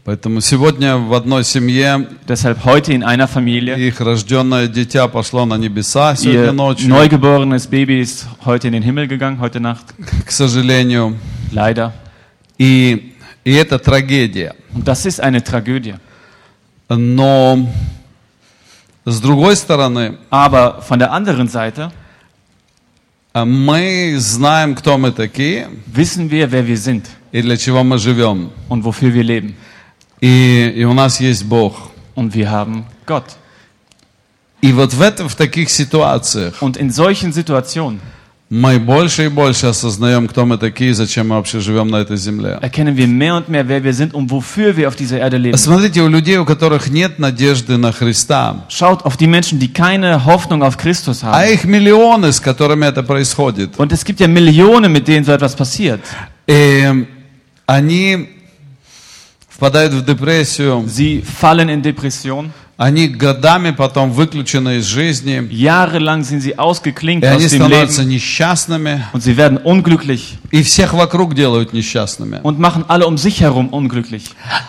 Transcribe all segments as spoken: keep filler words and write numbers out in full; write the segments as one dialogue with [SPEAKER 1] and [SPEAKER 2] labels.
[SPEAKER 1] Поэтому сегодня в одной семье
[SPEAKER 2] Deshalb heute in einer Familie,
[SPEAKER 1] их рожденное дитя пошло на небеса сегодня
[SPEAKER 2] ihr
[SPEAKER 1] ночью,
[SPEAKER 2] neugeborenes Baby ist heute in den Himmel gegangen, heute Nacht,
[SPEAKER 1] к сожалению.
[SPEAKER 2] leider.
[SPEAKER 1] И, и это трагедия.
[SPEAKER 2] Und das ist eine Tragödie.
[SPEAKER 1] Но с другой стороны,
[SPEAKER 2] Aber von der anderen Seite
[SPEAKER 1] мы знаем, кто мы такие
[SPEAKER 2] wissen wir, wer wir sind
[SPEAKER 1] и для чего мы живем.
[SPEAKER 2] und wofür wir leben.
[SPEAKER 1] И, и у нас есть Бог.
[SPEAKER 2] Und wir haben Gott.
[SPEAKER 1] И вот в, это, в таких ситуациях
[SPEAKER 2] Und in solchen Situationen
[SPEAKER 1] мы больше и больше осознаем, кто мы такие, и зачем мы вообще живем на этой земле.
[SPEAKER 2] erkennen wir mehr und mehr, wer wir sind und wofür wir auf dieser Erde leben.
[SPEAKER 1] Смотрите, у людей, у которых нет надежды на Христа,
[SPEAKER 2] Schaut auf die Menschen, die keine Hoffnung auf Christus
[SPEAKER 1] а
[SPEAKER 2] haben.
[SPEAKER 1] их миллионы, с которыми это происходит.
[SPEAKER 2] Und es gibt ja Millionen, mit denen so etwas passiert.
[SPEAKER 1] И они впадают в депрессию,
[SPEAKER 2] Sie fallen in Depression.
[SPEAKER 1] они годами потом выключены из жизни,
[SPEAKER 2] Jahrelang sind sie ausgeklinkt
[SPEAKER 1] и они
[SPEAKER 2] aus dem
[SPEAKER 1] становятся
[SPEAKER 2] Leben.
[SPEAKER 1] несчастными,
[SPEAKER 2] Und sie werden unglücklich
[SPEAKER 1] и всех вокруг делают несчастными.
[SPEAKER 2] und machen alle um sich herum unglücklich.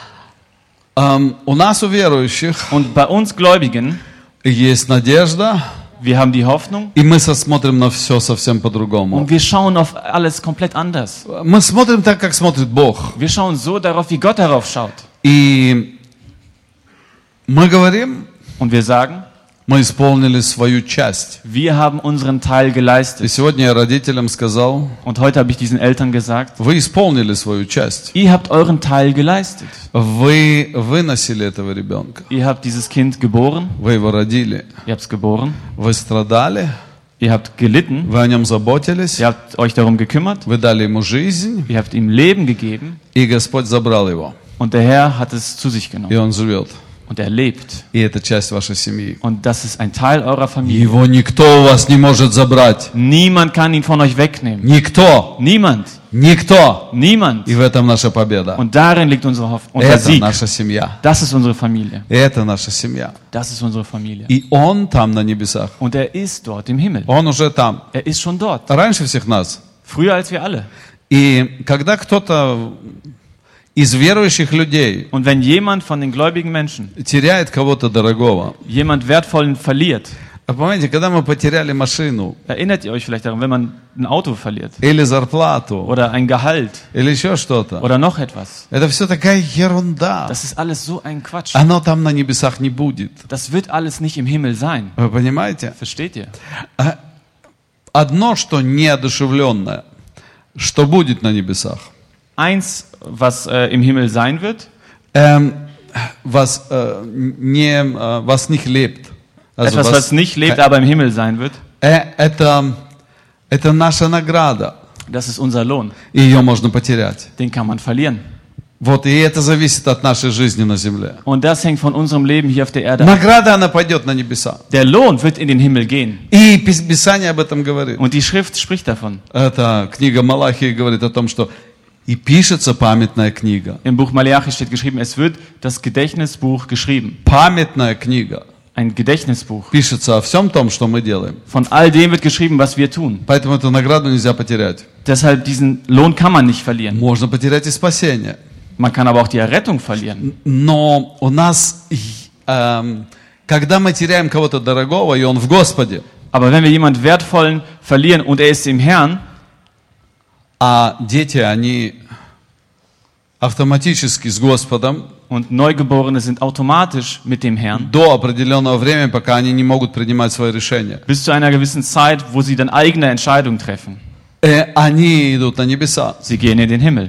[SPEAKER 1] Эм, у нас, у верующих,
[SPEAKER 2] Und bei uns Gläubigen,
[SPEAKER 1] есть надежда,
[SPEAKER 2] wir haben die Hoffnung
[SPEAKER 1] и мы смотрим на все совсем по-другому.
[SPEAKER 2] und wir schauen auf alles komplett anders.
[SPEAKER 1] Мы смотрим так, как смотрит Бог.
[SPEAKER 2] Wir schauen so darauf, wie Gott darauf schaut.
[SPEAKER 1] И мы говорим,
[SPEAKER 2] Und wir sagen,
[SPEAKER 1] мы исполнили свою часть.
[SPEAKER 2] wir haben unseren Teil
[SPEAKER 1] И
[SPEAKER 2] geleistet.
[SPEAKER 1] сегодня я родителям сказал,
[SPEAKER 2] Und heute habe ich diesen Eltern gesagt,
[SPEAKER 1] вы исполнили свою часть.
[SPEAKER 2] ihr habt euren Teil geleistet.
[SPEAKER 1] Вы выносили этого ребенка.
[SPEAKER 2] Ihr habt dieses Kind geboren,
[SPEAKER 1] Вы его родили.
[SPEAKER 2] ihr habt es geboren,
[SPEAKER 1] Вы страдали.
[SPEAKER 2] ihr habt gelitten,
[SPEAKER 1] Вы о нем заботились.
[SPEAKER 2] ihr habt euch darum gekümmert,
[SPEAKER 1] Вы дали ему жизнь.
[SPEAKER 2] ihr habt ihm Leben gegeben
[SPEAKER 1] И Господь забрал его.
[SPEAKER 2] und der Herr hat es zu sich
[SPEAKER 1] И
[SPEAKER 2] genommen
[SPEAKER 1] он живет.
[SPEAKER 2] und er lebt.
[SPEAKER 1] И это часть вашей семьи.
[SPEAKER 2] Und das ist ein Teil eurer Familie.
[SPEAKER 1] Его никто у вас не может забрать.
[SPEAKER 2] Niemand kann ihn von euch wegnehmen.
[SPEAKER 1] Никто.
[SPEAKER 2] Niemand.
[SPEAKER 1] Никто.
[SPEAKER 2] Niemand.
[SPEAKER 1] И в этом наша победа.
[SPEAKER 2] Und darin liegt unsere Hoffnung, unser
[SPEAKER 1] Это
[SPEAKER 2] Sieg.
[SPEAKER 1] наша семья.
[SPEAKER 2] Das ist unsere Familie.
[SPEAKER 1] Это наша семья.
[SPEAKER 2] Das ist unsere Familie.
[SPEAKER 1] И он там на небесах.
[SPEAKER 2] Und er ist dort im Himmel.
[SPEAKER 1] Он уже там.
[SPEAKER 2] Er ist schon dort.
[SPEAKER 1] Раньше всех нас.
[SPEAKER 2] Früher als wir alle.
[SPEAKER 1] И когда кто-то из верующих людей
[SPEAKER 2] Und wenn jemand von den gläubigen Menschen
[SPEAKER 1] теряет кого-то дорогого,
[SPEAKER 2] jemand Wertvollen verliert,
[SPEAKER 1] а помните, когда мы потеряли машину,
[SPEAKER 2] erinnert ihr euch vielleicht daran, wenn man ein Auto verliert
[SPEAKER 1] или зарплату,
[SPEAKER 2] oder ein Gehalt
[SPEAKER 1] или еще что-то,
[SPEAKER 2] oder noch etwas.
[SPEAKER 1] это все такая ерунда.
[SPEAKER 2] Das ist alles so ein Quatsch.
[SPEAKER 1] Оно там на небесах не будет.
[SPEAKER 2] Das wird alles nicht im Himmel sein.
[SPEAKER 1] Вы понимаете?
[SPEAKER 2] Versteht ihr?
[SPEAKER 1] А одно, что неодушевленное, что будет на небесах,
[SPEAKER 2] Eins, was äh, im Himmel sein wird,
[SPEAKER 1] эм, was, äh, не, äh, was nicht lebt. Also
[SPEAKER 2] etwas, was nicht lebt, aber im Himmel sein wird,
[SPEAKER 1] э, это, это наша награда.
[SPEAKER 2] das ist unser Lohn.
[SPEAKER 1] И ее можно потерять.
[SPEAKER 2] Den kann man verlieren.
[SPEAKER 1] Вот, и это зависит от нашей жизни на земле.
[SPEAKER 2] Und das hängt von unserem Leben hier auf der Erde ab.
[SPEAKER 1] Награда, она пойдет на небеса.
[SPEAKER 2] Der Lohn wird in den Himmel gehen.
[SPEAKER 1] И Пис- Писание об этом говорит.
[SPEAKER 2] Und die Schrift spricht davon.
[SPEAKER 1] Это книга Малахии говорит о том, что и пишется памятная книга.
[SPEAKER 2] Im Buch Malachi steht geschrieben, es wird das Gedächtnisbuch geschrieben.
[SPEAKER 1] Памятная книга.
[SPEAKER 2] Ein Gedächtnisbuch.
[SPEAKER 1] Пишется о всем том, что мы делаем.
[SPEAKER 2] Von all dem wird geschrieben, was wir tun.
[SPEAKER 1] Поэтому эту награду нельзя потерять.
[SPEAKER 2] Deshalb diesen Lohn kann man nicht verlieren.
[SPEAKER 1] Можно потерять и спасение.
[SPEAKER 2] Man kann aber auch die Errettung verlieren.
[SPEAKER 1] Но у нас, эм, когда мы теряем кого-то дорогого, и он в Господе,
[SPEAKER 2] Aber wenn wir jemanden Wertvollen verlieren und er ist im Herrn,
[SPEAKER 1] а дети, они автоматически с Господом,
[SPEAKER 2] und Neugeborene sind automatisch mit dem Herrn,
[SPEAKER 1] до определенного времени, пока они не могут принимать свои решения.
[SPEAKER 2] bis zu einer gewissen Zeit, wo sie dann eigene Entscheidungen treffen.
[SPEAKER 1] Э, они идут на небеса.
[SPEAKER 2] Sie gehen in den Himmel.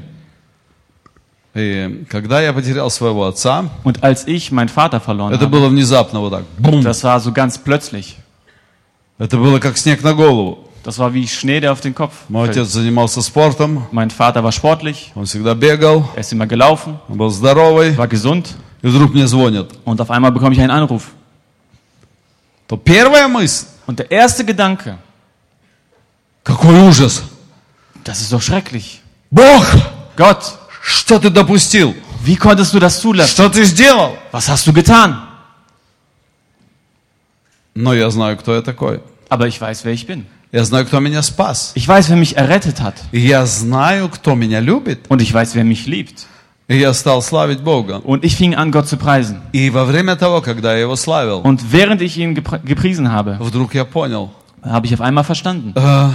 [SPEAKER 1] И когда я потерял своего отца,
[SPEAKER 2] Und als ich meinen Vater verloren
[SPEAKER 1] это
[SPEAKER 2] habe,
[SPEAKER 1] было внезапно вот так. Бум!
[SPEAKER 2] das war so ganz plötzlich.
[SPEAKER 1] Это было как снег на голову.
[SPEAKER 2] Das war wie Schnee, der auf den Kopf
[SPEAKER 1] Мой
[SPEAKER 2] fällt.
[SPEAKER 1] отец занимался спортом,
[SPEAKER 2] Mein Vater war sportlich,
[SPEAKER 1] он всегда бегал,
[SPEAKER 2] er ist immer gelaufen,
[SPEAKER 1] он был здоровый,
[SPEAKER 2] war gesund
[SPEAKER 1] и вдруг мне звонят.
[SPEAKER 2] und auf einmal bekomme ich einen Anruf.
[SPEAKER 1] То первая мысль,
[SPEAKER 2] Und der erste Gedanke,
[SPEAKER 1] какой ужас!
[SPEAKER 2] das ist doch schrecklich.
[SPEAKER 1] Бог,
[SPEAKER 2] Gott,
[SPEAKER 1] что ты допустил?
[SPEAKER 2] wie konntest du das zulassen?
[SPEAKER 1] Что ты сделал?
[SPEAKER 2] Was hast du getan?
[SPEAKER 1] Но я знаю, кто я такой.
[SPEAKER 2] Aber ich weiß, wer ich bin.
[SPEAKER 1] Я знаю, кто меня спас.
[SPEAKER 2] Ich weiß, wer mich errettet hat.
[SPEAKER 1] И я знаю, кто меня любит.
[SPEAKER 2] Und ich weiß, wer mich liebt.
[SPEAKER 1] И я стал славить Бога.
[SPEAKER 2] Und ich fing an, Gott zu preisen.
[SPEAKER 1] И во время того, когда я его славил,
[SPEAKER 2] Und während ich ihn gepr- gepriesen habe,
[SPEAKER 1] вдруг я понял,
[SPEAKER 2] habe ich auf einmal verstanden,
[SPEAKER 1] э,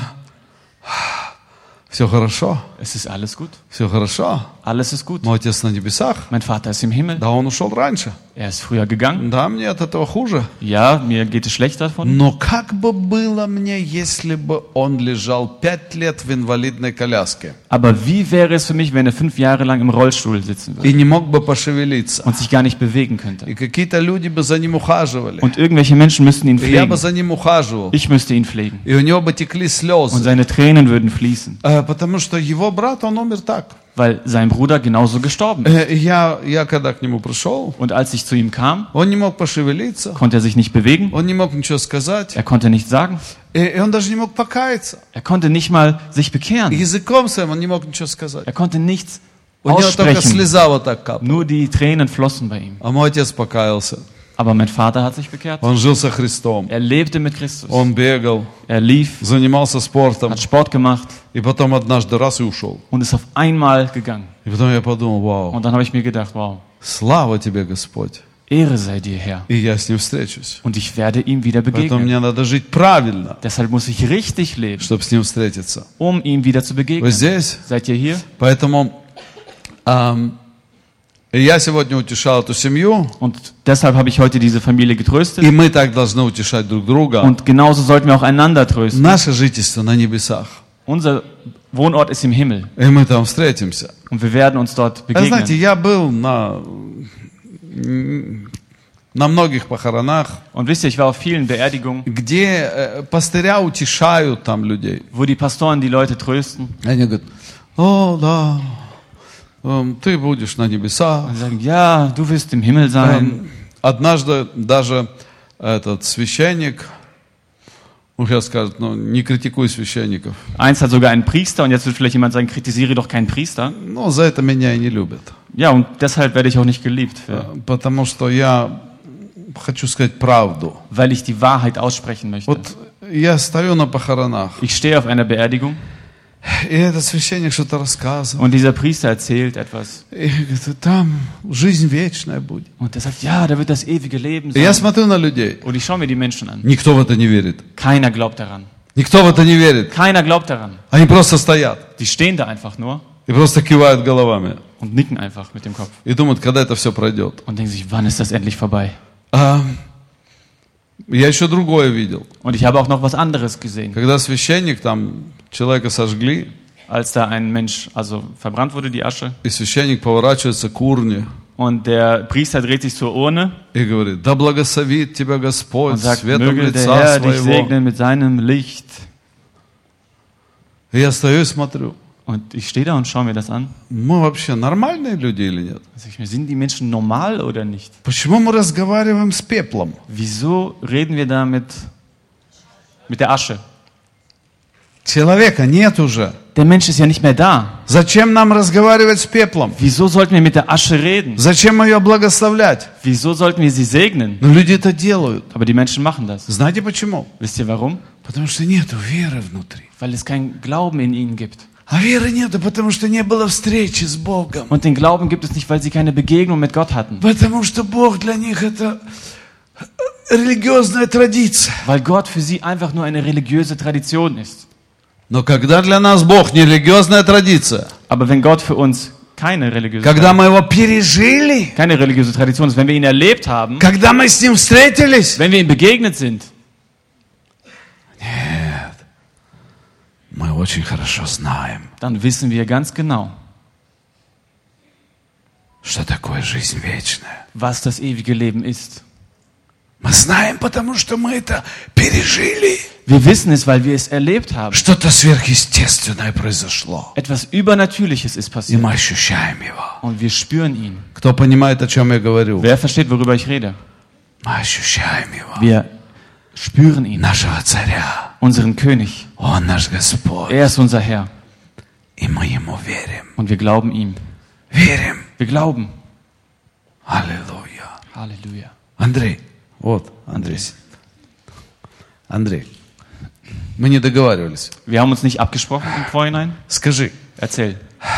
[SPEAKER 1] все хорошо,
[SPEAKER 2] es ist alles gut.
[SPEAKER 1] все хорошо.
[SPEAKER 2] Alles ist gut.
[SPEAKER 1] Мой Отец на небесах,
[SPEAKER 2] Mein Vater ist im Himmel.
[SPEAKER 1] да, он ушел раньше.
[SPEAKER 2] Er ist früher gegangen.
[SPEAKER 1] Да, мне от этого хуже.
[SPEAKER 2] Ja, mir geht es schlecht davon.
[SPEAKER 1] Но как бы было мне, если бы он лежал пять лет в инвалидной коляске
[SPEAKER 2] Aber wie wäre es für mich, wenn er fünf Jahre lang im Rollstuhl sitzen würde
[SPEAKER 1] и не мог бы пошевелиться?
[SPEAKER 2] und sich gar nicht bewegen könnte?
[SPEAKER 1] И какие-то люди бы за ним ухаживали.
[SPEAKER 2] Und irgendwelche Menschen müssten ihn
[SPEAKER 1] И я бы
[SPEAKER 2] pflegen.
[SPEAKER 1] за ним ухаживал.
[SPEAKER 2] Ich müsste ihn pflegen.
[SPEAKER 1] И у него бы текли
[SPEAKER 2] Und
[SPEAKER 1] слезы.
[SPEAKER 2] seine Tränen würden fließen,
[SPEAKER 1] Э, Потому что его брат, он умер так.
[SPEAKER 2] weil sein Bruder genauso gestorben ist.
[SPEAKER 1] Э, и Я, я когда к нему пришел,
[SPEAKER 2] Und als ich zu ihm kam,
[SPEAKER 1] он не мог пошевелиться,
[SPEAKER 2] konnte er sich nicht bewegen.
[SPEAKER 1] он не мог ничего сказать,
[SPEAKER 2] Er konnte nichts sagen.
[SPEAKER 1] и, и он даже не мог покаяться.
[SPEAKER 2] Er konnte nicht mal sich
[SPEAKER 1] И
[SPEAKER 2] bekehren.
[SPEAKER 1] языком своим он не мог ничего сказать.
[SPEAKER 2] Er konnte nichts
[SPEAKER 1] У него только
[SPEAKER 2] aussprechen.
[SPEAKER 1] слеза вот так капала.
[SPEAKER 2] Nur die Tränen flossen bei ihm.
[SPEAKER 1] А мой отец покаялся.
[SPEAKER 2] Aber mein Vater hat sich bekehrt.
[SPEAKER 1] Он жил со Христом.
[SPEAKER 2] Er lebte mit Christus.
[SPEAKER 1] Он бегал,
[SPEAKER 2] Er lief,
[SPEAKER 1] занимался спортом.
[SPEAKER 2] hat Sport gemacht
[SPEAKER 1] И потом однажды раз и ушел.
[SPEAKER 2] und ist auf einmal gegangen.
[SPEAKER 1] И потом я подумал, вау,
[SPEAKER 2] Und dann habe ich mir gedacht, wow,
[SPEAKER 1] слава тебе, Господь.
[SPEAKER 2] Ehre sei dir, Herr.
[SPEAKER 1] И я с ним встречусь.
[SPEAKER 2] Und ich werde ihm wieder
[SPEAKER 1] Поэтому
[SPEAKER 2] begegnen.
[SPEAKER 1] мне надо жить правильно,
[SPEAKER 2] Deshalb muss ich richtig leben,
[SPEAKER 1] чтобы с ним встретиться.
[SPEAKER 2] um ihm wieder zu
[SPEAKER 1] Вы
[SPEAKER 2] begegnen.
[SPEAKER 1] здесь?
[SPEAKER 2] Seid ihr hier?
[SPEAKER 1] Поэтому ам, я сегодня утешал эту семью,
[SPEAKER 2] Und deshalb habe ich heute diese Familie getröstet.
[SPEAKER 1] и мы так должны утешать друг друга.
[SPEAKER 2] Und genauso sollten wir auch einander trösten.
[SPEAKER 1] Наше жительство на небесах,
[SPEAKER 2] Unser Wohnort ist im Himmel
[SPEAKER 1] и мы там встретимся.
[SPEAKER 2] und wir werden uns dort
[SPEAKER 1] А знаете,
[SPEAKER 2] begegnen.
[SPEAKER 1] я был на, на многих похоронах,
[SPEAKER 2] Und wisst ihr, ich war auf vielen Beerdigungen,
[SPEAKER 1] где э, пастыря утешают там людей.
[SPEAKER 2] wo die Pastoren die Leute trösten
[SPEAKER 1] Они говорят, о, да, эм, ты будешь на небесах.
[SPEAKER 2] und sagen, ja, du wirst im Himmel sein.
[SPEAKER 1] Эм, Однажды даже этот священник, ну, сейчас скажут, ну, не критикуй священников,
[SPEAKER 2] Eins hat sogar einen Priester und jetzt wird vielleicht jemand sagen, kritisiere doch keinen Priester.
[SPEAKER 1] но за это меня и не любят.
[SPEAKER 2] Ja, und deshalb werde ich auch nicht geliebt, für,
[SPEAKER 1] Э, Потому что я хочу сказать правду.
[SPEAKER 2] weil ich die Wahrheit aussprechen möchte.
[SPEAKER 1] Вот я стою на похоронах,
[SPEAKER 2] Ich stehe auf einer Beerdigung
[SPEAKER 1] и этот священник что-то рассказывает.
[SPEAKER 2] und dieser Priester erzählt etwas.
[SPEAKER 1] И говорит, там жизнь вечная будет.
[SPEAKER 2] Und er sagt, ja, da wird das ewige Leben
[SPEAKER 1] И я
[SPEAKER 2] sein.
[SPEAKER 1] смотрю на людей.
[SPEAKER 2] Und ich schaue mir die Menschen an.
[SPEAKER 1] Никто в это не верит.
[SPEAKER 2] Keiner glaubt daran.
[SPEAKER 1] Никто в это не верит.
[SPEAKER 2] Keiner glaubt daran.
[SPEAKER 1] Они просто стоят
[SPEAKER 2] Die stehen da einfach nur
[SPEAKER 1] и просто кивают головами.
[SPEAKER 2] und nicken einfach mit dem Kopf
[SPEAKER 1] И думают, когда это все пройдет.
[SPEAKER 2] und denken sich, wann ist das endlich vorbei?
[SPEAKER 1] А, я еще другое видел.
[SPEAKER 2] Und ich habe auch noch was anderes gesehen.
[SPEAKER 1] Когда священник, там человека сожгли,
[SPEAKER 2] Als da ein Mensch, also verbrannt wurde, die Asche,
[SPEAKER 1] и священник поворачивается к урне
[SPEAKER 2] und der Priester dreht sich zur Urne
[SPEAKER 1] и говорит, да благословит тебя
[SPEAKER 2] und
[SPEAKER 1] Господь
[SPEAKER 2] sagt,
[SPEAKER 1] светом
[SPEAKER 2] möge der
[SPEAKER 1] лица
[SPEAKER 2] Herr dich
[SPEAKER 1] своего.
[SPEAKER 2] segnen mit seinem Licht.
[SPEAKER 1] И я стою и смотрю,
[SPEAKER 2] Und ich stehe da und schaue mir das an.
[SPEAKER 1] мы вообще нормальные люди или нет?
[SPEAKER 2] Da sag ich mir, sind die Menschen normal oder nicht?
[SPEAKER 1] Почему мы разговариваем с пеплом?
[SPEAKER 2] Wieso reden wir da mit, mit der Asche?
[SPEAKER 1] Человека нет уже.
[SPEAKER 2] Der Mensch ist ja nicht mehr da.
[SPEAKER 1] Зачем нам разговаривать с пеплом?
[SPEAKER 2] Wieso sollten wir mit der Asche reden?
[SPEAKER 1] Зачем ее благословлять?
[SPEAKER 2] Wieso sollten wir sie segnen?
[SPEAKER 1] Но люди это делают.
[SPEAKER 2] Aber die Menschen machen das.
[SPEAKER 1] Знаете почему?
[SPEAKER 2] Wisst ihr warum?
[SPEAKER 1] Потому что нету веры внутри.
[SPEAKER 2] Weil es keinen Glauben in ihnen gibt.
[SPEAKER 1] А веры нету, потому что не было встречи с Богом.
[SPEAKER 2] Und den Glauben gibt es nicht, weil sie keine Begegnung mit Gott hatten.
[SPEAKER 1] Потому что Бог для них это религиозная традиция.
[SPEAKER 2] Weil Gott für sie einfach nur eine religiöse Tradition ist.
[SPEAKER 1] Но когда для нас Бог не религиозная традиция,
[SPEAKER 2] Aber wenn Gott für uns keine religiöse,
[SPEAKER 1] когда мы его пережили,
[SPEAKER 2] keine religiöse Tradition ist, wenn wir ihn erlebt haben,
[SPEAKER 1] когда мы с ним встретились,
[SPEAKER 2] wenn wir ihm begegnet sind,
[SPEAKER 1] нет, мы очень хорошо знаем,
[SPEAKER 2] dann wissen wir ganz genau,
[SPEAKER 1] что такое жизнь вечная.
[SPEAKER 2] was das ewige Leben ist.
[SPEAKER 1] Мы знаем, потому что мы это пережили.
[SPEAKER 2] Wir wissen es, weil wir es erlebt haben.
[SPEAKER 1] Что-то сверхъестественное произошло.
[SPEAKER 2] Etwas Übernatürliches ist
[SPEAKER 1] И
[SPEAKER 2] passiert.
[SPEAKER 1] мы ощущаем его.
[SPEAKER 2] Und wir spüren ihn.
[SPEAKER 1] Кто понимает, о чем я говорю?
[SPEAKER 2] Wer versteht, worüber ich rede?
[SPEAKER 1] Мы ощущаем его.
[SPEAKER 2] Wir spüren ihn.
[SPEAKER 1] Нашего царя.
[SPEAKER 2] Unseren König.
[SPEAKER 1] Он наш Господь.
[SPEAKER 2] Er ist unser Herr.
[SPEAKER 1] И мы ему верим.
[SPEAKER 2] Und wir glauben ihm.
[SPEAKER 1] Верим.
[SPEAKER 2] Wir glauben.
[SPEAKER 1] Аллилуйя.
[SPEAKER 2] Halleluja.
[SPEAKER 1] Андрей. Вот, Андрей. Андрей. Мы не договаривались.
[SPEAKER 2] Wir haben uns nicht abgesprochen im Vorhinein.
[SPEAKER 1] Скажи,
[SPEAKER 2] Erzähl.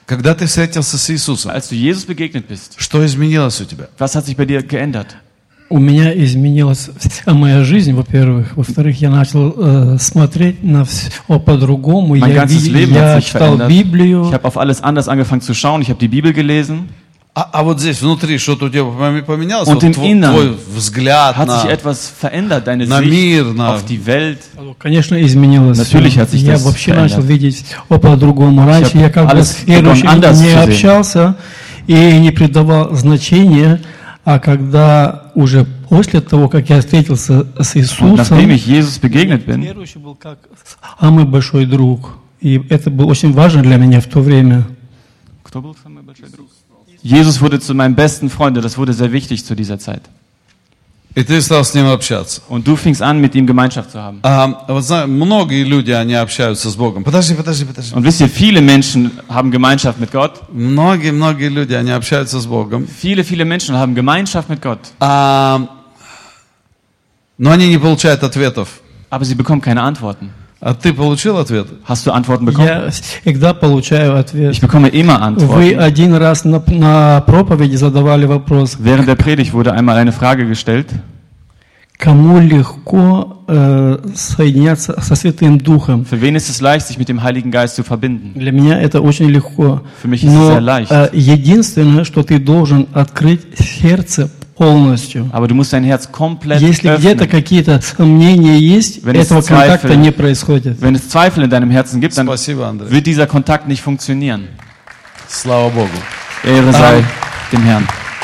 [SPEAKER 1] Когда ты встретился с Иисусом,
[SPEAKER 2] Als du Jesus begegnet bist,
[SPEAKER 1] что изменилось у тебя?
[SPEAKER 2] was hat sich bei dir geändert?
[SPEAKER 3] У меня изменилась вся моя жизнь, во-первых. Во-вторых, я начал э, смотреть на все по-другому.
[SPEAKER 2] Mein
[SPEAKER 3] Я,
[SPEAKER 2] ganzes
[SPEAKER 3] ви-
[SPEAKER 2] Leben
[SPEAKER 3] я
[SPEAKER 2] hat sich
[SPEAKER 3] читал
[SPEAKER 2] verändert.
[SPEAKER 3] Библию.
[SPEAKER 2] Ich habe auf alles anders angefangen zu schauen. Ich habe die Bibel gelesen.
[SPEAKER 1] А, а вот здесь внутри что-то у тебя пом- поменялось?
[SPEAKER 2] Und
[SPEAKER 1] Вот
[SPEAKER 2] im
[SPEAKER 1] твой,
[SPEAKER 2] Innern
[SPEAKER 1] твой взгляд
[SPEAKER 2] Hat
[SPEAKER 1] на,
[SPEAKER 2] sich etwas verändert? Deine
[SPEAKER 1] на
[SPEAKER 2] Sicht
[SPEAKER 1] мир, на...
[SPEAKER 2] auf die Welt?
[SPEAKER 3] Конечно, изменилось.
[SPEAKER 2] Natürlich
[SPEAKER 3] всё.
[SPEAKER 2] hat sich
[SPEAKER 3] Я
[SPEAKER 2] das
[SPEAKER 3] вообще
[SPEAKER 2] verändert.
[SPEAKER 3] начал видеть все по-другому. Раньше
[SPEAKER 2] hab
[SPEAKER 3] я как бы
[SPEAKER 2] alles
[SPEAKER 3] с верующими
[SPEAKER 2] begonnen anders
[SPEAKER 3] не
[SPEAKER 2] zu sehen.
[SPEAKER 3] общался и не придавал значения. А когда уже после того, как я встретился с
[SPEAKER 2] Und
[SPEAKER 3] Иисусом,
[SPEAKER 2] nachdem ich Jesus begegnet bin,
[SPEAKER 3] верующий был как самый большой друг. И это было очень важно для меня в то время.
[SPEAKER 2] Кто был самый большой друг? Jesus wurde zu meinem besten Freund und das wurde sehr wichtig zu dieser Zeit.
[SPEAKER 1] И ты стал с ним общаться.
[SPEAKER 2] Und du fingst an, mit ihm Gemeinschaft zu haben.
[SPEAKER 1] А, вот знаешь, многие люди, они общаются с Богом. Подожди, подожди, подожди.
[SPEAKER 2] Und wisst ihr, viele Menschen haben Gemeinschaft mit Gott.
[SPEAKER 1] Многие, многие люди, они общаются с Богом.
[SPEAKER 2] Viele, viele Menschen haben Gemeinschaft mit Gott.
[SPEAKER 1] А, но они не получают ответов.
[SPEAKER 2] Aber sie bekommen keine Antworten.
[SPEAKER 1] А ты получил ответы?
[SPEAKER 2] Hast du Antworten bekommen?
[SPEAKER 3] Я всегда получаю ответ.
[SPEAKER 2] Ich bekomme immer
[SPEAKER 3] Вы
[SPEAKER 2] Antworten.
[SPEAKER 3] один раз на, на проповеди задавали вопрос,
[SPEAKER 2] Während der Predigt wurde einmal eine Frage gestellt.
[SPEAKER 3] кому легко э, соединяться со Святым Духом.
[SPEAKER 2] Für wen ist es leicht, sich mit dem Heiligen Geist zu verbinden?
[SPEAKER 3] Для меня это очень легко.
[SPEAKER 2] Für mich ist es
[SPEAKER 3] Но
[SPEAKER 2] sehr leicht.
[SPEAKER 3] э, единственное, что ты должен открыть сердце полностью.
[SPEAKER 2] Aber du musst dein Herz komplett
[SPEAKER 3] Если где-то
[SPEAKER 2] öffnen.
[SPEAKER 3] какие-то сомнения есть,
[SPEAKER 2] Wenn es
[SPEAKER 3] этого контакта
[SPEAKER 2] Zweifel-
[SPEAKER 3] не происходит.
[SPEAKER 2] Wenn es Zweifel in deinem Herzen gibt, dann
[SPEAKER 1] Спасибо, Андрей.
[SPEAKER 2] wird dieser Kontakt nicht funktionieren.
[SPEAKER 1] Слава Богу.
[SPEAKER 2] Ehre sei dem Herrn.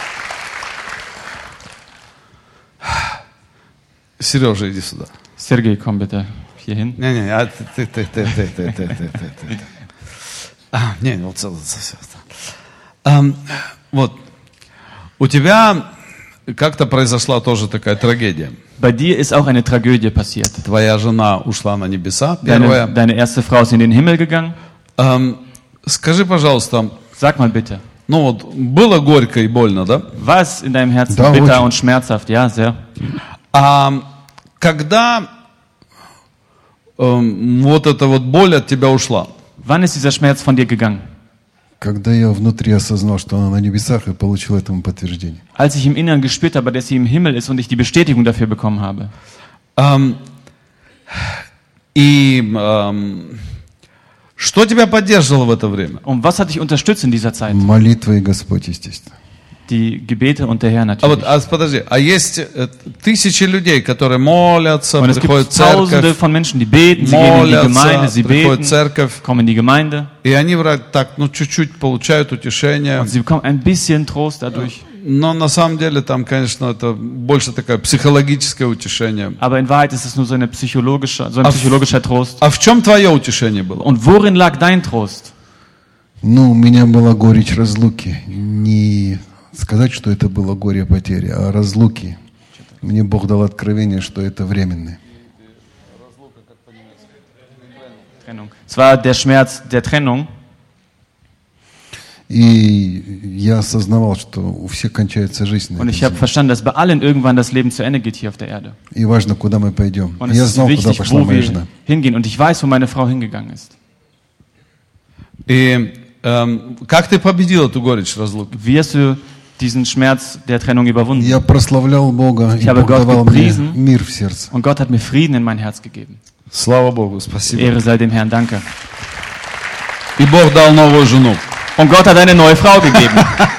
[SPEAKER 1] Сережа, иди сюда.
[SPEAKER 2] Sergej, komm bitte hier hin.
[SPEAKER 1] Не-не, а ты, ты, ты, ты, ты, ты, ты, ты, ты, ты. А, не, вот это все. Вот, у тебя как-то произошла тоже такая трагедия.
[SPEAKER 2] Bei dir ist auch eine Tragödie passiert.
[SPEAKER 1] Твоя жена ушла на небеса,
[SPEAKER 2] Deine,
[SPEAKER 1] первая.
[SPEAKER 2] deine erste Frau ist in den Himmel gegangen.
[SPEAKER 1] Эм, Скажи, пожалуйста,
[SPEAKER 2] Sag mal bitte,
[SPEAKER 1] ну вот, было горько и больно, да?
[SPEAKER 2] war es in deinem Herzen
[SPEAKER 4] Da,
[SPEAKER 2] bitter
[SPEAKER 4] очень.
[SPEAKER 2] und schmerzhaft? Ja, sehr.
[SPEAKER 1] А когда эм, вот эта вот боль от тебя ушла?
[SPEAKER 2] Wann ist dieser Schmerz von dir gegangen?
[SPEAKER 4] Когда я внутри осознал, что она на небесах, и получил этому подтверждение.
[SPEAKER 2] Als ich im Inneren gespürt habe, dass sie im Himmel ist und ich die Bestätigung dafür bekommen habe.
[SPEAKER 1] Эм, и эм, что тебя поддерживало в это время?
[SPEAKER 2] Und was hat dich unterstützt in dieser Zeit?
[SPEAKER 4] Молитва и Господь, естественно.
[SPEAKER 2] Die Gebete und der Herr
[SPEAKER 1] А
[SPEAKER 2] natürlich.
[SPEAKER 1] вот, а, подожди, а есть э, тысячи людей, которые молятся,
[SPEAKER 2] Und es gibt
[SPEAKER 1] приходят в
[SPEAKER 2] tausende
[SPEAKER 1] церковь,
[SPEAKER 2] von Menschen, die beten, sie gehen in die Gemeinde,
[SPEAKER 1] молятся,
[SPEAKER 2] sie
[SPEAKER 1] приходят в
[SPEAKER 2] beten,
[SPEAKER 1] церковь,
[SPEAKER 2] kommen in die Gemeinde
[SPEAKER 1] и они вроде так, ну, чуть-чуть получают утешение,
[SPEAKER 2] und sie bekommen ein bisschen Trost dadurch.
[SPEAKER 1] но на самом деле там, конечно, это больше такое психологическое утешение.
[SPEAKER 2] Aber in Wahrheit ist es nur so, eine psychologische, so ein
[SPEAKER 1] Auf-
[SPEAKER 2] psychologischer Trost.
[SPEAKER 1] А в чем твое утешение было?
[SPEAKER 2] Und worin lag dein Trost?
[SPEAKER 4] Ну, у меня была горечь разлуки. Не сказать, что это было горе потери, а разлуки. Мне Бог дал откровение, что это временно.
[SPEAKER 2] Trennung. Es war der Schmerz der Trennung.
[SPEAKER 4] И я осознавал, что у всех кончается жизнь на
[SPEAKER 2] Und
[SPEAKER 4] этой
[SPEAKER 2] ich habe
[SPEAKER 4] земле.
[SPEAKER 2] verstanden, dass bei allen irgendwann das Leben zu Ende geht hier auf der Erde.
[SPEAKER 4] И важно, куда мы пойдем.
[SPEAKER 2] Und es
[SPEAKER 4] Я
[SPEAKER 2] ist
[SPEAKER 4] знал, куда
[SPEAKER 2] wichtig,
[SPEAKER 4] пошла
[SPEAKER 2] wo
[SPEAKER 4] моя
[SPEAKER 2] wir
[SPEAKER 4] жена.
[SPEAKER 2] hingehen. Und ich weiß, wo meine Frau hingegangen ist.
[SPEAKER 1] И эм, как ты победил эту горечь разлуки?
[SPEAKER 2] Wie hast du diesen Schmerz der Trennung überwunden?
[SPEAKER 4] Я прославлял Бога, и
[SPEAKER 2] Ich habe
[SPEAKER 4] Бог
[SPEAKER 2] Gott
[SPEAKER 4] давал мне
[SPEAKER 2] gepriesen.
[SPEAKER 4] мир в сердце.
[SPEAKER 2] Und Gott hat mir Frieden in mein Herz gegeben.
[SPEAKER 1] Слава Богу, спасибо.
[SPEAKER 2] Ehre sei dem Herrn, danke.
[SPEAKER 1] И Бог дал новую жену.
[SPEAKER 2] Und Gott hat eine neue Frau gegeben.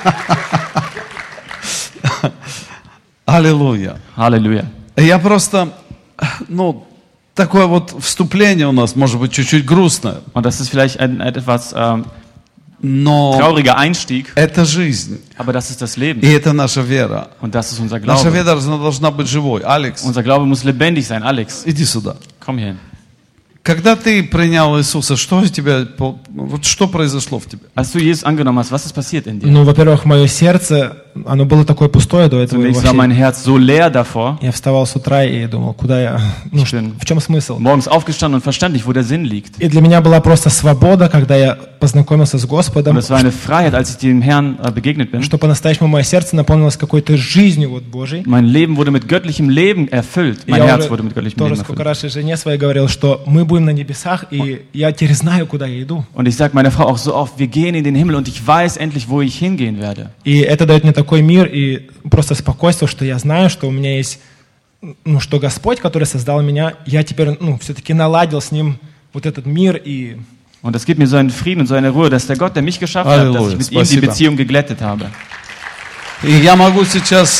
[SPEAKER 1] Аллилуйя.
[SPEAKER 2] Halleluja.
[SPEAKER 1] Я просто, ну, такое вот вступление у нас, может быть, чуть-чуть грустное,
[SPEAKER 2] Und das ist vielleicht ein, ein etwas ähm,
[SPEAKER 1] но
[SPEAKER 2] trauriger Einstieg,
[SPEAKER 1] это жизнь,
[SPEAKER 2] aber das ist das Leben.
[SPEAKER 1] и это наша вера.
[SPEAKER 2] Und das ist unser
[SPEAKER 1] Наша
[SPEAKER 2] Glaube.
[SPEAKER 1] вера должна, должна быть живой. Алекс,
[SPEAKER 2] Unser Glaube muss lebendig sein. Alex,
[SPEAKER 1] иди сюда.
[SPEAKER 2] komm hier hin.
[SPEAKER 1] Когда ты принял Иисуса, что у тебя, вот что произошло в тебе?
[SPEAKER 2] Als du Jesus angenommen hast, was ist passiert in dir?
[SPEAKER 5] Ну, во-первых, мое сердце оно было такое пустое до этого.
[SPEAKER 2] Zunächst war mein Herz so leer davor.
[SPEAKER 5] Я вставал с утра и думал, куда я, ну,
[SPEAKER 2] Ich bin
[SPEAKER 5] в чем смысл?
[SPEAKER 2] morgens aufgestanden und verstand nicht, wo der Sinn liegt.
[SPEAKER 5] И для меня была просто свобода, когда я познакомился с Господом,
[SPEAKER 2] Und es war eine Freiheit, als ich dem Herrn äh, begegnet bin.
[SPEAKER 5] что по-настоящему мое сердце наполнилось какой-то жизнью вот Божьей.
[SPEAKER 2] Mein Leben wurde mit göttlichem Leben erfüllt. Mein
[SPEAKER 5] Я
[SPEAKER 2] Herz
[SPEAKER 5] уже
[SPEAKER 2] wurde mit göttlichem
[SPEAKER 5] тоже
[SPEAKER 2] Leben
[SPEAKER 5] сколько
[SPEAKER 2] erfüllt.
[SPEAKER 5] раз и жене своей говорил, что мы будем на небесах, и я теперь знаю, куда я иду.
[SPEAKER 2] Und ich sage meiner Frau auch so oft, wir gehen in den Himmel und ich weiß endlich, wo ich hingehen werde.
[SPEAKER 5] И это дает мне такой мир и просто спокойствие, что я знаю, что у меня есть, ну, что Господь, который создал меня, я теперь, ну, все-таки наладил с Ним вот этот мир и...
[SPEAKER 2] Und das gibt mir so einen Frieden und so eine Ruhe, dass der Gott, der mich geschaffen hat, dass ich mit ihm die Beziehung geglättet habe.
[SPEAKER 1] И я могу сейчас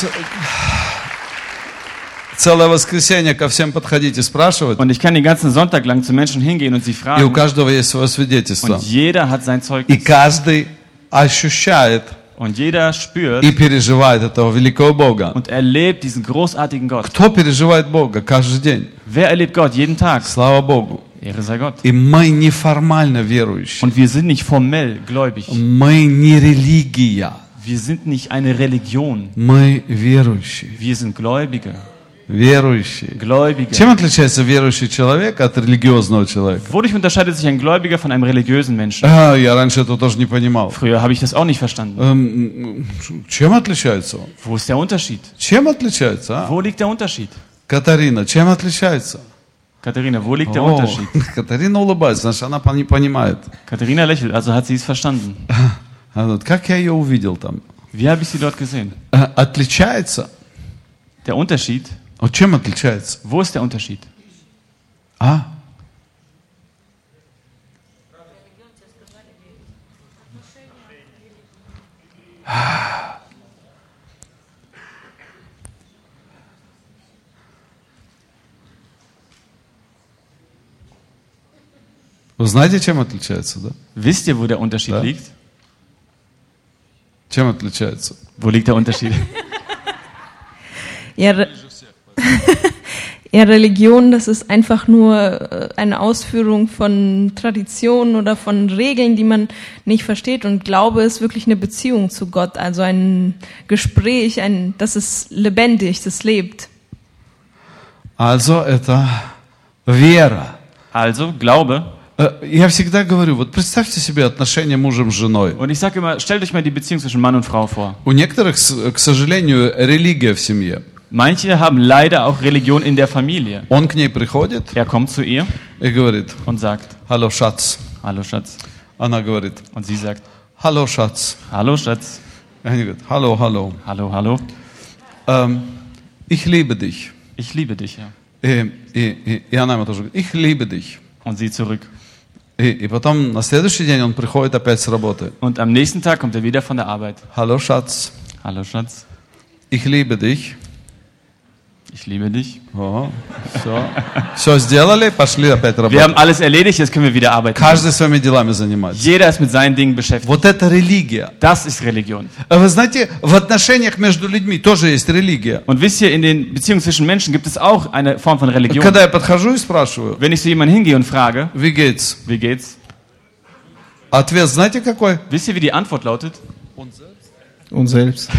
[SPEAKER 1] целое воскресенье ко всем подходить и спрашивать.
[SPEAKER 2] Und ich kann den ganzen Sonntag lang zu Menschen hingehen und sie
[SPEAKER 1] И у
[SPEAKER 2] fragen.
[SPEAKER 1] каждого есть свое свидетельство.
[SPEAKER 2] Und jeder hat sein
[SPEAKER 1] И
[SPEAKER 2] Zeugnis.
[SPEAKER 1] каждый ощущает
[SPEAKER 2] Und jeder spürt
[SPEAKER 1] и переживает этого великого Бога.
[SPEAKER 2] und erlebt diesen großartigen Gott.
[SPEAKER 1] Кто переживает Бога каждый день?
[SPEAKER 2] Wer erlebt Gott jeden Tag?
[SPEAKER 1] Слава Богу.
[SPEAKER 2] Ehre sei Gott.
[SPEAKER 1] И мы неформально верующие.
[SPEAKER 2] Und wir sind nicht formell gläubig.
[SPEAKER 1] Мы не религия.
[SPEAKER 2] Wir sind nicht eine Religion.
[SPEAKER 1] Мы верующие.
[SPEAKER 2] Wir sind Gläubige.
[SPEAKER 1] Верующие.
[SPEAKER 2] Gläubige.
[SPEAKER 1] Чем отличается верующий человек от религиозного человека?
[SPEAKER 2] Wodurch unterscheidet sich ein Gläubiger von einem religiösen Menschen?
[SPEAKER 1] А, я раньше этого тоже не понимал.
[SPEAKER 2] Früher habe ich das auch nicht verstanden.
[SPEAKER 1] Эм, Чем отличается он?
[SPEAKER 2] Wo ist der Unterschied?
[SPEAKER 1] Чем отличается, а?
[SPEAKER 2] Wo liegt der Unterschiед?
[SPEAKER 1] Катарина, чем отличается?
[SPEAKER 2] Katharina, wo liegt der
[SPEAKER 1] О,
[SPEAKER 2] Unterschied?
[SPEAKER 1] Катарина улыбается, значит, она не понимает.
[SPEAKER 2] Katharina lächelt, also hat sie es verstanden.
[SPEAKER 1] Она говорит, как я ее увидел там?
[SPEAKER 2] Wie habe ich sie dort gesehen?
[SPEAKER 1] Э, Отличается?
[SPEAKER 2] Der Unterschied?
[SPEAKER 1] Вот чем отличается?
[SPEAKER 2] Wo ist der Unterschied?
[SPEAKER 1] А? Вы знаете, чем отличается, да?
[SPEAKER 2] Wisst ihr, wo der Unterschied
[SPEAKER 1] Ja.
[SPEAKER 2] liegt?
[SPEAKER 1] Чем отличается?
[SPEAKER 2] Wo liegt der Unterschied?
[SPEAKER 6] Ja, Re ja, Religion, das ist einfach nur äh, eine Ausführung von Traditionen oder von Regeln, die man nicht versteht. Und Glaube ist wirklich eine Beziehung zu Gott, also ein Gespräch, ein, das ist lebendig, das lebt.
[SPEAKER 1] Also, это вера.
[SPEAKER 2] Also, Glaube.
[SPEAKER 1] Э, Я всегда говорю, вот представьте себе отношения мужем с женой.
[SPEAKER 2] Und ich sage immer, stellt euch mal die Beziehung zwischen Mann und Frau vor.
[SPEAKER 1] У некоторых, с- к сожалению, религия в семье.
[SPEAKER 2] Manche haben leider auch Religion in der Familie.
[SPEAKER 1] Он к ней приходит
[SPEAKER 2] Er kommt zu ihr
[SPEAKER 1] и говорит,
[SPEAKER 2] und sagt,
[SPEAKER 1] алло, шац.
[SPEAKER 2] hallo Schatz.
[SPEAKER 1] Она говорит,
[SPEAKER 2] Und sie sagt,
[SPEAKER 1] алло, шац.
[SPEAKER 2] hallo Schatz.
[SPEAKER 1] И они говорят, алло, алло.
[SPEAKER 2] Hallo, hallo.
[SPEAKER 1] Эм, Ich liebe dich.
[SPEAKER 2] Ich liebe dich, ja.
[SPEAKER 1] И, и, и, и она ему тоже говорит, ich liebe dich.
[SPEAKER 2] Und sie zurück.
[SPEAKER 1] И, и потом на следующий день он приходит опять с работы.
[SPEAKER 2] Und am nächsten Tag kommt er wieder von der Arbeit.
[SPEAKER 1] Алло, шац.
[SPEAKER 2] Hallo Schatz.
[SPEAKER 1] Ich liebe dich.
[SPEAKER 2] Ich liebe dich.
[SPEAKER 1] О, все. Все сделали, пошли опять
[SPEAKER 2] Wir
[SPEAKER 1] работать.
[SPEAKER 2] haben alles erledigt, jetzt können wir wieder arbeiten.
[SPEAKER 1] Каждый своими делами занимается.
[SPEAKER 2] Jeder ist mit seinen Dingen beschäftigt.
[SPEAKER 1] Вот это религия.
[SPEAKER 2] Das ist Religion.
[SPEAKER 1] А Вы знаете, в отношениях между людьми тоже есть религия.
[SPEAKER 2] Und wisst ihr, in den Beziehungen zwischen Menschen gibt es auch eine Form von Religion.
[SPEAKER 1] Когда я подхожу и спрашиваю,
[SPEAKER 2] Wenn ich zu jemandem hingehe und frage,
[SPEAKER 1] wie geht's?
[SPEAKER 2] wie geht's?
[SPEAKER 1] Ответ знаете какой?
[SPEAKER 2] Wisst ihr, wie die Antwort lautet?
[SPEAKER 3] Und selbst.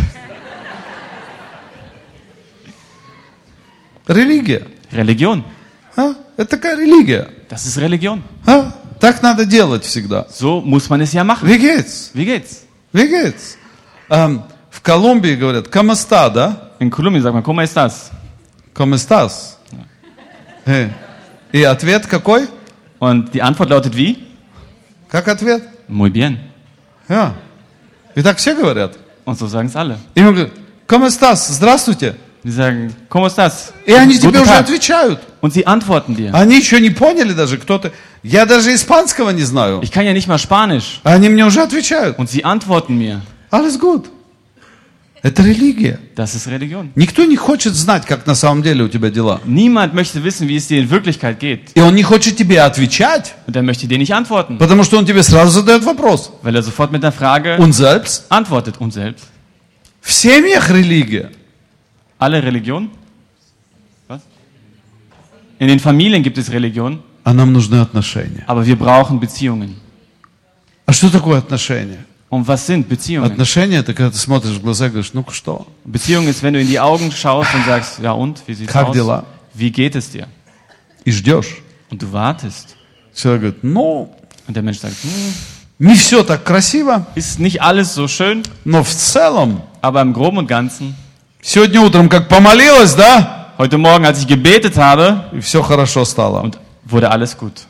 [SPEAKER 1] Религия.
[SPEAKER 2] Religion.
[SPEAKER 1] А? Это такая религия.
[SPEAKER 2] Das ist Religion.
[SPEAKER 1] А? Так надо делать всегда.
[SPEAKER 2] So muss man es ja machen.
[SPEAKER 1] Wie geht's?
[SPEAKER 2] Wie geht's?
[SPEAKER 1] Wie geht's? Эм, в Колумбии говорят, ¿cómo está, да?
[SPEAKER 2] In Kolumbien sagt man, ¿cómo estás?
[SPEAKER 1] ¿Cómo estás? Э. И ответ какой?
[SPEAKER 2] Und die Antwort lautet wie?
[SPEAKER 1] Как ответ?
[SPEAKER 2] Muy bien.
[SPEAKER 1] А. И так все говорят.
[SPEAKER 2] Und so sagen es alle.
[SPEAKER 1] И он говорит, ¿cómo estás? Здравствуйте.
[SPEAKER 2] Die sagen, ¿cómo estás?
[SPEAKER 1] И они
[SPEAKER 2] Guten
[SPEAKER 1] тебе уже
[SPEAKER 2] Tag.
[SPEAKER 1] отвечают.
[SPEAKER 2] Und sie antworten dir.
[SPEAKER 1] Они еще не поняли даже, кто ты. Я даже испанского не знаю.
[SPEAKER 2] Ich kann ja nicht mal Spanisch.
[SPEAKER 1] А они мне уже отвечают.
[SPEAKER 2] Und sie antworten mir.
[SPEAKER 1] Alles gut. Это религия.
[SPEAKER 2] Das ist Religion.
[SPEAKER 1] Никто не хочет знать, как на самом деле у тебя дела.
[SPEAKER 2] Niemand möchte wissen, wie es dir in Wirklichkeit geht.
[SPEAKER 1] И он не хочет тебе отвечать,
[SPEAKER 2] Und er möchte dir nicht antworten,
[SPEAKER 1] потому что он тебе сразу задает вопрос.
[SPEAKER 2] weil er sofort mit einer Frage
[SPEAKER 1] Und selbst?
[SPEAKER 2] antwortet. Und selbst?
[SPEAKER 1] В семьях религия.
[SPEAKER 2] Alle Religionen? Was? In den Familien gibt es Religion,
[SPEAKER 1] А нам нужны отношения.
[SPEAKER 2] aber wir brauchen Beziehungen.
[SPEAKER 1] А что такое отношения?
[SPEAKER 2] Und was sind Beziehungen?
[SPEAKER 1] Отношения — это когда ты смотришь в глаза и говоришь, ну-ка что?
[SPEAKER 2] Beziehung ist, wenn du in die Augen schaust und sagst, ja und, wie sieht's
[SPEAKER 1] Как
[SPEAKER 2] aus?
[SPEAKER 1] дела?
[SPEAKER 2] Wie geht es dir?
[SPEAKER 1] И ждешь.
[SPEAKER 2] Und du wartest.
[SPEAKER 1] Человек говорит, ну,
[SPEAKER 2] Und der Mensch sagt, hm,
[SPEAKER 1] не все так красиво,
[SPEAKER 2] ist nicht alles so schön,
[SPEAKER 1] но в целом,
[SPEAKER 2] aber im Groben und Ganzen,
[SPEAKER 1] сегодня утром как помолилась, да,
[SPEAKER 2] heute Morgen, als ich gebetet habe,
[SPEAKER 1] и все хорошо стало.
[SPEAKER 2] und wurde alles gut.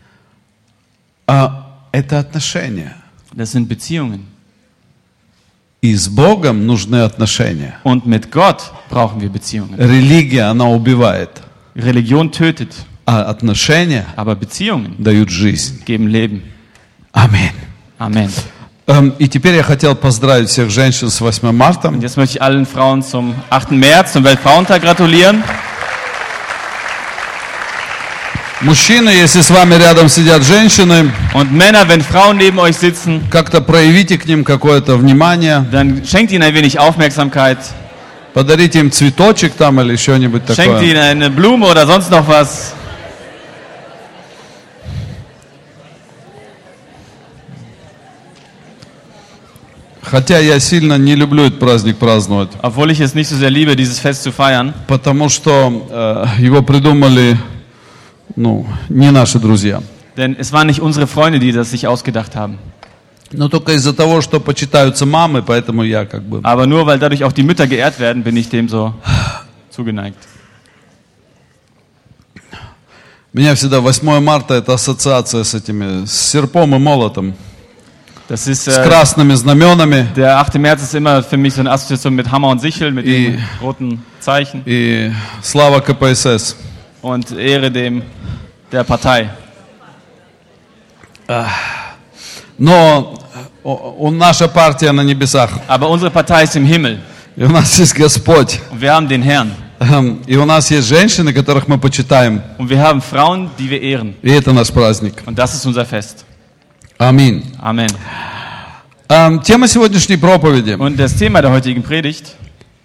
[SPEAKER 1] А это отношения.
[SPEAKER 2] Das sind Beziehungen.
[SPEAKER 1] И с Богом нужны отношения.
[SPEAKER 2] Und mit Gott brauchen wir Beziehungen.
[SPEAKER 1] Религия, она убивает,
[SPEAKER 2] Religion tötet,
[SPEAKER 1] а отношения
[SPEAKER 2] aber Beziehungen
[SPEAKER 1] дают жизнь.
[SPEAKER 2] geben Leben.
[SPEAKER 1] Аминь.
[SPEAKER 2] Amen.
[SPEAKER 1] Эм, И теперь я хотел поздравить всех женщин с восьмым марта.
[SPEAKER 2] Und jetzt möchte ich allen Frauen zum achten März, zum Weltfrauentag gratulieren.
[SPEAKER 1] Мужчины, если с вами рядом сидят женщины,
[SPEAKER 2] Und Männer, wenn Frauen neben euch sitzen,
[SPEAKER 1] как-то проявите к ним какое-то внимание,
[SPEAKER 2] dann schenkt ihnen ein wenig Aufmerksamkeit.
[SPEAKER 1] подарите им цветочек там или что-нибудь
[SPEAKER 2] Schenkt
[SPEAKER 1] такое.
[SPEAKER 2] ihnen eine Blume oder sonst noch was.
[SPEAKER 1] Хотя я сильно не люблю этот праздник праздновать,
[SPEAKER 2] Obwohl ich es nicht so sehr liebe, dieses Fest zu feiern.
[SPEAKER 1] потому что э, его придумали, ну, не наши друзья.
[SPEAKER 2] Denn es waren nicht unsere Freunde, die das sich ausgedacht haben.
[SPEAKER 1] Но только из-за того, что почитаются мамы, поэтому я как бы...
[SPEAKER 2] Aber nur weil dadurch auch die Mütter geehrt werden, bin ich dem so zugeneigt.
[SPEAKER 1] Меня всегда восьмое марта это ассоциация с этими, с серпом и молотом,
[SPEAKER 2] Das ist,
[SPEAKER 1] с
[SPEAKER 2] äh,
[SPEAKER 1] красными знаменами
[SPEAKER 2] der achte März ist immer für mich so eine Assoziation mit Hammer und Sichel, mit
[SPEAKER 1] I-
[SPEAKER 2] dem roten Zeichen.
[SPEAKER 1] и слава ка пэ эс эс.
[SPEAKER 2] Und Ehre dem der Partei.
[SPEAKER 1] Но о- о- наша партия на небесах,
[SPEAKER 2] Aber unsere Partei ist im Himmel.
[SPEAKER 1] и у нас есть Господь,
[SPEAKER 2] Und wir haben den Herrn.
[SPEAKER 1] Эм, и у нас есть женщины, которых мы почитаем,
[SPEAKER 2] Und wir haben Frauen, die wir ehren.
[SPEAKER 1] и это наш праздник.
[SPEAKER 2] Und das ist unser Fest.
[SPEAKER 1] Аминь.
[SPEAKER 2] Amen.
[SPEAKER 1] Эм, Тема сегодняшней проповеди.
[SPEAKER 2] Und das Thema der heutigen Predigt,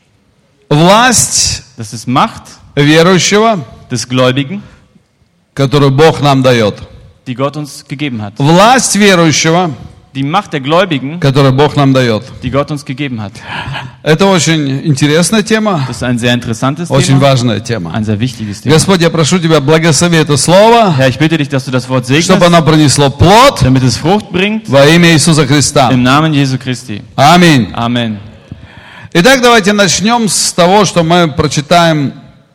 [SPEAKER 1] Власть
[SPEAKER 2] das ist Macht
[SPEAKER 1] верующего,
[SPEAKER 2] des Gläubigen,
[SPEAKER 1] которую Бог нам дает.
[SPEAKER 2] die Gott uns gegeben hat.
[SPEAKER 1] Власть верующего,
[SPEAKER 2] Die Macht der Gläubigen,
[SPEAKER 1] которую Бог нам дает.
[SPEAKER 2] die Gott uns gegeben hat.
[SPEAKER 1] Это очень интересная тема,
[SPEAKER 2] Das ist ein sehr interessantes
[SPEAKER 1] очень
[SPEAKER 2] Thema,
[SPEAKER 1] важная тема.
[SPEAKER 2] ein sehr wichtiges Thema.
[SPEAKER 1] Господь, я прошу Тебя, благослови это слово,
[SPEAKER 2] Herr, ich bitte dich, dass du das Wort
[SPEAKER 1] чтобы
[SPEAKER 2] segnest,
[SPEAKER 1] оно принесло плод
[SPEAKER 2] damit es Frucht bringt,
[SPEAKER 1] во имя Иисуса Христа.
[SPEAKER 2] im Namen Jesu Christi.
[SPEAKER 1] Аминь.
[SPEAKER 2] Amen.
[SPEAKER 1] Итак, давайте начнем с того, что мы прочитаем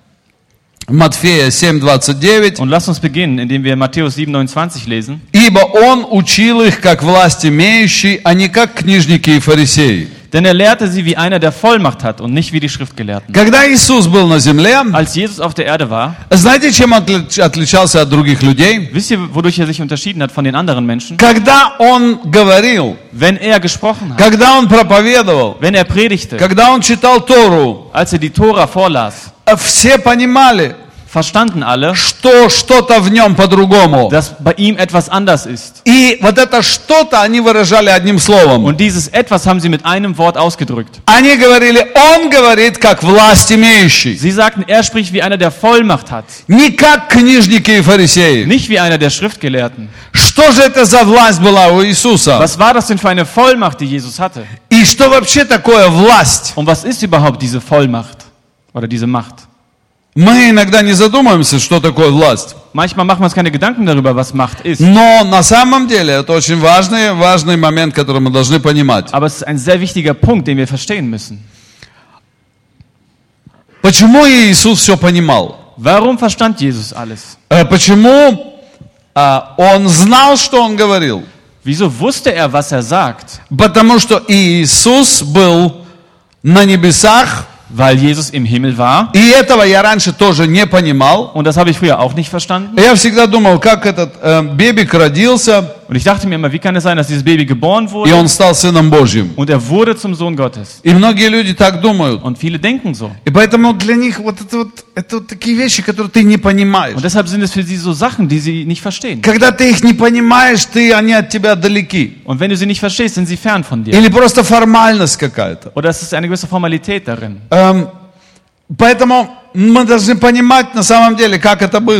[SPEAKER 1] Матфея семь двадцать девять.
[SPEAKER 2] Und lasst uns beginnen, indem wir Matthäus sieben neunundzwanzig lesen.
[SPEAKER 1] «Ибо Он учил их, как власть имеющий, а не как книжники и фарисеи».
[SPEAKER 2] Denn er lehrte sie wie einer, der Vollmacht hat und nicht wie die Schriftgelehrten.
[SPEAKER 1] Когда Иисус был на земле,
[SPEAKER 2] Als Jesus auf der Erde war,
[SPEAKER 1] знаете, чем он отли- отличался от других людей?
[SPEAKER 2] wisst ihr, wodurch er sich unterschieden hat von den anderen Menschen?
[SPEAKER 1] Когда Он говорил,
[SPEAKER 2] Wenn er gesprochen hat,
[SPEAKER 1] когда Он проповедовал,
[SPEAKER 2] wenn er predigte,
[SPEAKER 1] когда Он читал Тору,
[SPEAKER 2] als er die Tora vorlas,
[SPEAKER 1] все понимали,
[SPEAKER 2] verstanden alle,
[SPEAKER 1] что что-то в нем по-другому.
[SPEAKER 2] dass bei ihm etwas anders ist.
[SPEAKER 1] И вот это что-то они выражали одним словом.
[SPEAKER 2] Und dieses etwas haben sie mit einem Wort ausgedrückt.
[SPEAKER 1] Они говорили, Он говорит, как власть имеющий.
[SPEAKER 2] Sie sagten, er spricht wie einer, der Vollmacht hat,
[SPEAKER 1] Не как книжники и фарисеи.
[SPEAKER 2] nicht wie einer der Schriftgelehrten.
[SPEAKER 1] Что же это за власть была у Иисуса?
[SPEAKER 2] Was war das denn für eine Vollmacht, die Jesus hatte?
[SPEAKER 1] И что вообще такое власть?
[SPEAKER 2] Und was ist überhaupt diese Vollmacht oder diese Macht?
[SPEAKER 1] Мы иногда не задумываемся, что такое власть.
[SPEAKER 2] Manchmal machen wir uns keine Gedanken darüber, was Macht ist.
[SPEAKER 1] Но на самом деле это очень важный, важный момент, который мы должны понимать.
[SPEAKER 2] Aber es ist ein sehr wichtiger Punkt, den wir verstehen müssen.
[SPEAKER 1] Почему Иисус все понимал?
[SPEAKER 2] Warum verstand Jesus alles?
[SPEAKER 1] Э, Почему э, Он знал, что Он говорил?
[SPEAKER 2] Wieso wusste er, was er sagt?
[SPEAKER 1] Потому что Иисус был на небесах,
[SPEAKER 2] Weil Jesus im Himmel war.
[SPEAKER 1] и этого я раньше тоже не понимал.
[SPEAKER 2] Und das habe ich früher auch nicht verstanden.
[SPEAKER 1] Я всегда думал, как этот э, бебик родился,
[SPEAKER 2] Und ich dachte mir immer, wie kann es sein, dass dieses Baby geboren
[SPEAKER 1] и
[SPEAKER 2] wurde
[SPEAKER 1] он стал Сыном Божьим.
[SPEAKER 2] und er wurde zum Sohn Gottes?
[SPEAKER 1] И многие люди так думают.
[SPEAKER 2] Und viele denken so.
[SPEAKER 1] И поэтому для них вот это вот, это вот такие вещи, которые ты не понимаешь.
[SPEAKER 2] Und deshalb sind es für sie so Sachen, die sie nicht verstehen.
[SPEAKER 1] Когда ты их не понимаешь, ты, они от тебя далеки.
[SPEAKER 2] Und wenn du sie nicht verstehst, sind sie fern von dir.
[SPEAKER 1] Или просто формальность какая-то.
[SPEAKER 2] Oder es ist eine gewisse Formalität darin.
[SPEAKER 1] Эм, поэтому мы должны понимать на самом деле, как это было.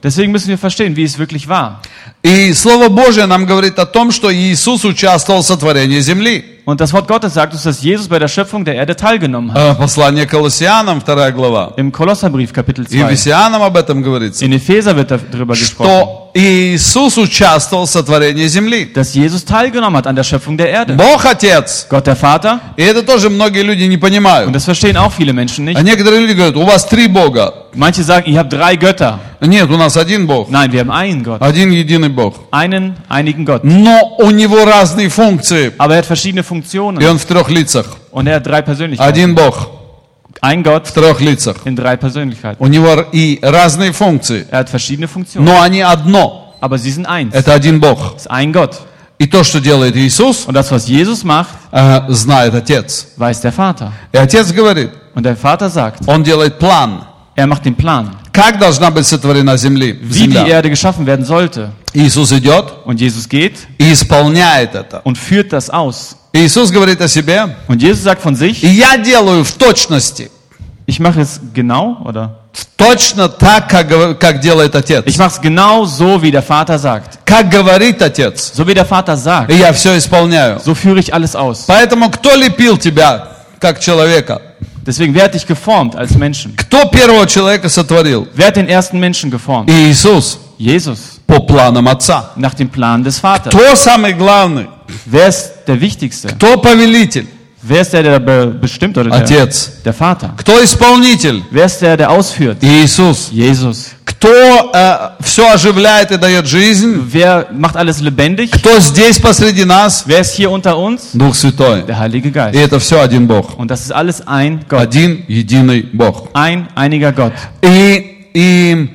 [SPEAKER 2] Deswegen müssen wir verstehen, wie es wirklich war.
[SPEAKER 1] И Слово Божие нам говорит о том, что Иисус участвовал в сотворении земли.
[SPEAKER 2] Und das Wort Gottes sagt uns, dass Jesus bei der Schöpfung der Erde teilgenommen hat.
[SPEAKER 1] Э, Послание Колоссянам, вторая глава.
[SPEAKER 2] Im Kolosserbrief, Kapitel
[SPEAKER 1] И
[SPEAKER 2] zwei.
[SPEAKER 1] Ефесянам об этом говорится.
[SPEAKER 2] In Epheser wird darüber gesprochen,
[SPEAKER 1] Что Иисус участвовал в сотворении земли.
[SPEAKER 2] dass Jesus teilgenommen hat an der Schöpfung der Erde.
[SPEAKER 1] Бог Отец.
[SPEAKER 2] Gott der Vater,
[SPEAKER 1] И это тоже многие люди не
[SPEAKER 2] und
[SPEAKER 1] понимают.
[SPEAKER 2] das verstehen auch viele Menschen
[SPEAKER 1] А
[SPEAKER 2] nicht.
[SPEAKER 1] некоторые люди говорят, у вас три Бога.
[SPEAKER 2] Manche sagen, ihr habt drei Götter.
[SPEAKER 1] Нет, у нас один Бог.
[SPEAKER 2] Nein, wir haben einen Gott.
[SPEAKER 1] Один единый Бог.
[SPEAKER 2] Einen, einigen Gott.
[SPEAKER 1] Но у него разные функции.
[SPEAKER 2] Aber er hat verschiedene
[SPEAKER 1] И
[SPEAKER 2] Funktionen.
[SPEAKER 1] он в трех лицах.
[SPEAKER 2] Und er hat drei Persönlichkeiten.
[SPEAKER 1] Один Бог
[SPEAKER 2] Ein Gott
[SPEAKER 1] в трех лицах.
[SPEAKER 2] in drei Persönlichkeiten.
[SPEAKER 1] У него и разные функции.
[SPEAKER 2] Er hat verschiedene Funktionen.
[SPEAKER 1] Но они одно.
[SPEAKER 2] Aber sie sind eins.
[SPEAKER 1] Это один Бог.
[SPEAKER 2] Es ist ein Gott.
[SPEAKER 1] И то, что делает Иисус,
[SPEAKER 2] Und das, was Jesus macht,
[SPEAKER 1] э, знает Отец.
[SPEAKER 2] weiß der Vater.
[SPEAKER 1] И Отец говорит,
[SPEAKER 2] Und der Vater sagt,
[SPEAKER 1] Он делает план.
[SPEAKER 2] er macht den Plan,
[SPEAKER 1] Как должна быть сотворена земли,
[SPEAKER 2] wie die
[SPEAKER 1] земля.
[SPEAKER 2] Erde geschaffen werden sollte.
[SPEAKER 1] Иисус идет
[SPEAKER 2] Und Jesus geht
[SPEAKER 1] и исполняет это.
[SPEAKER 2] und führt das aus.
[SPEAKER 1] Иисус говорит о себе,
[SPEAKER 2] Und Jesus sagt von
[SPEAKER 1] и
[SPEAKER 2] sich,
[SPEAKER 1] я делаю в точности,
[SPEAKER 2] ich mache es genau, oder?
[SPEAKER 1] точно так, как, гов- как делает Отец.
[SPEAKER 2] Ich mache es genau so, wie der Vater sagt.
[SPEAKER 1] Как говорит Отец.
[SPEAKER 2] So wie der Vater sagt.
[SPEAKER 1] И я все исполняю.
[SPEAKER 2] So führe ich alles aus.
[SPEAKER 1] Поэтому кто лепил тебя, как человека?
[SPEAKER 2] Deswegen, wer hat dich geformt als Menschen?
[SPEAKER 1] Кто первого человека сотворил?
[SPEAKER 2] Wer hat den ersten Menschen geformt?
[SPEAKER 1] Иисус.
[SPEAKER 2] Jesus.
[SPEAKER 1] По планам Отца.
[SPEAKER 2] Nach dem Plan des Vaters.
[SPEAKER 1] Кто самый главный?
[SPEAKER 2] Wer ist der Wichtigste?
[SPEAKER 1] Кто повелитель?
[SPEAKER 2] Wer ist der, der be- bestimmt oder der,
[SPEAKER 1] Отец.
[SPEAKER 2] der Vater?
[SPEAKER 1] Кто исполнитель?
[SPEAKER 2] Wer ist der, der ausführt?
[SPEAKER 1] Иисус.
[SPEAKER 2] Jesus.
[SPEAKER 1] Кто э, все оживляет и дает жизнь?
[SPEAKER 2] Wer macht alles lebendig?
[SPEAKER 1] Кто здесь посреди нас?
[SPEAKER 2] Wer ist hier unter uns?
[SPEAKER 1] Дух Святой.
[SPEAKER 2] Der Heilige
[SPEAKER 1] И
[SPEAKER 2] Geist.
[SPEAKER 1] это все один Бог.
[SPEAKER 2] Und das ist alles ein Gott.
[SPEAKER 1] Один единый Бог.
[SPEAKER 2] Ein einiger Gott.
[SPEAKER 1] И, и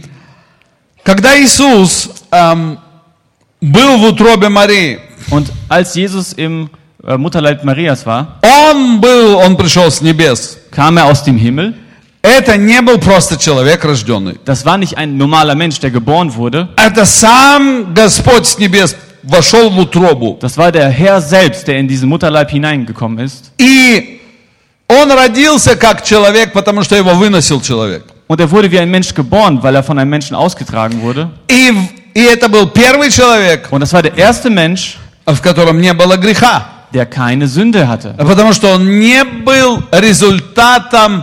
[SPEAKER 1] когда Иисус эм, был в утробе Марии,
[SPEAKER 2] Und als Jesus im äh, Mutterleib Marias war,
[SPEAKER 1] Он был, Он пришел с небес.
[SPEAKER 2] kam er aus dem Himmel.
[SPEAKER 1] Это не был просто человек рожденный.
[SPEAKER 2] Das war nicht ein normaler Mensch, der geboren wurde.
[SPEAKER 1] Это сам Господь с небес вошел в утробу.
[SPEAKER 2] Das war der Herr selbst, der in diesen Mutterleib hineingekommen ist.
[SPEAKER 1] И Он родился как человек, потому что его выносил человек.
[SPEAKER 2] Und er wurde wie ein Mensch geboren, weil er von einem Menschen ausgetragen wurde.
[SPEAKER 1] И, и это был первый человек,
[SPEAKER 2] Und das war der erste Mensch,
[SPEAKER 1] в котором не было греха.
[SPEAKER 2] der keine Sünde hatte.
[SPEAKER 1] Потому что он не был результатом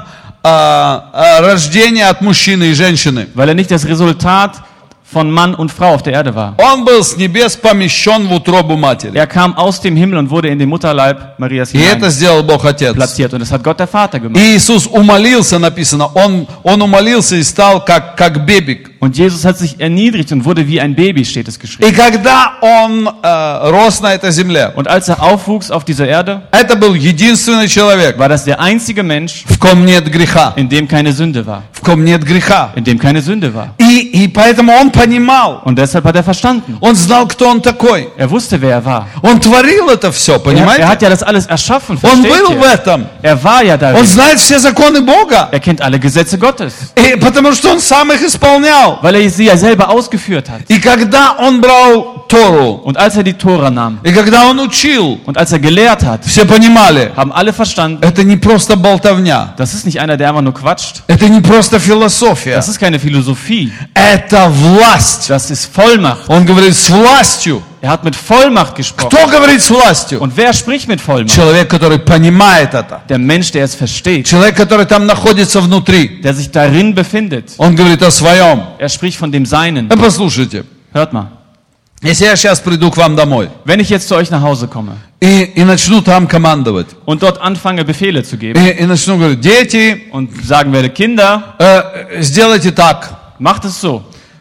[SPEAKER 1] а, а, рождения от мужчины и женщины.
[SPEAKER 2] Weil er nicht das Resultat von Mann und Frau auf der Erde war.
[SPEAKER 1] Он был с небес помещен в утробу матери.
[SPEAKER 2] Er kam aus dem Himmel und wurde in den Mutterleib Marias
[SPEAKER 1] И это
[SPEAKER 2] hinein
[SPEAKER 1] сделал Бог Отец.
[SPEAKER 2] platziert. Und das hat Gott der Vater gemacht.
[SPEAKER 1] И Иисус умолился, написано, он, он умолился и стал как, как бебик.
[SPEAKER 2] Und Jesus hat sich erniedrigt und wurde wie ein Baby, steht es geschrieben.
[SPEAKER 1] И когда он э, рос на этой земле,
[SPEAKER 2] Und als er aufwuchs auf dieser Erde,
[SPEAKER 1] это был единственный человек,
[SPEAKER 2] war das der einzige Mensch,
[SPEAKER 1] в ком нет греха.
[SPEAKER 2] in dem keine Sünde war.
[SPEAKER 1] В ком нет греха.
[SPEAKER 2] In dem keine Sünde war.
[SPEAKER 1] И, и поэтому он понимал,
[SPEAKER 2] Und deshalb hat er verstanden.
[SPEAKER 1] он знал, кто он такой.
[SPEAKER 2] Er wusste, wer er war.
[SPEAKER 1] Он творил это все,
[SPEAKER 2] Er,
[SPEAKER 1] понимаете?
[SPEAKER 2] er hat ja das alles erschaffen,
[SPEAKER 1] Он
[SPEAKER 2] versteht
[SPEAKER 1] был в
[SPEAKER 2] ihr?
[SPEAKER 1] этом.
[SPEAKER 2] Er war ja
[SPEAKER 1] Он
[SPEAKER 2] darin.
[SPEAKER 1] знает все законы Бога.
[SPEAKER 2] Er kennt alle Gesetze Gottes,
[SPEAKER 1] И потому что он сам их исполнял.
[SPEAKER 2] weil er sie ja selber ausgeführt hat.
[SPEAKER 1] И когда он брал Тору,
[SPEAKER 2] Und als er die Tora nahm
[SPEAKER 1] и когда он учил,
[SPEAKER 2] und als er gelehrt hat,
[SPEAKER 1] все понимали,
[SPEAKER 2] haben alle verstanden,
[SPEAKER 1] это не просто болтовня.
[SPEAKER 2] das ist nicht einer, der einfach nur quatscht.
[SPEAKER 1] Это не просто философия.
[SPEAKER 2] Das ist keine Philosophie.
[SPEAKER 1] Это власть.
[SPEAKER 2] Das ist Vollmacht.
[SPEAKER 1] Он говорит с властью.
[SPEAKER 2] Er hat mit Vollmacht gesprochen.
[SPEAKER 1] Кто говорит с властью?
[SPEAKER 2] Und wer spricht mit Vollmacht?
[SPEAKER 1] Человек, который понимает это.
[SPEAKER 2] Der Mensch, der es versteht,
[SPEAKER 1] Человек, который там находится внутри.
[SPEAKER 2] der sich darin befindet.
[SPEAKER 1] Он говорит о своем.
[SPEAKER 2] Er spricht von dem Seinen.
[SPEAKER 1] Э, Послушайте,
[SPEAKER 2] Hört mal.
[SPEAKER 1] если я сейчас приду к вам домой
[SPEAKER 2] Wenn ich jetzt zu euch nach Hause komme
[SPEAKER 1] и, и начну там командовать,
[SPEAKER 2] und dort anfange, Befehle zu geben
[SPEAKER 1] и, и начну говорить, дети,
[SPEAKER 2] und sagen werde, Kinder,
[SPEAKER 1] э, сделайте так.
[SPEAKER 2] macht es so.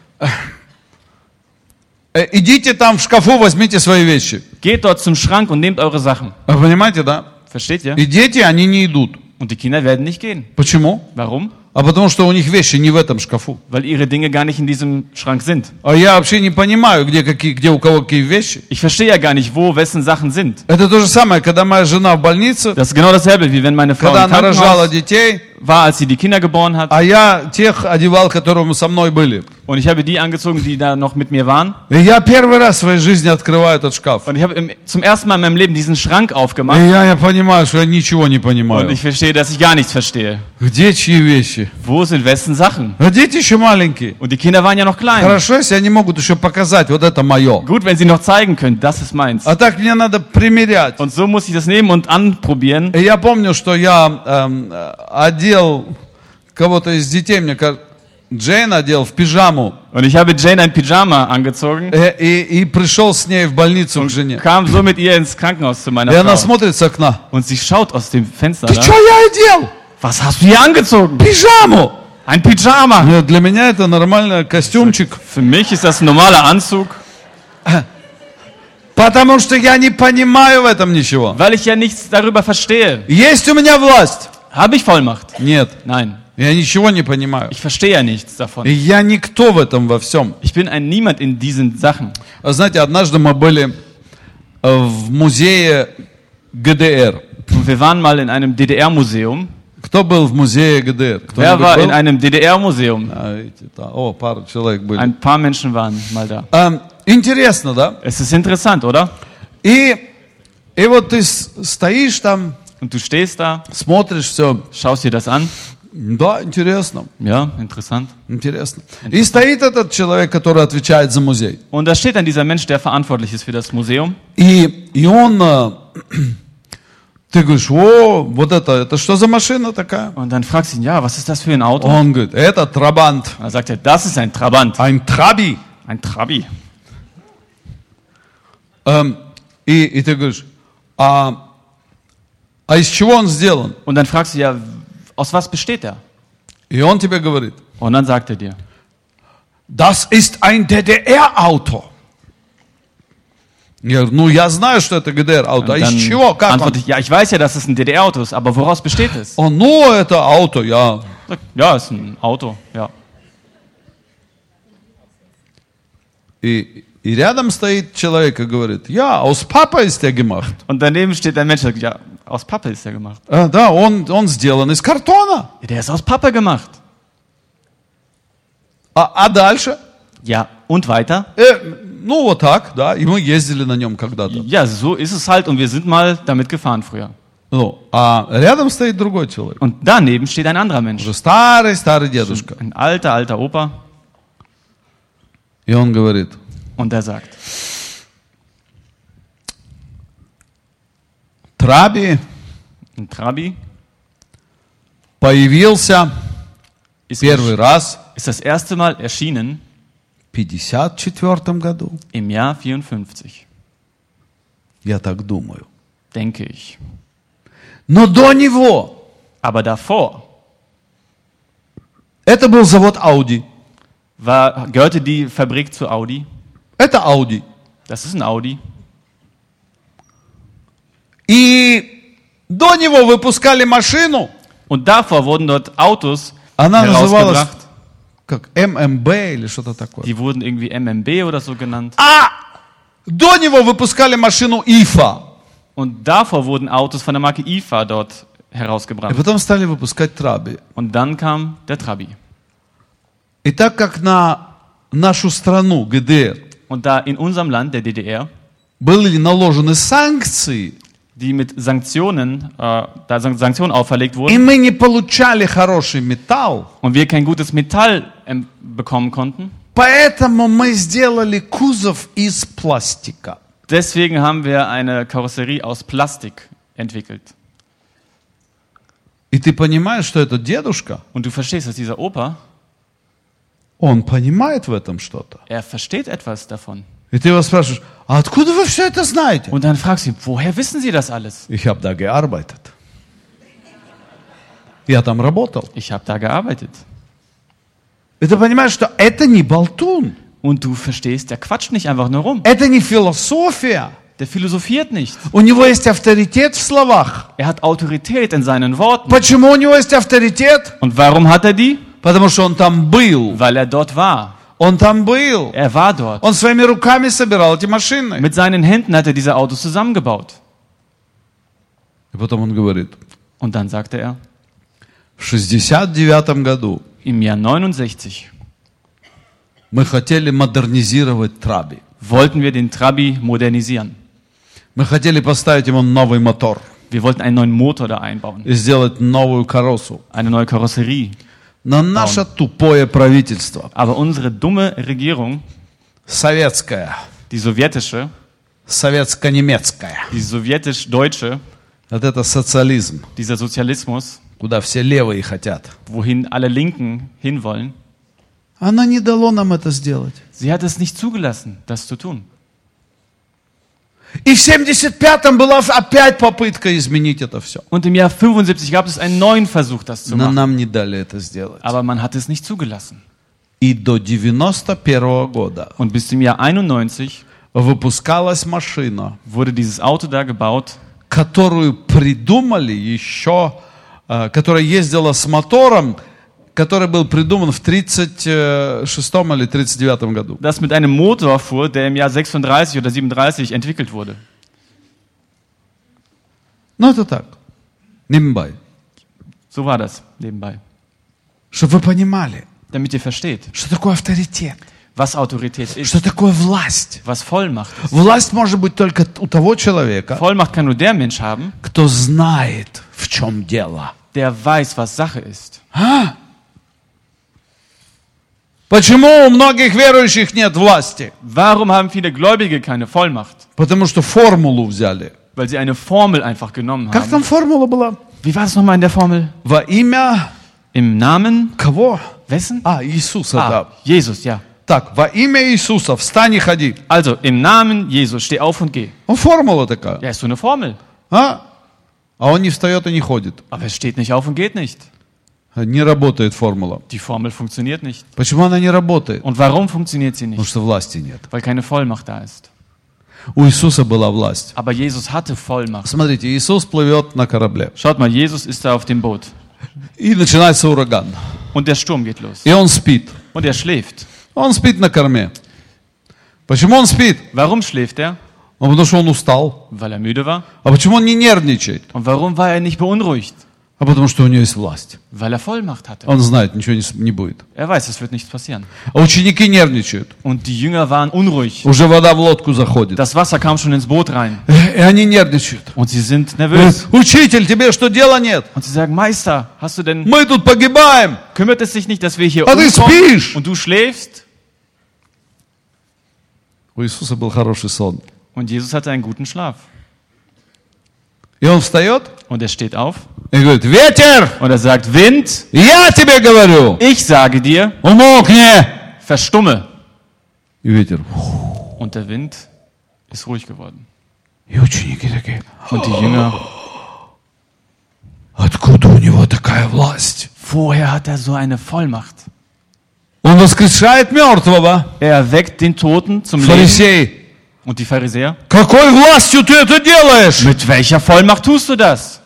[SPEAKER 1] Э, идите там в шкафу, возьмите свои вещи.
[SPEAKER 2] Geht dort zum Schrank und nehmt eure Sachen.
[SPEAKER 1] Вы понимаете, да?
[SPEAKER 2] Versteht ihr?
[SPEAKER 1] И дети, они не идут.
[SPEAKER 2] Und die Kinder werden nicht gehen.
[SPEAKER 1] Почему?
[SPEAKER 2] Warum?
[SPEAKER 1] А потому что у них вещи не в этом шкафу.
[SPEAKER 2] Weil ihre Dinge gar nicht in diesem Schrank sind.
[SPEAKER 1] А я вообще не понимаю, где, какие, где у кого какие вещи.
[SPEAKER 2] Ich verstehe ja gar nicht, wo wessen Sachen sind.
[SPEAKER 1] Это то же самое, когда моя жена в больнице,
[SPEAKER 2] Das ist genau dasselbe, wie wenn meine Frau
[SPEAKER 1] когда
[SPEAKER 2] im
[SPEAKER 1] она рожала
[SPEAKER 2] Krankenhaus
[SPEAKER 1] детей,
[SPEAKER 2] war, als sie die Kinder geboren hat.
[SPEAKER 1] А я тех одевал, которые со мной были.
[SPEAKER 2] Und ich habe die angezogen, die da noch mit mir waren.
[SPEAKER 1] И я первый раз в своей жизни открываю этот шкаф.
[SPEAKER 2] Und ich habe im, zum ersten Mal in meinem Leben diesen Schrank
[SPEAKER 1] И
[SPEAKER 2] aufgemacht.
[SPEAKER 1] я, я понимаю, что я ничего не
[SPEAKER 2] Und
[SPEAKER 1] понимаю.
[SPEAKER 2] ich verstehe, dass ich gar nichts verstehe.
[SPEAKER 1] Где чьи вещи?
[SPEAKER 2] Wo sind wessen Sachen?
[SPEAKER 1] А дети еще маленькие.
[SPEAKER 2] Und die Kinder waren ja noch klein.
[SPEAKER 1] Хорошо, если они могут еще показать, вот это мое.
[SPEAKER 2] Gut, wenn sie noch zeigen können, das ist meins.
[SPEAKER 1] А так мне надо примерять.
[SPEAKER 2] Und so muss ich das nehmen und anprobieren.
[SPEAKER 1] И я помню, что я эм, одел кого-то из детей, мне кажется, Джейн одел в пижаму.
[SPEAKER 2] Und ich habe Jane ein Pyjama angezogen
[SPEAKER 1] Э, И, и пришел с ней в больницу к жене.
[SPEAKER 2] kam so mit ihr ins Krankenhaus zu meiner
[SPEAKER 1] И она
[SPEAKER 2] Frau.
[SPEAKER 1] смотрит с окна.
[SPEAKER 2] Und sie schaut aus dem Fenster
[SPEAKER 1] Ты
[SPEAKER 2] da.
[SPEAKER 1] что я одел?
[SPEAKER 2] Was hast du hier angezogen?
[SPEAKER 1] Пижаму!
[SPEAKER 2] Ein Pyjama.
[SPEAKER 1] Ну, для меня это нормальный костюмчик.
[SPEAKER 2] Für mich ist das ein normaler Anzug,
[SPEAKER 1] Потому что я не понимаю в этом ничего.
[SPEAKER 2] weil ich ja nichts darüber verstehe.
[SPEAKER 1] Есть у меня власть?
[SPEAKER 2] Habe ich Vollmacht?
[SPEAKER 1] Нет.
[SPEAKER 2] Nein,
[SPEAKER 1] Я ничего не понимаю.
[SPEAKER 2] ich verstehe ja nichts davon.
[SPEAKER 1] И я никто в этом во всем.
[SPEAKER 2] Ich bin ein Niemand in diesen Sachen.
[SPEAKER 1] А знаете, однажды мы были э, в музее ГДР.
[SPEAKER 2] Und wir waren mal in einem D D R-Museum.
[SPEAKER 1] Кто был в музее ГДР?
[SPEAKER 2] Wer
[SPEAKER 1] Кто-нибудь
[SPEAKER 2] war
[SPEAKER 1] был?
[SPEAKER 2] in einem D D R-Museum?
[SPEAKER 1] А, видите, да. О, пару человек были.
[SPEAKER 2] Ein paar Menschen waren mal da.
[SPEAKER 1] Эм, интересно, да?
[SPEAKER 2] Es ist interessant, oder?
[SPEAKER 1] И, и вот ты с- стоишь там,
[SPEAKER 2] Und du stehst da,
[SPEAKER 1] смотришь все.
[SPEAKER 2] schaust dir das an.
[SPEAKER 1] Да, интересно,
[SPEAKER 2] Ja, interessant.
[SPEAKER 1] интересно. И стоит этот человек, который отвечает за музей.
[SPEAKER 2] Und da steht dann dieser Mensch, der verantwortlich ist für das Museum.
[SPEAKER 1] И, и он, э, ты говоришь, о, вот это, это что за машина такая?
[SPEAKER 2] Und dann fragst du ihn, ja, was ist das für ein Auto?
[SPEAKER 1] Он говорит, это Трабант,
[SPEAKER 2] Da sagt er, das ist ein Trabant.
[SPEAKER 1] ein Траби.
[SPEAKER 2] Ein Trabi.
[SPEAKER 1] Эм, и, и ты говоришь, а, а из чего он сделан?
[SPEAKER 2] Und dann fragst du, ja, aus was besteht er?
[SPEAKER 1] И он тебе говорит,
[SPEAKER 2] Und dann sagt er dir,
[SPEAKER 1] das ist ein D D R-Auto. Я говорю, ну я знаю, что это ГДР-auto. А
[SPEAKER 2] und
[SPEAKER 1] из
[SPEAKER 2] dann
[SPEAKER 1] чего? Как он?
[SPEAKER 2] antworte ich, ja, ich weiß ja, dass es ein D D R-Auto ist, aber woraus besteht es?
[SPEAKER 1] Он, ну это auto, я.
[SPEAKER 2] Sagt, ja, ist ein Auto, ja.
[SPEAKER 1] И, и рядом стоит человек и говорит, я, aus Papa ist der gemacht.
[SPEAKER 2] Und daneben steht ein Mensch, der sagt, ja, aus Pappe ist er gemacht.
[SPEAKER 1] А, да, он, он сделан из картона.
[SPEAKER 2] Ja, der ist aus Pappe gemacht.
[SPEAKER 1] А, а дальше?
[SPEAKER 2] Ja, und weiter?
[SPEAKER 1] Э, ну вот так, да, и мы ездили на нем когда-то.
[SPEAKER 2] Ja, so ist es halt und wir sind mal damit gefahren früher.
[SPEAKER 1] Ну, а рядом стоит другой человек.
[SPEAKER 2] Und daneben steht ein anderer Mensch.
[SPEAKER 1] Уже старый, старый дедушка.
[SPEAKER 2] Ein alter, alter Opa.
[SPEAKER 1] И он говорит,
[SPEAKER 2] Und der sagt,
[SPEAKER 1] Траби
[SPEAKER 2] ein Trabi
[SPEAKER 1] появился
[SPEAKER 2] ist,
[SPEAKER 1] первый раз
[SPEAKER 2] ist das erste Mal erschienen
[SPEAKER 1] в пятьдесят четвёртом году.
[SPEAKER 2] im Jahr vierundfünfzig,
[SPEAKER 1] Я так думаю.
[SPEAKER 2] denke ich.
[SPEAKER 1] Но до него
[SPEAKER 2] Aber davor
[SPEAKER 1] это был завод Audi.
[SPEAKER 2] war, gehörte die Fabrik zu Audi.
[SPEAKER 1] Это Audi.
[SPEAKER 2] Das ist ein Audi.
[SPEAKER 1] И до него выпускали машину,
[SPEAKER 2] Und davor wurden dort Autos
[SPEAKER 1] она называлась
[SPEAKER 2] herausgebracht.
[SPEAKER 1] как эм эм бэ или что-то такое.
[SPEAKER 2] Die wurden irgendwie M M B oder so genannt.
[SPEAKER 1] А до него выпускали машину ИФА.
[SPEAKER 2] Und davor wurden Autos von der Marke I F A dort
[SPEAKER 1] И
[SPEAKER 2] herausgebracht.
[SPEAKER 1] потом стали выпускать Траби.
[SPEAKER 2] Und dann kam der Trabi.
[SPEAKER 1] И так как на нашу страну, ГДР,
[SPEAKER 2] Und da in unserem Land, der D D R,
[SPEAKER 1] были наложены санкции,
[SPEAKER 2] die mit Sanktionen, äh, da San- Sanktionen auferlegt
[SPEAKER 1] и
[SPEAKER 2] wurden
[SPEAKER 1] мы не получали хороший металл,
[SPEAKER 2] und wir kein gutes Metall ähm, bekommen konnten,
[SPEAKER 1] поэтому мы сделали кузов из пластика.
[SPEAKER 2] deswegen haben wir eine Karosserie aus Plastik entwickelt.
[SPEAKER 1] И ты понимаешь, что этот дедушка,
[SPEAKER 2] Und du verstehst, dass dieser Opa,
[SPEAKER 1] он понимает в этом что-то.
[SPEAKER 2] er versteht etwas davon.
[SPEAKER 1] И ты его спрашиваешь, а откуда вы все это знаете?
[SPEAKER 2] Und dann fragst du ihn, woher wissen Sie das alles?
[SPEAKER 1] Ich habe da gearbeitet. Я там работал.
[SPEAKER 2] Ich habe da gearbeitet.
[SPEAKER 1] И ты понимаешь, что это не болтун.
[SPEAKER 2] Und du verstehst, der quatscht nicht einfach nur rum.
[SPEAKER 1] Это не философия.
[SPEAKER 2] Der philosophiert nicht.
[SPEAKER 1] У него есть авторитет в словах.
[SPEAKER 2] Er hat Autorität in seinen Worten.
[SPEAKER 1] Почему у него есть авторитет?
[SPEAKER 2] Und warum hat er die?
[SPEAKER 1] Потому что он там был.
[SPEAKER 2] Weil er dort war.
[SPEAKER 1] Он там был.
[SPEAKER 2] Er war dort.
[SPEAKER 1] Он своими руками собирал эти машины.
[SPEAKER 2] Mit seinen Händen hat er diese Autos zusammengebaut.
[SPEAKER 1] И потом он говорит,
[SPEAKER 2] Und dann sagte er,
[SPEAKER 1] В шестьдесят девятом году
[SPEAKER 2] im Jahr neunundsechzig,
[SPEAKER 1] мы хотели модернизировать Траби.
[SPEAKER 2] wollten wir den Trabi modernisieren.
[SPEAKER 1] Мы хотели поставить ему новый мотор
[SPEAKER 2] Wir wollten einen neuen Motor da einbauen,
[SPEAKER 1] и сделать новую каросу.
[SPEAKER 2] eine neue Karosserie.
[SPEAKER 1] Но наше тупое правительство,
[SPEAKER 2] Aber unsere dumme Regierung,
[SPEAKER 1] советское,
[SPEAKER 2] die sowjetische,
[SPEAKER 1] советско-немецкое,
[SPEAKER 2] die sowjetisch-deutsche,
[SPEAKER 1] вот это социализм,
[SPEAKER 2] dieser Sozialismus,
[SPEAKER 1] куда все левые хотят,
[SPEAKER 2] wohin alle Linken hinwollen,
[SPEAKER 1] оно не дало нам это сделать.
[SPEAKER 2] sie hat es nicht zugelassen, das zu tun.
[SPEAKER 1] И в семьдесят пятом была опять попытка изменить это все.
[SPEAKER 2] Und im Jahr fünfundsiebzig gab es einen neuen Versuch, das zu
[SPEAKER 1] Но
[SPEAKER 2] machen.
[SPEAKER 1] нам не дали это сделать.
[SPEAKER 2] Aber man hat es nicht zugelassen.
[SPEAKER 1] И до девяносто первого года
[SPEAKER 2] Und bis zum Jahr einundneunzig
[SPEAKER 1] выпускалась машина,
[SPEAKER 2] wurde dieses Auto da gebaut,
[SPEAKER 1] которую придумали еще, э, которая ездила с мотором, который был придуман в тридцать шестом или тридцать девятом году.
[SPEAKER 2] das mit einem Motor fuhr, der im Jahr sechsunddreißig oder siebenunddreißig entwickelt wurde.
[SPEAKER 1] Ну это так, nebenbei.
[SPEAKER 2] So war das nebenbei.
[SPEAKER 1] Чтобы вы понимали,
[SPEAKER 2] Damit ihr versteht,
[SPEAKER 1] что такое авторитет,
[SPEAKER 2] was Autorität ist,
[SPEAKER 1] что такое власть.
[SPEAKER 2] was Vollmacht ist.
[SPEAKER 1] Власть может быть только у того человека,
[SPEAKER 2] Vollmacht kann nur der Mensch haben,
[SPEAKER 1] кто знает, в чем дело.
[SPEAKER 2] der weiß, was Sache ist.
[SPEAKER 1] А? Почему у многих верующих нет власти?
[SPEAKER 2] Warum haben viele Gläubige keine Vollmacht?
[SPEAKER 1] Потому что формулу взяли.
[SPEAKER 2] Weil sie eine Formel einfach genommen
[SPEAKER 1] Как там
[SPEAKER 2] haben.
[SPEAKER 1] формула была?
[SPEAKER 2] Wie war es nochmal in der Formel?
[SPEAKER 1] Во имя
[SPEAKER 2] Im Namen
[SPEAKER 1] кого?
[SPEAKER 2] wessen?
[SPEAKER 1] А, Иисуса,
[SPEAKER 2] Ah,
[SPEAKER 1] да.
[SPEAKER 2] Jesus, ja.
[SPEAKER 1] Так, во имя Иисуса встань и ходи.
[SPEAKER 2] Also, im Namen Jesus, steh auf und geh.
[SPEAKER 1] Ну, формула такая.
[SPEAKER 2] Ja, ist so eine Formel.
[SPEAKER 1] А? А он не встает и не ходит.
[SPEAKER 2] Aber es steht nicht auf und geht nicht.
[SPEAKER 1] Не работает формула.
[SPEAKER 2] Die Formel funktioniert nicht.
[SPEAKER 1] Почему она не работает?
[SPEAKER 2] Und warum funktioniert sie
[SPEAKER 1] Потому
[SPEAKER 2] nicht?
[SPEAKER 1] что власти нет.
[SPEAKER 2] Weil keine Vollmacht da ist.
[SPEAKER 1] У Иисуса была власть.
[SPEAKER 2] Aber Jesus hatte Vollmacht.
[SPEAKER 1] Смотрите, Иисус плывет на корабле.
[SPEAKER 2] Schaut mal, Jesus ist da auf dem Boot.
[SPEAKER 1] И начинается ураган.
[SPEAKER 2] Und der Sturm geht los.
[SPEAKER 1] И он спит.
[SPEAKER 2] Und er schläft.
[SPEAKER 1] Он спит на корме. Почему он спит?
[SPEAKER 2] Warum schläft er?
[SPEAKER 1] Ну, потому что он устал.
[SPEAKER 2] Weil er müde war.
[SPEAKER 1] А почему он не нервничает?
[SPEAKER 2] Und warum war er nicht beunruhigt?
[SPEAKER 1] А потому что у него есть власть.
[SPEAKER 2] Weil er Vollmacht hatte.
[SPEAKER 1] Он знает, ничего не, с- не будет.
[SPEAKER 2] Er weiß, es wird nichts passieren.
[SPEAKER 1] А ученики нервничают.
[SPEAKER 2] Und die Jünger waren unruhig.
[SPEAKER 1] Уже вода в лодку заходит.
[SPEAKER 2] Das Wasser kam schon ins Boot rein.
[SPEAKER 1] И они нервничают.
[SPEAKER 2] Und sie sind
[SPEAKER 1] Говорят,
[SPEAKER 2] nervös.
[SPEAKER 1] учитель, тебе что, дела нет?
[SPEAKER 2] Und sie sagen, Meister, hast du denn,
[SPEAKER 1] Мы тут погибаем.
[SPEAKER 2] kümmert es sich nicht, dass wir hier
[SPEAKER 1] А ты
[SPEAKER 2] umkommen
[SPEAKER 1] спишь?
[SPEAKER 2] und du schläfst?
[SPEAKER 1] У Иисуса был хороший сон.
[SPEAKER 2] Und Jesus hatte einen guten Schlaf.
[SPEAKER 1] И он встает
[SPEAKER 2] Und er steht auf
[SPEAKER 1] и говорит, ветер,
[SPEAKER 2] und er sagt, Wind,
[SPEAKER 1] я тебе говорю,
[SPEAKER 2] ich sage dir,
[SPEAKER 1] умолкни.
[SPEAKER 2] verstumme.
[SPEAKER 1] И ветер.
[SPEAKER 2] Und der Wind ist ruhig geworden.
[SPEAKER 1] И ученики такие,
[SPEAKER 2] Und die Jünger,
[SPEAKER 1] откуда у него такая власть?
[SPEAKER 2] woher hat er so eine Vollmacht?
[SPEAKER 1] Он воскрешает мертвого.
[SPEAKER 2] Er erweckt den Toten zum Leben.
[SPEAKER 1] Фарисей,
[SPEAKER 2] Und die Pharisäer,
[SPEAKER 1] какой властью ты это делаешь?
[SPEAKER 2] mit welcher Vollmacht tust du das?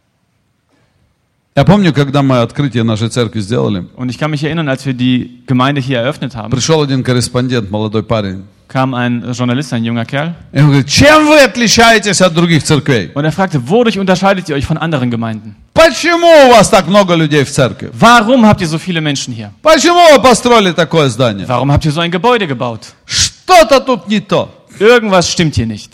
[SPEAKER 1] Я помню, когда мы открытие нашей церкви сделали,
[SPEAKER 2] Und ich kann mich erinnern, als wir die Gemeinde hier eröffnet haben,
[SPEAKER 1] пришел один корреспондент, молодой парень.
[SPEAKER 2] kam ein Journalist, ein junger Kerl,
[SPEAKER 1] И он говорит, чем вы отличаетесь от других церквей?
[SPEAKER 2] und er fragte, wodurch unterscheidet ihr euch von anderen Gemeinden?
[SPEAKER 1] Почему у вас так много людей в церкви?
[SPEAKER 2] Warum habt ihr so viele Menschen hier?
[SPEAKER 1] Почему вы построили такое здание?
[SPEAKER 2] Warum habt ihr so ein Gebäude gebaut?
[SPEAKER 1] Что-то тут не то.
[SPEAKER 2] Irgendwas stimmt hier nicht.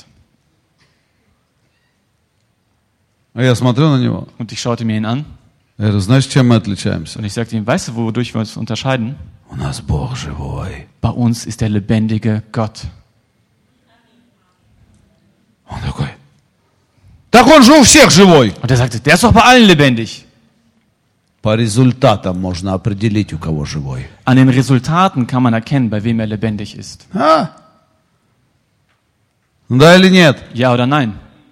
[SPEAKER 1] А я смотрю на него.
[SPEAKER 2] Und ich schaute mir ihn an
[SPEAKER 1] Я говорю, знаешь, чем мы отличаемся?
[SPEAKER 2] und ich sagte ihm, weißt du, wodurch wir uns unterscheiden?
[SPEAKER 1] У нас Бог живой.
[SPEAKER 2] Bei uns ist der lebendige Gott.
[SPEAKER 1] Он такой, так он же у всех живой.
[SPEAKER 2] Und er sagte, der ist doch bei allen lebendig.
[SPEAKER 1] По результатам можно определить, у кого живой.
[SPEAKER 2] An den Resultaten kann man erkennen, bei wem er lebendig ist.
[SPEAKER 1] А? Да или нет?
[SPEAKER 2] Ja oder nein?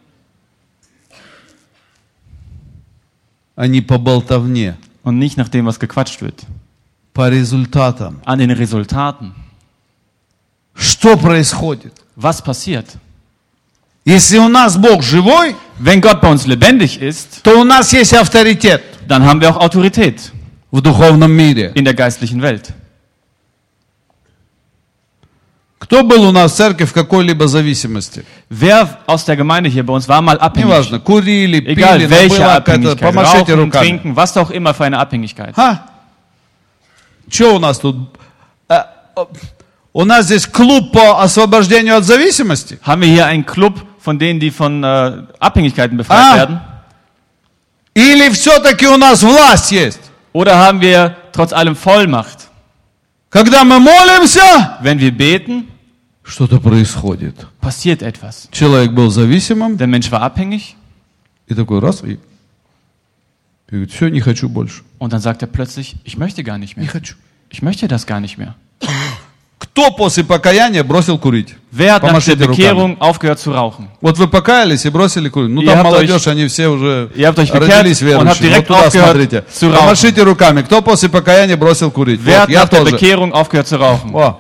[SPEAKER 1] А не по болтовне.
[SPEAKER 2] Und nicht nach dem, was gequatscht wird.
[SPEAKER 1] По результатам.
[SPEAKER 2] An den Resultaten.
[SPEAKER 1] Что происходит?
[SPEAKER 2] Was passiert?
[SPEAKER 1] Если у нас Бог живой,
[SPEAKER 2] Wenn Gott bei uns lebendig ist,
[SPEAKER 1] то у нас есть авторитет
[SPEAKER 2] dann haben wir auch Autorität
[SPEAKER 1] в духовном мире.
[SPEAKER 2] in der geistlichen Welt.
[SPEAKER 1] Кто был у нас в церкви в какой-либо зависимости?
[SPEAKER 2] Wer aus der Gemeinde hier bei uns war mal abhängig?
[SPEAKER 1] Неважно, курили, пили,
[SPEAKER 2] Egal
[SPEAKER 1] но
[SPEAKER 2] welche
[SPEAKER 1] была какая-то,
[SPEAKER 2] Abhängigkeit,
[SPEAKER 1] помашите
[SPEAKER 2] Rauchen,
[SPEAKER 1] руками.
[SPEAKER 2] Trinken, was auch immer für eine Abhängigkeit.
[SPEAKER 1] А? Что у нас тут? А, а, у нас здесь клуб по освобождению от зависимости.
[SPEAKER 2] Haben wir hier einen Club von denen, die von äh, Abhängigkeiten befreit
[SPEAKER 1] Ah.
[SPEAKER 2] werden?
[SPEAKER 1] Или все-таки у нас власть есть?
[SPEAKER 2] Oder haben wir trotz allem Vollmacht?
[SPEAKER 1] Когда мы молимся,
[SPEAKER 2] Wenn wir beten,
[SPEAKER 1] что-то происходит.
[SPEAKER 2] passiert etwas.
[SPEAKER 1] Человек был зависимым,
[SPEAKER 2] Der Mensch war abhängig
[SPEAKER 1] и такой раз, и, и говорит, все, не хочу больше.
[SPEAKER 2] und dann sagt er plötzlich, ich möchte gar nicht
[SPEAKER 1] Не
[SPEAKER 2] mehr.
[SPEAKER 1] хочу.
[SPEAKER 2] Ich möchte das gar nicht mehr.
[SPEAKER 1] Кто после покаяния бросил курить?
[SPEAKER 2] Wer hat nach der
[SPEAKER 1] Помашите руками.
[SPEAKER 2] Bekehrung aufgehört zu rauchen?
[SPEAKER 1] Вот вы покаялись и бросили курить. Ну
[SPEAKER 2] Ihr
[SPEAKER 1] там
[SPEAKER 2] habt
[SPEAKER 1] молодежь, они все уже
[SPEAKER 2] ihr habt euch bekehrt
[SPEAKER 1] родились
[SPEAKER 2] und habt
[SPEAKER 1] верующие. Вот
[SPEAKER 2] direkt
[SPEAKER 1] туда
[SPEAKER 2] aufgehört
[SPEAKER 1] смотрите.
[SPEAKER 2] zu rauchen.
[SPEAKER 1] Помашите руками. Кто после покаяния бросил курить?
[SPEAKER 2] Wer
[SPEAKER 1] Вот,
[SPEAKER 2] hat
[SPEAKER 1] я
[SPEAKER 2] nach der
[SPEAKER 1] тоже.
[SPEAKER 2] Bekehrung aufgehört zu rauchen?
[SPEAKER 1] О.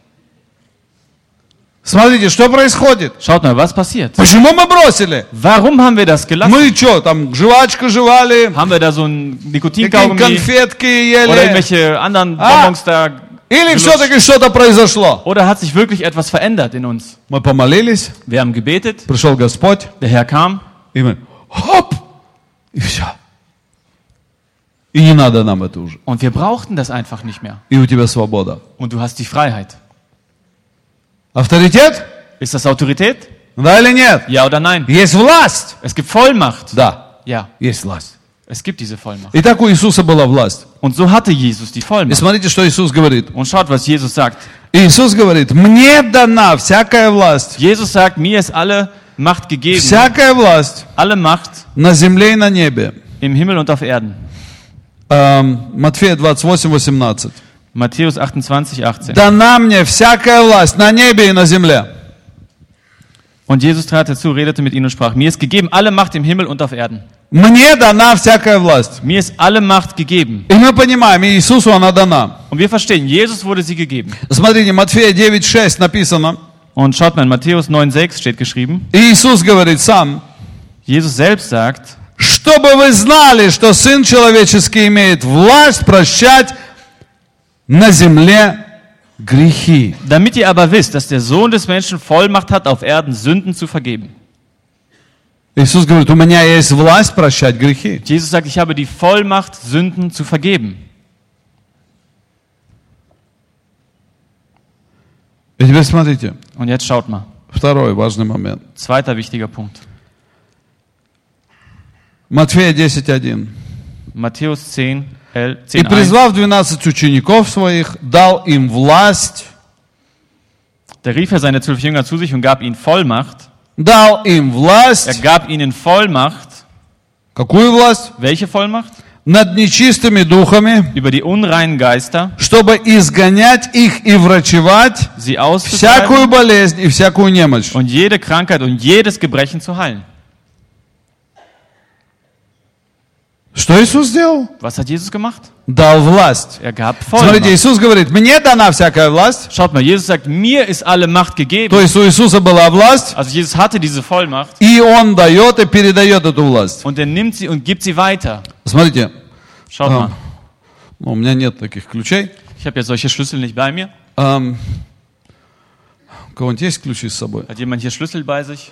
[SPEAKER 1] Смотрите, что происходит?
[SPEAKER 2] Schaut mal, was passiert?
[SPEAKER 1] Почему мы бросили?
[SPEAKER 2] Warum haben wir das gelassen?
[SPEAKER 1] Мы что, там жвачку жевали,
[SPEAKER 2] Haben wir da so ein
[SPEAKER 1] какие
[SPEAKER 2] Nikotinkaugummi
[SPEAKER 1] конфетки
[SPEAKER 2] oder
[SPEAKER 1] ели?
[SPEAKER 2] irgendwelche anderen
[SPEAKER 1] Ah.
[SPEAKER 2] Bonbons da?
[SPEAKER 1] Или
[SPEAKER 2] gelutscht?
[SPEAKER 1] все-таки что-то произошло?
[SPEAKER 2] Oder hat sich wirklich etwas verändert in uns?
[SPEAKER 1] Мы помолились,
[SPEAKER 2] Wir haben gebetet,
[SPEAKER 1] пришел Господь,
[SPEAKER 2] der Herr kam
[SPEAKER 1] и мы хоп, и все. И не надо нам это уже.
[SPEAKER 2] und wir brauchten das einfach nicht mehr.
[SPEAKER 1] И у тебя свобода.
[SPEAKER 2] Und du hast die Freiheit.
[SPEAKER 1] Авторитет?
[SPEAKER 2] Ist das Autorität?
[SPEAKER 1] Да или нет?
[SPEAKER 2] Ja oder nein?
[SPEAKER 1] Есть власть?
[SPEAKER 2] Es gibt Vollmacht.
[SPEAKER 1] Да,
[SPEAKER 2] Ja,
[SPEAKER 1] есть власть.
[SPEAKER 2] es gibt diese Vollmacht.
[SPEAKER 1] И так у Иисуса была власть.
[SPEAKER 2] Und so hatte Jesus die
[SPEAKER 1] И
[SPEAKER 2] Vollmacht.
[SPEAKER 1] смотрите, что Иисус говорит.
[SPEAKER 2] Und schaut, was Jesus sagt.
[SPEAKER 1] Иисус говорит, мне дана всякая власть.
[SPEAKER 2] Jesus sagt, mir ist alle Macht gegeben,
[SPEAKER 1] Всякая власть
[SPEAKER 2] alle Macht
[SPEAKER 1] на земле и на небе.
[SPEAKER 2] im Himmel und auf Erden.
[SPEAKER 1] Эм, Матфея двадцать восемь восемнадцать.
[SPEAKER 2] Matthäus achtundzwanzig, achtzehn.
[SPEAKER 1] Дана мне всякая власть на небе и на земле.
[SPEAKER 2] Und Jesus trat herzu, redete mit ihnen und sprach, mir ist gegeben alle Macht im Himmel und auf Erden.
[SPEAKER 1] Мне дана всякая власть.
[SPEAKER 2] Mir ist alle Macht gegeben.
[SPEAKER 1] И мы понимаем, Иисусу она дана.
[SPEAKER 2] Und wir verstehen, Jesus wurde sie gegeben.
[SPEAKER 1] Смотрите, Матфея девять шесть написано.
[SPEAKER 2] Und schaut mal, in Matthäus neun, sechs steht geschrieben,
[SPEAKER 1] И Иисус говорит сам,
[SPEAKER 2] Jesus selbst sagt,
[SPEAKER 1] чтобы вы знали, что Сын Человеческий имеет власть прощать на земле грехи.
[SPEAKER 2] damit ihr aber wisst, dass der Sohn des Menschen Vollmacht hat, auf Erden Sünden zu vergeben.
[SPEAKER 1] Иисус говорит, у меня есть власть прощать грехи.
[SPEAKER 2] Jesus sagt, ich habe die Vollmacht, Sünden zu vergeben.
[SPEAKER 1] И теперь смотрите,
[SPEAKER 2] Und jetzt schaut mal,
[SPEAKER 1] второй важный момент.
[SPEAKER 2] zweiter wichtiger Punkt.
[SPEAKER 1] Матфея десять один.
[SPEAKER 2] Matthäus zehn,
[SPEAKER 1] И
[SPEAKER 2] zehn, eins.
[SPEAKER 1] призвав двенадцать учеников своих, дал им власть,
[SPEAKER 2] Da rief er seine zwölf Jünger zu sich und gab ihnen Vollmacht.
[SPEAKER 1] дал им
[SPEAKER 2] Er
[SPEAKER 1] власть.
[SPEAKER 2] gab ihnen Vollmacht.
[SPEAKER 1] Какую власть?
[SPEAKER 2] Welche Vollmacht?
[SPEAKER 1] Над нечистыми духами,
[SPEAKER 2] Über die unreinen Geister,
[SPEAKER 1] чтобы изгонять их и врачевать
[SPEAKER 2] sie
[SPEAKER 1] всякую
[SPEAKER 2] auszutreiben
[SPEAKER 1] болезнь и всякую немощь.
[SPEAKER 2] und jede Krankheit und jedes Gebrechen zu heilen.
[SPEAKER 1] Что Иисус сделал?
[SPEAKER 2] Was hat Jesus gemacht?
[SPEAKER 1] Дал власть.
[SPEAKER 2] Er gab
[SPEAKER 1] Смотрите,
[SPEAKER 2] Vollmacht.
[SPEAKER 1] Иисус говорит, мне дана всякая власть.
[SPEAKER 2] Schaut mal, Jesus sagt, mir ist alle Macht gegeben.
[SPEAKER 1] То есть у Иисуса была власть,
[SPEAKER 2] Also Jesus hatte diese Vollmacht
[SPEAKER 1] и Он дает и передает эту власть.
[SPEAKER 2] und er nimmt sie und gibt sie weiter.
[SPEAKER 1] Смотрите,
[SPEAKER 2] Schaut
[SPEAKER 1] Ah.
[SPEAKER 2] mal,
[SPEAKER 1] ну, у меня нет таких ключей.
[SPEAKER 2] ich habe ja solche Schlüssel nicht bei mir.
[SPEAKER 1] Ам, у кого-нибудь есть ключи с собой?
[SPEAKER 2] Hat jemand hier Schlüssel bei sich?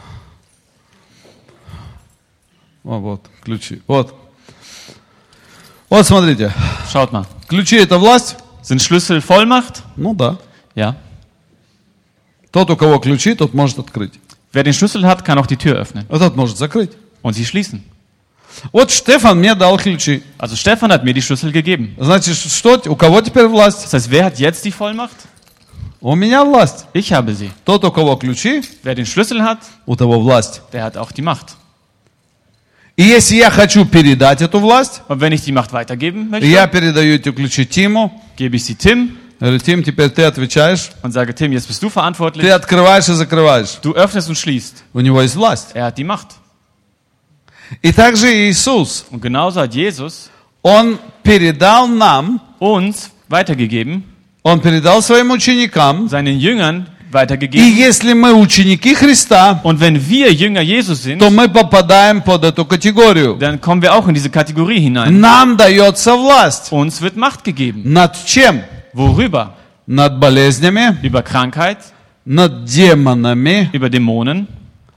[SPEAKER 1] О, вот, ключи. Вот. Вот, смотрите.
[SPEAKER 2] Schaut mal.
[SPEAKER 1] Ключи — это власть?
[SPEAKER 2] Sind Schlüssel Vollmacht?
[SPEAKER 1] Ну да.
[SPEAKER 2] Ja.
[SPEAKER 1] Тот, у кого ключи, тот может открыть.
[SPEAKER 2] Wer den Schlüssel hat, kann auch die Tür öffnen
[SPEAKER 1] А тот может закрыть.
[SPEAKER 2] und sie schließen.
[SPEAKER 1] Вот Штефан мне дал ключи.
[SPEAKER 2] Also Stefan hat mir die Schlüssel gegeben.
[SPEAKER 1] Значит, что, у кого теперь власть?
[SPEAKER 2] Das heißt, wer hat jetzt die Vollmacht?
[SPEAKER 1] У меня власть.
[SPEAKER 2] Ich habe sie.
[SPEAKER 1] Тот, у кого ключи,
[SPEAKER 2] Wer den Schlüssel hat,
[SPEAKER 1] у того власть.
[SPEAKER 2] der hat auch die Macht.
[SPEAKER 1] И если я хочу передать эту власть,
[SPEAKER 2] Und wenn ich die Macht weitergeben möchte,
[SPEAKER 1] я передаю эти ключи Тиму.
[SPEAKER 2] gebe ich sie Tim
[SPEAKER 1] Говорю, Тим, теперь ты отвечаешь.
[SPEAKER 2] und sage, Tim, jetzt bist du
[SPEAKER 1] Ты
[SPEAKER 2] verantwortlich.
[SPEAKER 1] открываешь и закрываешь.
[SPEAKER 2] Du öffnest und schließt.
[SPEAKER 1] У него есть власть.
[SPEAKER 2] Er hat die Macht.
[SPEAKER 1] И также Иисус,
[SPEAKER 2] Und genauso hat Jesus
[SPEAKER 1] Он передал нам,
[SPEAKER 2] uns weitergegeben,
[SPEAKER 1] Он передал своим ученикам.
[SPEAKER 2] seinen Jüngern
[SPEAKER 1] И
[SPEAKER 2] weitergegeben.
[SPEAKER 1] если мы ученики Христа,
[SPEAKER 2] Und wenn wir Jünger Jesus sind,
[SPEAKER 1] то мы попадаем под эту категорию.
[SPEAKER 2] dann kommen wir auch in diese Kategorie hinein.
[SPEAKER 1] Нам дается власть.
[SPEAKER 2] Uns wird Macht gegeben.
[SPEAKER 1] Над чем?
[SPEAKER 2] Worüber?
[SPEAKER 1] над болезнями,
[SPEAKER 2] über Krankheit,
[SPEAKER 1] над демонами,
[SPEAKER 2] über Dämonen,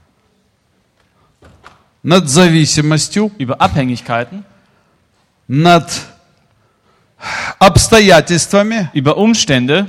[SPEAKER 1] над зависимостью,
[SPEAKER 2] über Abhängigkeiten,
[SPEAKER 1] над обстоятельствами.
[SPEAKER 2] über Umstände.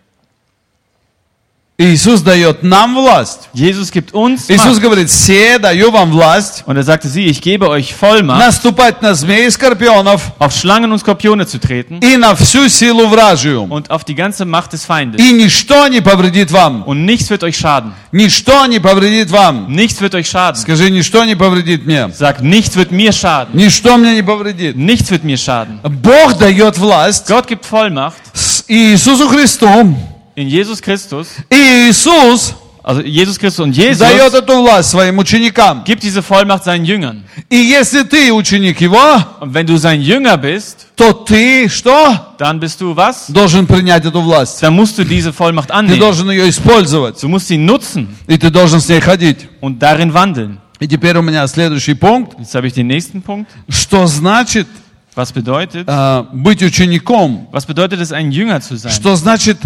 [SPEAKER 1] Иисус дает нам власть.
[SPEAKER 2] Jesus gibt uns
[SPEAKER 1] Иисус
[SPEAKER 2] Macht.
[SPEAKER 1] говорит, все даю вам власть
[SPEAKER 2] Und er sagte sie, ich gebe euch Vollmacht,
[SPEAKER 1] наступать на змеи и скорпионов
[SPEAKER 2] auf Schlangen und Skorpione zu treten
[SPEAKER 1] и на всю силу вражию.
[SPEAKER 2] und auf die ganze Macht des Feindes.
[SPEAKER 1] И ничто не повредит вам.
[SPEAKER 2] Und nichts wird euch schaden.
[SPEAKER 1] Ничто не повредит вам.
[SPEAKER 2] Nichts wird euch schaden.
[SPEAKER 1] Скажи, ничто не повредит мне.
[SPEAKER 2] Sag, nichts wird mir schaden.
[SPEAKER 1] Ничто мне не повредит.
[SPEAKER 2] Nichts wird mir schaden.
[SPEAKER 1] Бог дает власть
[SPEAKER 2] Gott gibt Vollmacht
[SPEAKER 1] с Иисусу Христу.
[SPEAKER 2] in Jesus Christus.
[SPEAKER 1] И Иисус
[SPEAKER 2] Also Jesus Christus und Jesus
[SPEAKER 1] дает эту власть своим ученикам.
[SPEAKER 2] gibt diese Vollmacht seinen Jüngern.
[SPEAKER 1] И если ты ученик Его,
[SPEAKER 2] Und wenn du sein Jünger bist,
[SPEAKER 1] то ты что?
[SPEAKER 2] dann bist du was?
[SPEAKER 1] Должен принять эту власть.
[SPEAKER 2] Dann musst du diese Vollmacht
[SPEAKER 1] Ты
[SPEAKER 2] annehmen.
[SPEAKER 1] должен ее использовать.
[SPEAKER 2] Du musst sie nutzen
[SPEAKER 1] И ты должен с ней ходить.
[SPEAKER 2] und darin wandeln.
[SPEAKER 1] И теперь у меня следующий пункт.
[SPEAKER 2] Jetzt habe ich den nächsten Punkt.
[SPEAKER 1] Что значит
[SPEAKER 2] Was bedeutet,
[SPEAKER 1] э, быть учеником?
[SPEAKER 2] was bedeutet es, ein Jünger zu sein?
[SPEAKER 1] Что значит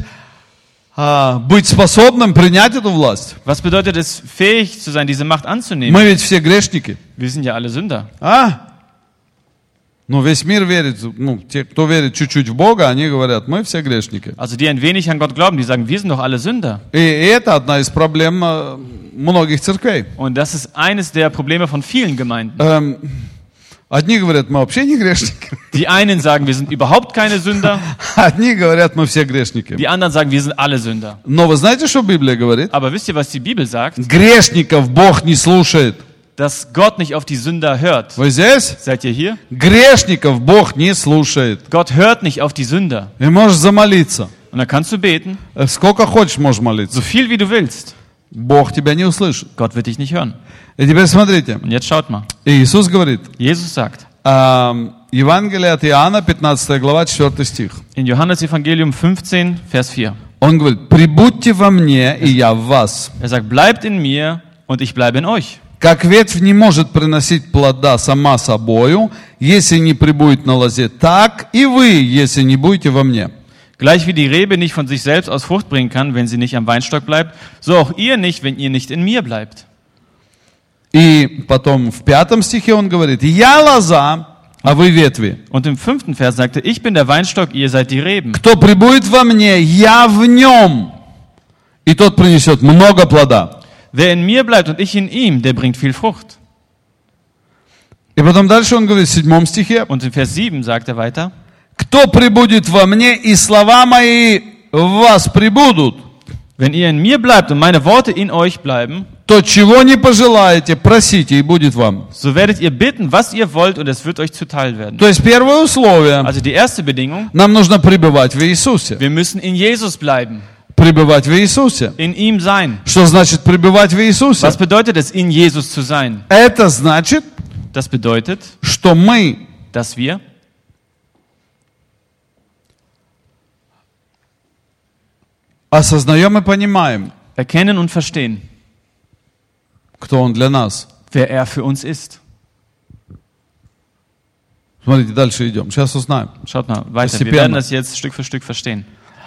[SPEAKER 1] э, быть способным принять эту власть?
[SPEAKER 2] Was bedeutet es, fähig zu sein, diese Macht anzunehmen?
[SPEAKER 1] Мы ведь все грешники.
[SPEAKER 2] Wir sind ja alle Sünder.
[SPEAKER 1] А? Ну, весь мир верит, ну, те, кто верит чуть-чуть в Бога, они говорят, мы все грешники.
[SPEAKER 2] Also die ein wenig an Gott glauben, die sagen, wir sind doch alle Sünder.
[SPEAKER 1] И это одна из проблем э, многих церквей.
[SPEAKER 2] Und das ist eines der Probleme von vielen Gemeinden.
[SPEAKER 1] Эм, одни говорят, мы вообще не грешники.
[SPEAKER 2] Die einen sagen, wir sind überhaupt keine Sünder.
[SPEAKER 1] Одни говорят, мы все грешники.
[SPEAKER 2] Die anderen sagen, wir sind alle Sünder.
[SPEAKER 1] Но вы знаете, что Библия говорит?
[SPEAKER 2] Aber wisst ihr, was die Bibel sagt?
[SPEAKER 1] Грешников Бог не слушает.
[SPEAKER 2] Dass Gott nicht auf die Sünder hört.
[SPEAKER 1] Вы здесь?
[SPEAKER 2] Seid ihr hier?
[SPEAKER 1] Грешников Бог не слушает.
[SPEAKER 2] Gott hört nicht auf die Sünder.
[SPEAKER 1] И можешь замолиться.
[SPEAKER 2] Und dann kannst du beten,
[SPEAKER 1] Э, Сколько хочешь можешь молиться.
[SPEAKER 2] so viel wie du willst.
[SPEAKER 1] Бог тебя не услышит.
[SPEAKER 2] Gott wird dich nicht hören.
[SPEAKER 1] И теперь смотрите.
[SPEAKER 2] Und jetzt schaut mal.
[SPEAKER 1] Иисус говорит,
[SPEAKER 2] Jesus sagt
[SPEAKER 1] эм, Евангелие от Иоанна, пятнадцатая глава, четвёртый стих.
[SPEAKER 2] in Johannes Evangelium fünfzehn, Vers vier.
[SPEAKER 1] Он говорит, прибудьте во мне, и я в вас.
[SPEAKER 2] Er sagt, bleibt in mir und ich bleibe in euch.
[SPEAKER 1] Как ветвь не может приносить плода сама собою, если не прибудет на лозе, так и вы, если не будете во мне.
[SPEAKER 2] Gleich wie die Rebe nicht von sich selbst aus Frucht bringen kann, wenn sie nicht am Weinstock bleibt, so auch ihr nicht, wenn ihr nicht in mir bleibt.
[SPEAKER 1] И потом в пятом стихе он говорит, я лоза, а вы ветви.
[SPEAKER 2] Und im fünften Vers sagte, ich bin der Weinstock, ihr seid die Reben.
[SPEAKER 1] Кто прибудет во мне, я в нем, и тот принесет много плода.
[SPEAKER 2] Wer in mir bleibt und ich in ihm, der bringt viel Frucht.
[SPEAKER 1] И потом дальше он говорит в седьмом стихе,
[SPEAKER 2] Und in Vers sieben sagt er weiter,
[SPEAKER 1] кто прибудет во мне, и слова мои в вас прибудут,
[SPEAKER 2] wenn ihr in mir bleibt und meine Worte in euch bleiben,
[SPEAKER 1] то чего не пожелаете, просите, и будет вам.
[SPEAKER 2] so werdet ihr bitten, was ihr wollt, und es wird euch zuteil werden.
[SPEAKER 1] То есть первое условие,
[SPEAKER 2] Also die erste Bedingung,
[SPEAKER 1] нам нужно пребывать в Иисусе.
[SPEAKER 2] wir müssen in Jesus bleiben,
[SPEAKER 1] Пребывать в Иисусе.
[SPEAKER 2] in ihm sein.
[SPEAKER 1] Что значит пребывать в Иисусе?
[SPEAKER 2] Was bedeutet es, in Jesus zu sein?
[SPEAKER 1] Это значит,
[SPEAKER 2] Das bedeutet,
[SPEAKER 1] что мы
[SPEAKER 2] dass wir
[SPEAKER 1] осознаем и понимаем,
[SPEAKER 2] erkennen und verstehen,
[SPEAKER 1] кто Он для нас.
[SPEAKER 2] wer er für uns ist.
[SPEAKER 1] Смотрите, дальше идем. Сейчас узнаем.
[SPEAKER 2] Schaut mal weiter, wir
[SPEAKER 1] Постепенно.
[SPEAKER 2] werden das jetzt Stück für Stück verstehen.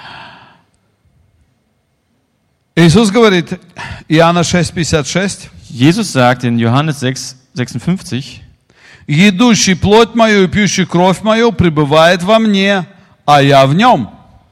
[SPEAKER 1] Иисус говорит, Иоанна шесть пятьдесят шесть,
[SPEAKER 2] Jesus sagt in Johannes sechs sechsundfünfzig,
[SPEAKER 1] «Едущий плоть мою и пьющий кровь мою пребывает во мне, а я в нем».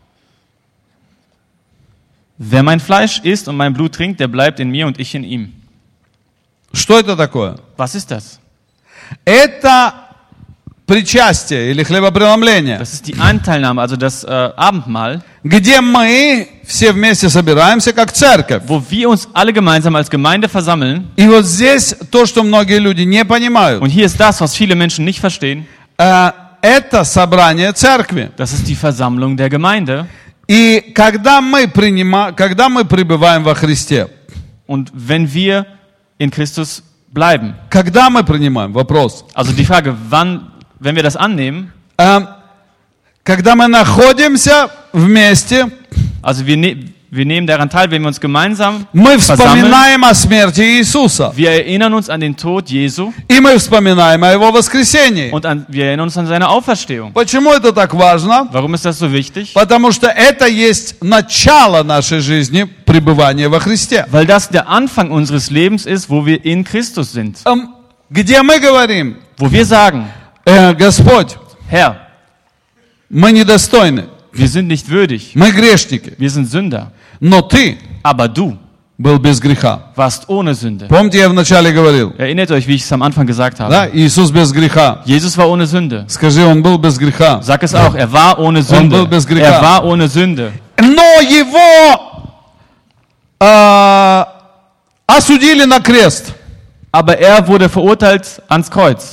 [SPEAKER 2] wer mein Fleisch isst und mein Blut trinkt, der bleibt in mir und ich in ihm.
[SPEAKER 1] Что это такое?
[SPEAKER 2] Was ist das?
[SPEAKER 1] Это причастие или хлебопреломление,
[SPEAKER 2] Das ist die Anteilnahme, also das äh, Abendmahl,
[SPEAKER 1] где мы все вместе собираемся как церковь.
[SPEAKER 2] wo wir uns alle gemeinsam als Gemeinde versammeln.
[SPEAKER 1] И вот здесь то, что многие люди не понимают.
[SPEAKER 2] Und hier ist das, was viele Menschen nicht verstehen.
[SPEAKER 1] Э, Это собрание церкви.
[SPEAKER 2] Das ist die Versammlung der Gemeinde.
[SPEAKER 1] И когда мы, принима, когда мы пребываем во Христе,
[SPEAKER 2] Und wenn wir in Christus bleiben,
[SPEAKER 1] когда мы принимаем, вопрос,
[SPEAKER 2] also die Frage, wann, wenn wir das annehmen,
[SPEAKER 1] Э, когда мы находимся вместе,
[SPEAKER 2] also wir, ne Wir nehmen daran teil, wenn wir uns gemeinsam
[SPEAKER 1] Мы
[SPEAKER 2] versammeln.
[SPEAKER 1] вспоминаем о смерти Иисуса.
[SPEAKER 2] Wir erinnern uns an den Tod Jesu
[SPEAKER 1] И мы вспоминаем о Его воскресении.
[SPEAKER 2] und an, wir erinnern uns an seine Auferstehung.
[SPEAKER 1] Почему это так важно?
[SPEAKER 2] Warum ist das so wichtig?
[SPEAKER 1] Потому что это есть начало нашей жизни пребывания во Христе.
[SPEAKER 2] Weil das der Anfang unseres Lebens ist, wo wir in Christus sind.
[SPEAKER 1] Эм, Где мы говорим,
[SPEAKER 2] Wo wir sagen,
[SPEAKER 1] «Э, Господь,
[SPEAKER 2] Herr,
[SPEAKER 1] мы недостойны,
[SPEAKER 2] wir sind nicht würdig,
[SPEAKER 1] мы грешники,
[SPEAKER 2] wir sind Sünder,
[SPEAKER 1] но Ты
[SPEAKER 2] aber du
[SPEAKER 1] был без греха».
[SPEAKER 2] warst ohne Sünde.
[SPEAKER 1] Помните, я вначале говорил,
[SPEAKER 2] Erinnert euch, wie ich es am Anfang gesagt habe.
[SPEAKER 1] да, Иисус без греха.
[SPEAKER 2] Jesus war ohne Sünde.
[SPEAKER 1] Скажи, Он был без греха.
[SPEAKER 2] Sag es auch, er war ohne Sünde.
[SPEAKER 1] был без греха.
[SPEAKER 2] Er war ohne Sünde.
[SPEAKER 1] Но Его э, осудили на крест.
[SPEAKER 2] Aber er wurde verurteilt ans Kreuz.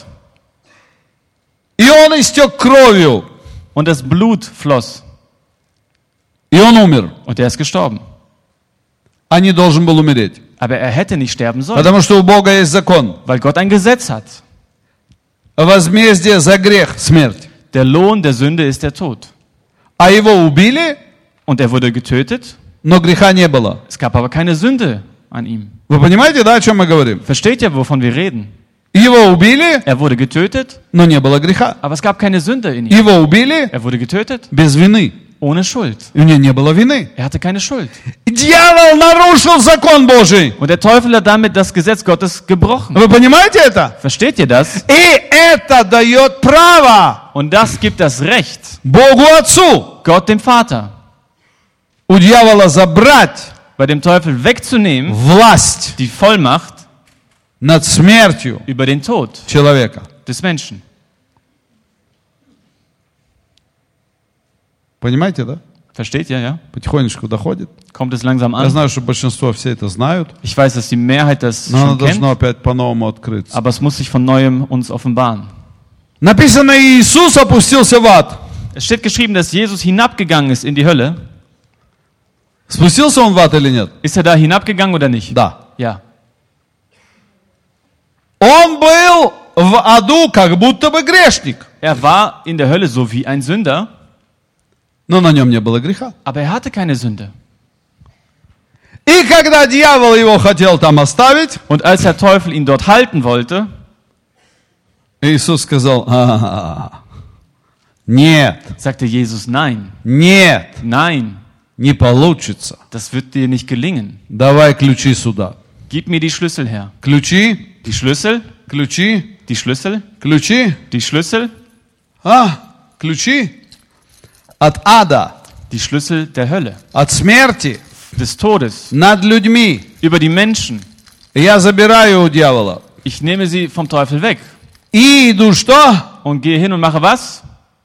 [SPEAKER 1] И Он истек кровью.
[SPEAKER 2] Und das Blut floss.
[SPEAKER 1] И Он умер.
[SPEAKER 2] Und er ist gestorben.
[SPEAKER 1] А не должен был умереть.
[SPEAKER 2] Aber er hätte nicht sterben sollen,
[SPEAKER 1] Потому что у Бога есть закон.
[SPEAKER 2] weil Gott ein Gesetz hat.
[SPEAKER 1] Возмездие за грех – смерть.
[SPEAKER 2] Der Lohn der Sünde ist der Tod.
[SPEAKER 1] А Его убили,
[SPEAKER 2] Und er wurde getötet.
[SPEAKER 1] но греха не было.
[SPEAKER 2] Es gab aber keine Sünde an ihm.
[SPEAKER 1] Вы понимаете, да, о чем мы говорим?
[SPEAKER 2] Versteht ihr, wovon wir reden?
[SPEAKER 1] Его убили,
[SPEAKER 2] Er wurde getötet,
[SPEAKER 1] но не было греха.
[SPEAKER 2] aber es gab keine Sünde in ihm.
[SPEAKER 1] Его убили
[SPEAKER 2] Er wurde getötet
[SPEAKER 1] без вины.
[SPEAKER 2] ohne Schuld.
[SPEAKER 1] У него не было вины.
[SPEAKER 2] Er hatte keine Schuld.
[SPEAKER 1] Дьявол нарушил закон Божий.
[SPEAKER 2] Und der Teufel hat damit das Gesetz Gottes gebrochen.
[SPEAKER 1] Вы понимаете это?
[SPEAKER 2] Versteht ihr das?
[SPEAKER 1] И это дает право
[SPEAKER 2] Und das gibt das Recht
[SPEAKER 1] Богу Отцу
[SPEAKER 2] Gott dem Vater,
[SPEAKER 1] у дьявола забрать
[SPEAKER 2] bei dem Teufel wegzunehmen,
[SPEAKER 1] власть
[SPEAKER 2] die Vollmacht
[SPEAKER 1] над смертью
[SPEAKER 2] über den Tod
[SPEAKER 1] человека.
[SPEAKER 2] des Menschen.
[SPEAKER 1] Понимаете, да?
[SPEAKER 2] Versteht ihr, ja?
[SPEAKER 1] Потихонечку доходит.
[SPEAKER 2] Kommt es langsam
[SPEAKER 1] Я
[SPEAKER 2] an?
[SPEAKER 1] знаю, что большинство все это знают,
[SPEAKER 2] Ich weiß, dass die Mehrheit das
[SPEAKER 1] но оно
[SPEAKER 2] schon kennt,
[SPEAKER 1] должно опять по-новому открыться.
[SPEAKER 2] aber es muss sich von Neuem uns offenbaren.
[SPEAKER 1] Написано, Иисус опустился в ад.
[SPEAKER 2] Es steht geschrieben, dass Jesus hinabgegangen ist in die Hölle.
[SPEAKER 1] Спустился он в ад или нет?
[SPEAKER 2] Ist er da hinabgegangen oder nicht?
[SPEAKER 1] Да.
[SPEAKER 2] Ja.
[SPEAKER 1] Он был в аду как будто бы грешник,
[SPEAKER 2] Er war in der Hölle so wie ein Sünder,
[SPEAKER 1] но на нем не было греха.
[SPEAKER 2] aber er hatte keine Sünde.
[SPEAKER 1] И когда дьявол его хотел там оставить,
[SPEAKER 2] Und als der Teufel ihn dort halten wollte,
[SPEAKER 1] Иисус сказал, «А, нет,
[SPEAKER 2] sagte Jesus, nein,
[SPEAKER 1] нет,
[SPEAKER 2] nein,
[SPEAKER 1] не получится.
[SPEAKER 2] das wird dir nicht gelingen.
[SPEAKER 1] Давай ключи сюда».
[SPEAKER 2] Gib mir die Schlüssel her.
[SPEAKER 1] Ключи,
[SPEAKER 2] Die Schlüssel,
[SPEAKER 1] ключи,
[SPEAKER 2] die Schlüssel,
[SPEAKER 1] ключи,
[SPEAKER 2] die Schlüssel,
[SPEAKER 1] а, ключи от ада,
[SPEAKER 2] die Schlüssel der Hölle,
[SPEAKER 1] от смерти
[SPEAKER 2] des Todes,
[SPEAKER 1] над людьми.
[SPEAKER 2] über die Menschen.
[SPEAKER 1] Я забираю у дьявола.
[SPEAKER 2] Ich nehme sie vom Teufel weg
[SPEAKER 1] И иду что?
[SPEAKER 2] und gehe hin und mache was?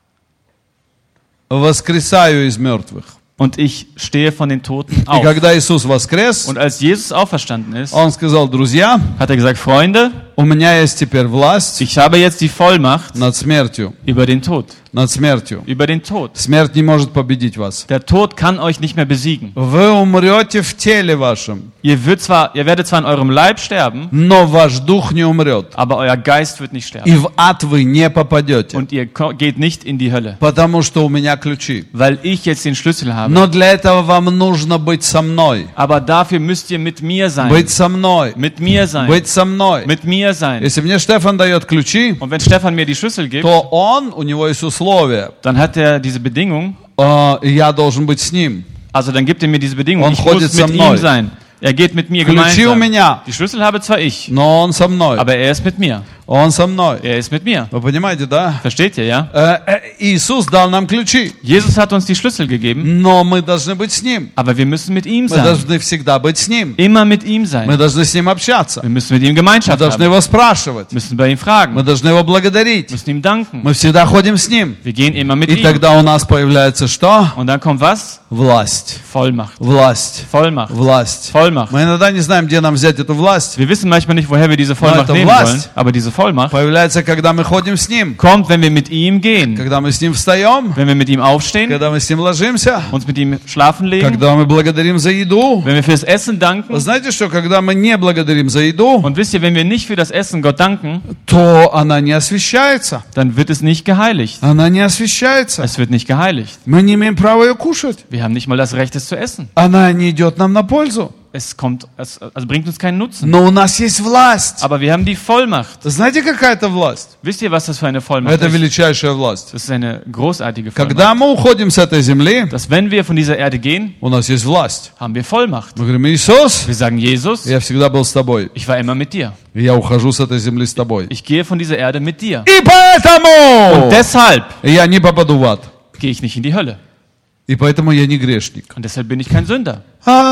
[SPEAKER 1] Воскресаю из мертвых.
[SPEAKER 2] Und ich stehe von den Toten
[SPEAKER 1] И
[SPEAKER 2] auf.
[SPEAKER 1] когда Иисус воскрес,
[SPEAKER 2] Und als Jesus auferstanden ist,
[SPEAKER 1] Он сказал, друзья,
[SPEAKER 2] hat er gesagt, Freunde,
[SPEAKER 1] у меня есть теперь власть
[SPEAKER 2] ich habe jetzt die Vollmacht
[SPEAKER 1] над смертью,
[SPEAKER 2] über den Tod.
[SPEAKER 1] над смертью.
[SPEAKER 2] Über den Tod.
[SPEAKER 1] Смерть не может победить вас.
[SPEAKER 2] Der Tod kann euch nicht mehr besiegen.
[SPEAKER 1] Вы умрете в теле вашем,
[SPEAKER 2] Ihr, wird zwar, ihr werdet zwar in eurem Leib sterben,
[SPEAKER 1] но ваш дух не умрет.
[SPEAKER 2] aber euer Geist wird nicht
[SPEAKER 1] И
[SPEAKER 2] sterben.
[SPEAKER 1] в ад вы не попадете,
[SPEAKER 2] Und ihr ko- geht nicht in die Hölle,
[SPEAKER 1] потому что у меня ключи.
[SPEAKER 2] weil ich jetzt den Schlüssel habe.
[SPEAKER 1] Но для этого вам нужно быть со мной.
[SPEAKER 2] Aber dafür müsst ihr mit mir sein.
[SPEAKER 1] Быть со мной.
[SPEAKER 2] Mit mir sein.
[SPEAKER 1] Быть со мной.
[SPEAKER 2] Mit mir sein.
[SPEAKER 1] Если мне Штефан дает ключи,
[SPEAKER 2] Und wenn Stefan mir die Schlüssel gibt,
[SPEAKER 1] то он, у него есть условия.
[SPEAKER 2] dann hat er diese Bedingung,
[SPEAKER 1] Э, и я должен быть с ним.
[SPEAKER 2] also dann gibt er mir diese Bedingung,
[SPEAKER 1] Он
[SPEAKER 2] ich
[SPEAKER 1] ходит
[SPEAKER 2] muss
[SPEAKER 1] со
[SPEAKER 2] mit
[SPEAKER 1] мной.
[SPEAKER 2] ihm sein. Er geht mit mir
[SPEAKER 1] Ключи у
[SPEAKER 2] gemeinsam.
[SPEAKER 1] меня,
[SPEAKER 2] Die Schlüssel habe zwar ich,
[SPEAKER 1] но он со мной.
[SPEAKER 2] aber er ist mit mir.
[SPEAKER 1] Он со мной.
[SPEAKER 2] Er ist mit mir.
[SPEAKER 1] Вы понимаете, да?
[SPEAKER 2] Versteht ihr, ja?
[SPEAKER 1] Э, э, Иисус дал нам ключи,
[SPEAKER 2] Jesus hat uns die Schlüssel gegeben,
[SPEAKER 1] но мы должны быть с ним.
[SPEAKER 2] aber wir müssen mit ihm
[SPEAKER 1] Мы
[SPEAKER 2] sein.
[SPEAKER 1] должны всегда быть с ним.
[SPEAKER 2] Immer mit ihm
[SPEAKER 1] Мы
[SPEAKER 2] sein.
[SPEAKER 1] должны с ним общаться.
[SPEAKER 2] Wir müssen mit ihm
[SPEAKER 1] Мы
[SPEAKER 2] Gemeinschaft
[SPEAKER 1] должны
[SPEAKER 2] haben.
[SPEAKER 1] его спрашивать.
[SPEAKER 2] Müssen bei ihm
[SPEAKER 1] Мы
[SPEAKER 2] fragen.
[SPEAKER 1] должны его благодарить.
[SPEAKER 2] Müssen ihm danken.
[SPEAKER 1] Мы всегда ходим с ним.
[SPEAKER 2] Wir gehen immer mit
[SPEAKER 1] И
[SPEAKER 2] ihm.
[SPEAKER 1] тогда у нас появляется что?
[SPEAKER 2] Und dann kommt was?
[SPEAKER 1] Власть.
[SPEAKER 2] Vollmacht.
[SPEAKER 1] Власть.
[SPEAKER 2] Vollmacht.
[SPEAKER 1] Власть.
[SPEAKER 2] Vollmacht. Vollmacht.
[SPEAKER 1] Мы иногда не знаем, где нам взять эту власть.
[SPEAKER 2] Wir wissen manchmal nicht, woher wir diese Vollmacht
[SPEAKER 1] это
[SPEAKER 2] nehmen
[SPEAKER 1] власть.
[SPEAKER 2] sollen, aber diese Vollmacht
[SPEAKER 1] Появляется, когда мы ходим с Ним,
[SPEAKER 2] kommt, wenn wir mit ihm gehen,
[SPEAKER 1] когда мы с Ним встаем,
[SPEAKER 2] wenn wir mit ihm aufstehen,
[SPEAKER 1] когда мы с Ним ложимся,
[SPEAKER 2] uns mit ihm schlafen legen,
[SPEAKER 1] когда мы благодарим за еду.
[SPEAKER 2] wenn wir fürs Essen danken.
[SPEAKER 1] Вы знаете, что когда мы не благодарим за еду,
[SPEAKER 2] Und wisst ihr, wenn wir nicht für das Essen Gott danken,
[SPEAKER 1] то она не освящается.
[SPEAKER 2] dann wird es nicht geheiligt.
[SPEAKER 1] Она не освящается.
[SPEAKER 2] Es wird nicht geheiligt.
[SPEAKER 1] Мы не имеем права ее кушать.
[SPEAKER 2] Wir haben nicht mal das Recht, es zu essen.
[SPEAKER 1] Она не идет нам на пользу.
[SPEAKER 2] Es kommt, es also bringt uns keinen Nutzen.
[SPEAKER 1] Но у нас есть власть.
[SPEAKER 2] Aber wir haben die Vollmacht.
[SPEAKER 1] Знаете, какая это власть?
[SPEAKER 2] Wisst ihr, was das für eine Vollmacht
[SPEAKER 1] Это
[SPEAKER 2] ist?
[SPEAKER 1] величайшая власть.
[SPEAKER 2] Das ist eine großartige Vollmacht.
[SPEAKER 1] Когда мы уходим с этой земли,
[SPEAKER 2] Dass wenn wir von dieser Erde gehen,
[SPEAKER 1] у нас есть власть.
[SPEAKER 2] haben wir Vollmacht.
[SPEAKER 1] Мы говорим: Иисус,
[SPEAKER 2] Wir sagen, Jesus,
[SPEAKER 1] я всегда был с тобой.
[SPEAKER 2] ich war immer mit dir.
[SPEAKER 1] И я ухожу с этой земли с тобой.
[SPEAKER 2] Ich gehe von dieser Erde mit dir.
[SPEAKER 1] И поэтому
[SPEAKER 2] Und deshalb
[SPEAKER 1] я не попаду в ад.
[SPEAKER 2] gehe ich nicht in die Hölle.
[SPEAKER 1] И поэтому я не грешник.
[SPEAKER 2] Und deshalb bin ich kein Sünder.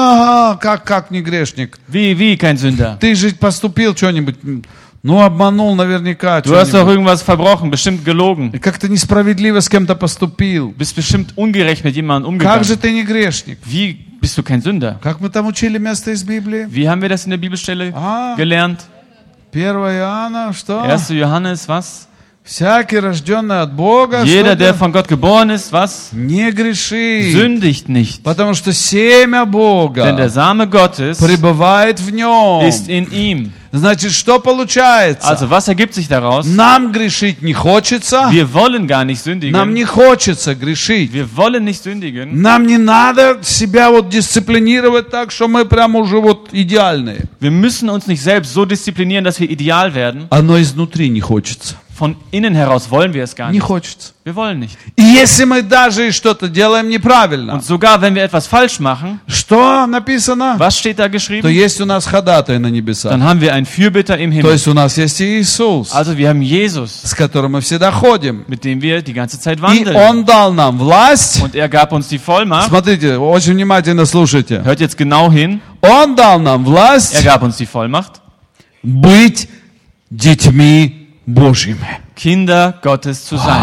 [SPEAKER 1] А, как, как не грешник?
[SPEAKER 2] Wie, wie kein Sünder?
[SPEAKER 1] Ты же поступил что-нибудь, ну, обманул наверняка
[SPEAKER 2] Du hast doch
[SPEAKER 1] что-нибудь.
[SPEAKER 2] irgendwas verbrochen, bestimmt gelogen.
[SPEAKER 1] И как-то несправедливо с кем-то поступил.
[SPEAKER 2] Bist bestimmt ungerecht mit jemandem
[SPEAKER 1] Как
[SPEAKER 2] umgegangen.
[SPEAKER 1] же ты не грешник?
[SPEAKER 2] Wie bist du kein Sünder?
[SPEAKER 1] Как мы там учили место из Библии?
[SPEAKER 2] Wie haben wir das in der Bibelstelle
[SPEAKER 1] Ah.
[SPEAKER 2] gelernt?
[SPEAKER 1] первое Иоанна, что?
[SPEAKER 2] erster Johannes, was?
[SPEAKER 1] Всякий, рожденный от Бога,
[SPEAKER 2] Jeder, der
[SPEAKER 1] что-то
[SPEAKER 2] von Gott geboren ist, was?
[SPEAKER 1] не грешит.
[SPEAKER 2] Sündigt nicht.
[SPEAKER 1] Потому что семя
[SPEAKER 2] Denn der
[SPEAKER 1] Бога
[SPEAKER 2] Same Gottes
[SPEAKER 1] пребывает в нем.
[SPEAKER 2] ist in ihm.
[SPEAKER 1] Значит, что получается?
[SPEAKER 2] Also, was ergibt sich daraus?
[SPEAKER 1] Нам грешить не хочется.
[SPEAKER 2] Wir wollen gar nicht
[SPEAKER 1] Нам
[SPEAKER 2] sündigen.
[SPEAKER 1] не хочется грешить.
[SPEAKER 2] Wir wollen nicht sündigen.
[SPEAKER 1] Нам не надо себя вот дисциплинировать так, что мы прямо уже вот идеальные.
[SPEAKER 2] Wir müssen uns nicht selbst so disziplinieren, dass wir ideal werden.
[SPEAKER 1] Оно изнутри не хочется.
[SPEAKER 2] Von innen heraus wollen wir es gar
[SPEAKER 1] Не
[SPEAKER 2] nicht.
[SPEAKER 1] хочется.
[SPEAKER 2] Wir wollen nicht.
[SPEAKER 1] И если мы даже и что-то делаем неправильно,
[SPEAKER 2] Und sogar wenn wir etwas falsch machen,
[SPEAKER 1] что написано?
[SPEAKER 2] was steht da
[SPEAKER 1] То
[SPEAKER 2] geschrieben?
[SPEAKER 1] есть у нас ходатай на небесах.
[SPEAKER 2] Dann haben wir einen Fürbitter im
[SPEAKER 1] То
[SPEAKER 2] Himmel.
[SPEAKER 1] есть у нас есть Иисус,
[SPEAKER 2] Also wir haben Jesus,
[SPEAKER 1] с которым мы всегда ходим.
[SPEAKER 2] mit dem wir die ganze Zeit
[SPEAKER 1] И
[SPEAKER 2] wandeln.
[SPEAKER 1] Он дал нам власть.
[SPEAKER 2] Und er gab uns die Vollmacht.
[SPEAKER 1] Смотрите, очень внимательно слушайте.
[SPEAKER 2] Hört jetzt genau hin.
[SPEAKER 1] Он дал нам
[SPEAKER 2] Er
[SPEAKER 1] власть
[SPEAKER 2] gab uns die Vollmacht,
[SPEAKER 1] быть детьми Божьими.
[SPEAKER 2] Kinder Gottes zu sein.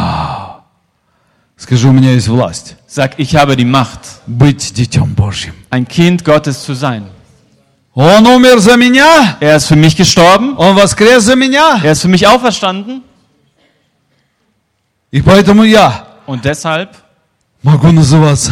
[SPEAKER 1] Скажи, у меня есть власть
[SPEAKER 2] Sag, ich habe die Macht,
[SPEAKER 1] быть детем Божьим.
[SPEAKER 2] ein Kind Gottes zu sein.
[SPEAKER 1] Он умер за меня,
[SPEAKER 2] Er ist für mich gestorben.
[SPEAKER 1] Он воскрес за меня.
[SPEAKER 2] Er ist für mich auferstanden.
[SPEAKER 1] И поэтому я
[SPEAKER 2] Und deshalb
[SPEAKER 1] могу называться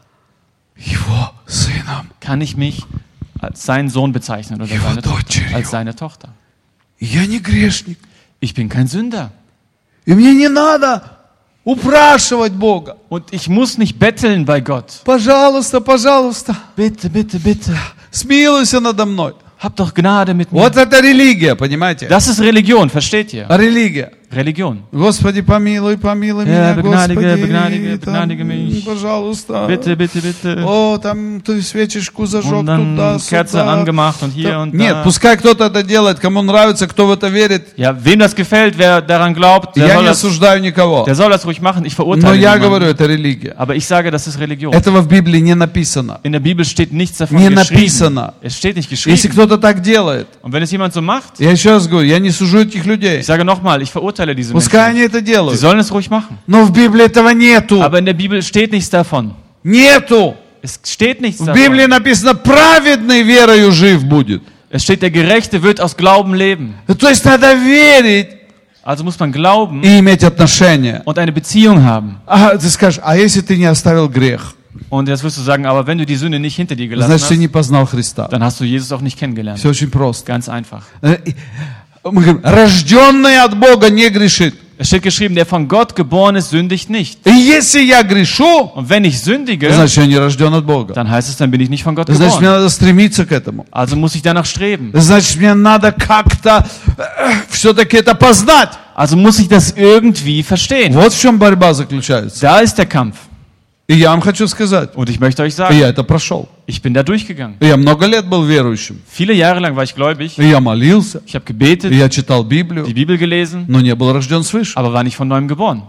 [SPEAKER 1] Его сыном.
[SPEAKER 2] kann ich mich als seinen Sohn bezeichnen oder
[SPEAKER 1] Его
[SPEAKER 2] seine Tochter,
[SPEAKER 1] дочерью.
[SPEAKER 2] als seine Tochter.
[SPEAKER 1] И я не грешник.
[SPEAKER 2] Ich bin kein Sünder.
[SPEAKER 1] И мне не надо упрашивать Бога.
[SPEAKER 2] Und ich muss nicht betteln bei Gott.
[SPEAKER 1] Пожалуйста, пожалуйста,
[SPEAKER 2] Bitte, bitte, bitte.
[SPEAKER 1] смилуйся надо мной.
[SPEAKER 2] Hab doch Gnade mit mir.
[SPEAKER 1] Вот это религия, понимаете?
[SPEAKER 2] Das ist Religion, versteht ihr?
[SPEAKER 1] Религия.
[SPEAKER 2] Religion.
[SPEAKER 1] Господи, помилуй, помилуй
[SPEAKER 2] Ja,
[SPEAKER 1] меня,
[SPEAKER 2] begnadige,
[SPEAKER 1] Господи.
[SPEAKER 2] begnadige,
[SPEAKER 1] там,
[SPEAKER 2] begnadige mich.
[SPEAKER 1] Пожалуйста.
[SPEAKER 2] Bitte, bitte, bitte.
[SPEAKER 1] О, там ты свечечку зажег
[SPEAKER 2] Und dann
[SPEAKER 1] туда,
[SPEAKER 2] Kerze
[SPEAKER 1] сюда.
[SPEAKER 2] angemacht und hier
[SPEAKER 1] Там-
[SPEAKER 2] und
[SPEAKER 1] Нет,
[SPEAKER 2] da.
[SPEAKER 1] пускай кто-то это делает, кому нравится, кто в это верит.
[SPEAKER 2] Ja, wem das gefällt, wer daran glaubt, der
[SPEAKER 1] Я
[SPEAKER 2] soll,
[SPEAKER 1] не
[SPEAKER 2] das,
[SPEAKER 1] осуждаю никого.
[SPEAKER 2] der soll das ruhig machen. Ich
[SPEAKER 1] Но
[SPEAKER 2] verurteile
[SPEAKER 1] я
[SPEAKER 2] niemanden.
[SPEAKER 1] говорю, это религия.
[SPEAKER 2] Aber ich sage, das ist Religion.
[SPEAKER 1] Этого в Библии не написано.
[SPEAKER 2] In der Bibel steht nichts davon
[SPEAKER 1] Не
[SPEAKER 2] geschrieben.
[SPEAKER 1] написано.
[SPEAKER 2] Es steht nicht
[SPEAKER 1] Если
[SPEAKER 2] geschrieben.
[SPEAKER 1] кто-то так делает,
[SPEAKER 2] Und wenn es jemand so macht,
[SPEAKER 1] я еще раз говорю, я не сужу этих людей.
[SPEAKER 2] ich sage nochmal, ich verurteile diese
[SPEAKER 1] Пускай
[SPEAKER 2] Menschen.
[SPEAKER 1] они это
[SPEAKER 2] Sie
[SPEAKER 1] делают.
[SPEAKER 2] sollen es ruhig machen.
[SPEAKER 1] Но в Библии этого нету.
[SPEAKER 2] Aber in der Bibel steht nichts davon.
[SPEAKER 1] Нету.
[SPEAKER 2] Es steht nichts
[SPEAKER 1] В Библии
[SPEAKER 2] davon.
[SPEAKER 1] написано, праведный верою жив будет.
[SPEAKER 2] Es steht, der Gerechte wird aus Glauben leben.
[SPEAKER 1] То есть надо верить
[SPEAKER 2] Also muss man glauben
[SPEAKER 1] и иметь отношения.
[SPEAKER 2] und eine Beziehung haben.
[SPEAKER 1] А ты скажешь, а если ты не оставил грех,
[SPEAKER 2] Und jetzt wirst du sagen, aber wenn du die Sünde nicht hinter dir gelassen
[SPEAKER 1] значит, ты
[SPEAKER 2] hast,
[SPEAKER 1] не познал Христа.
[SPEAKER 2] dann hast du Jesus auch nicht kennengelernt.
[SPEAKER 1] Все очень просто.
[SPEAKER 2] Ganz einfach.
[SPEAKER 1] Э, и- Мы говорим, рожденный от Бога не грешит.
[SPEAKER 2] Es steht geschrieben, der von Gott geboren ist, sündigt nicht.
[SPEAKER 1] И если я грешу,
[SPEAKER 2] Und wenn ich sündige,
[SPEAKER 1] значит, я не рожден от Бога.
[SPEAKER 2] dann heißt es, dann bin ich nicht von Gott
[SPEAKER 1] Значит, мне
[SPEAKER 2] geboren.
[SPEAKER 1] надо стремиться к этому.
[SPEAKER 2] Also muss ich danach streben.
[SPEAKER 1] Значит, мне надо как-то все-таки это познать.
[SPEAKER 2] Also muss ich das irgendwie verstehen.
[SPEAKER 1] Вот в чем борьба заключается.
[SPEAKER 2] Da ist der Kampf.
[SPEAKER 1] И я вам хочу сказать,
[SPEAKER 2] Und ich möchte euch
[SPEAKER 1] и
[SPEAKER 2] sagen,
[SPEAKER 1] я это прошел.
[SPEAKER 2] ich bin da durchgegangen.
[SPEAKER 1] И я много лет был верующим.
[SPEAKER 2] Viele Jahre lang war ich gläubig.
[SPEAKER 1] И я молился,
[SPEAKER 2] Ich habe gebetet,
[SPEAKER 1] и я читал Библию,
[SPEAKER 2] die Bibel gelesen,
[SPEAKER 1] но не был рожден свыше.
[SPEAKER 2] aber war nicht von neuem geboren.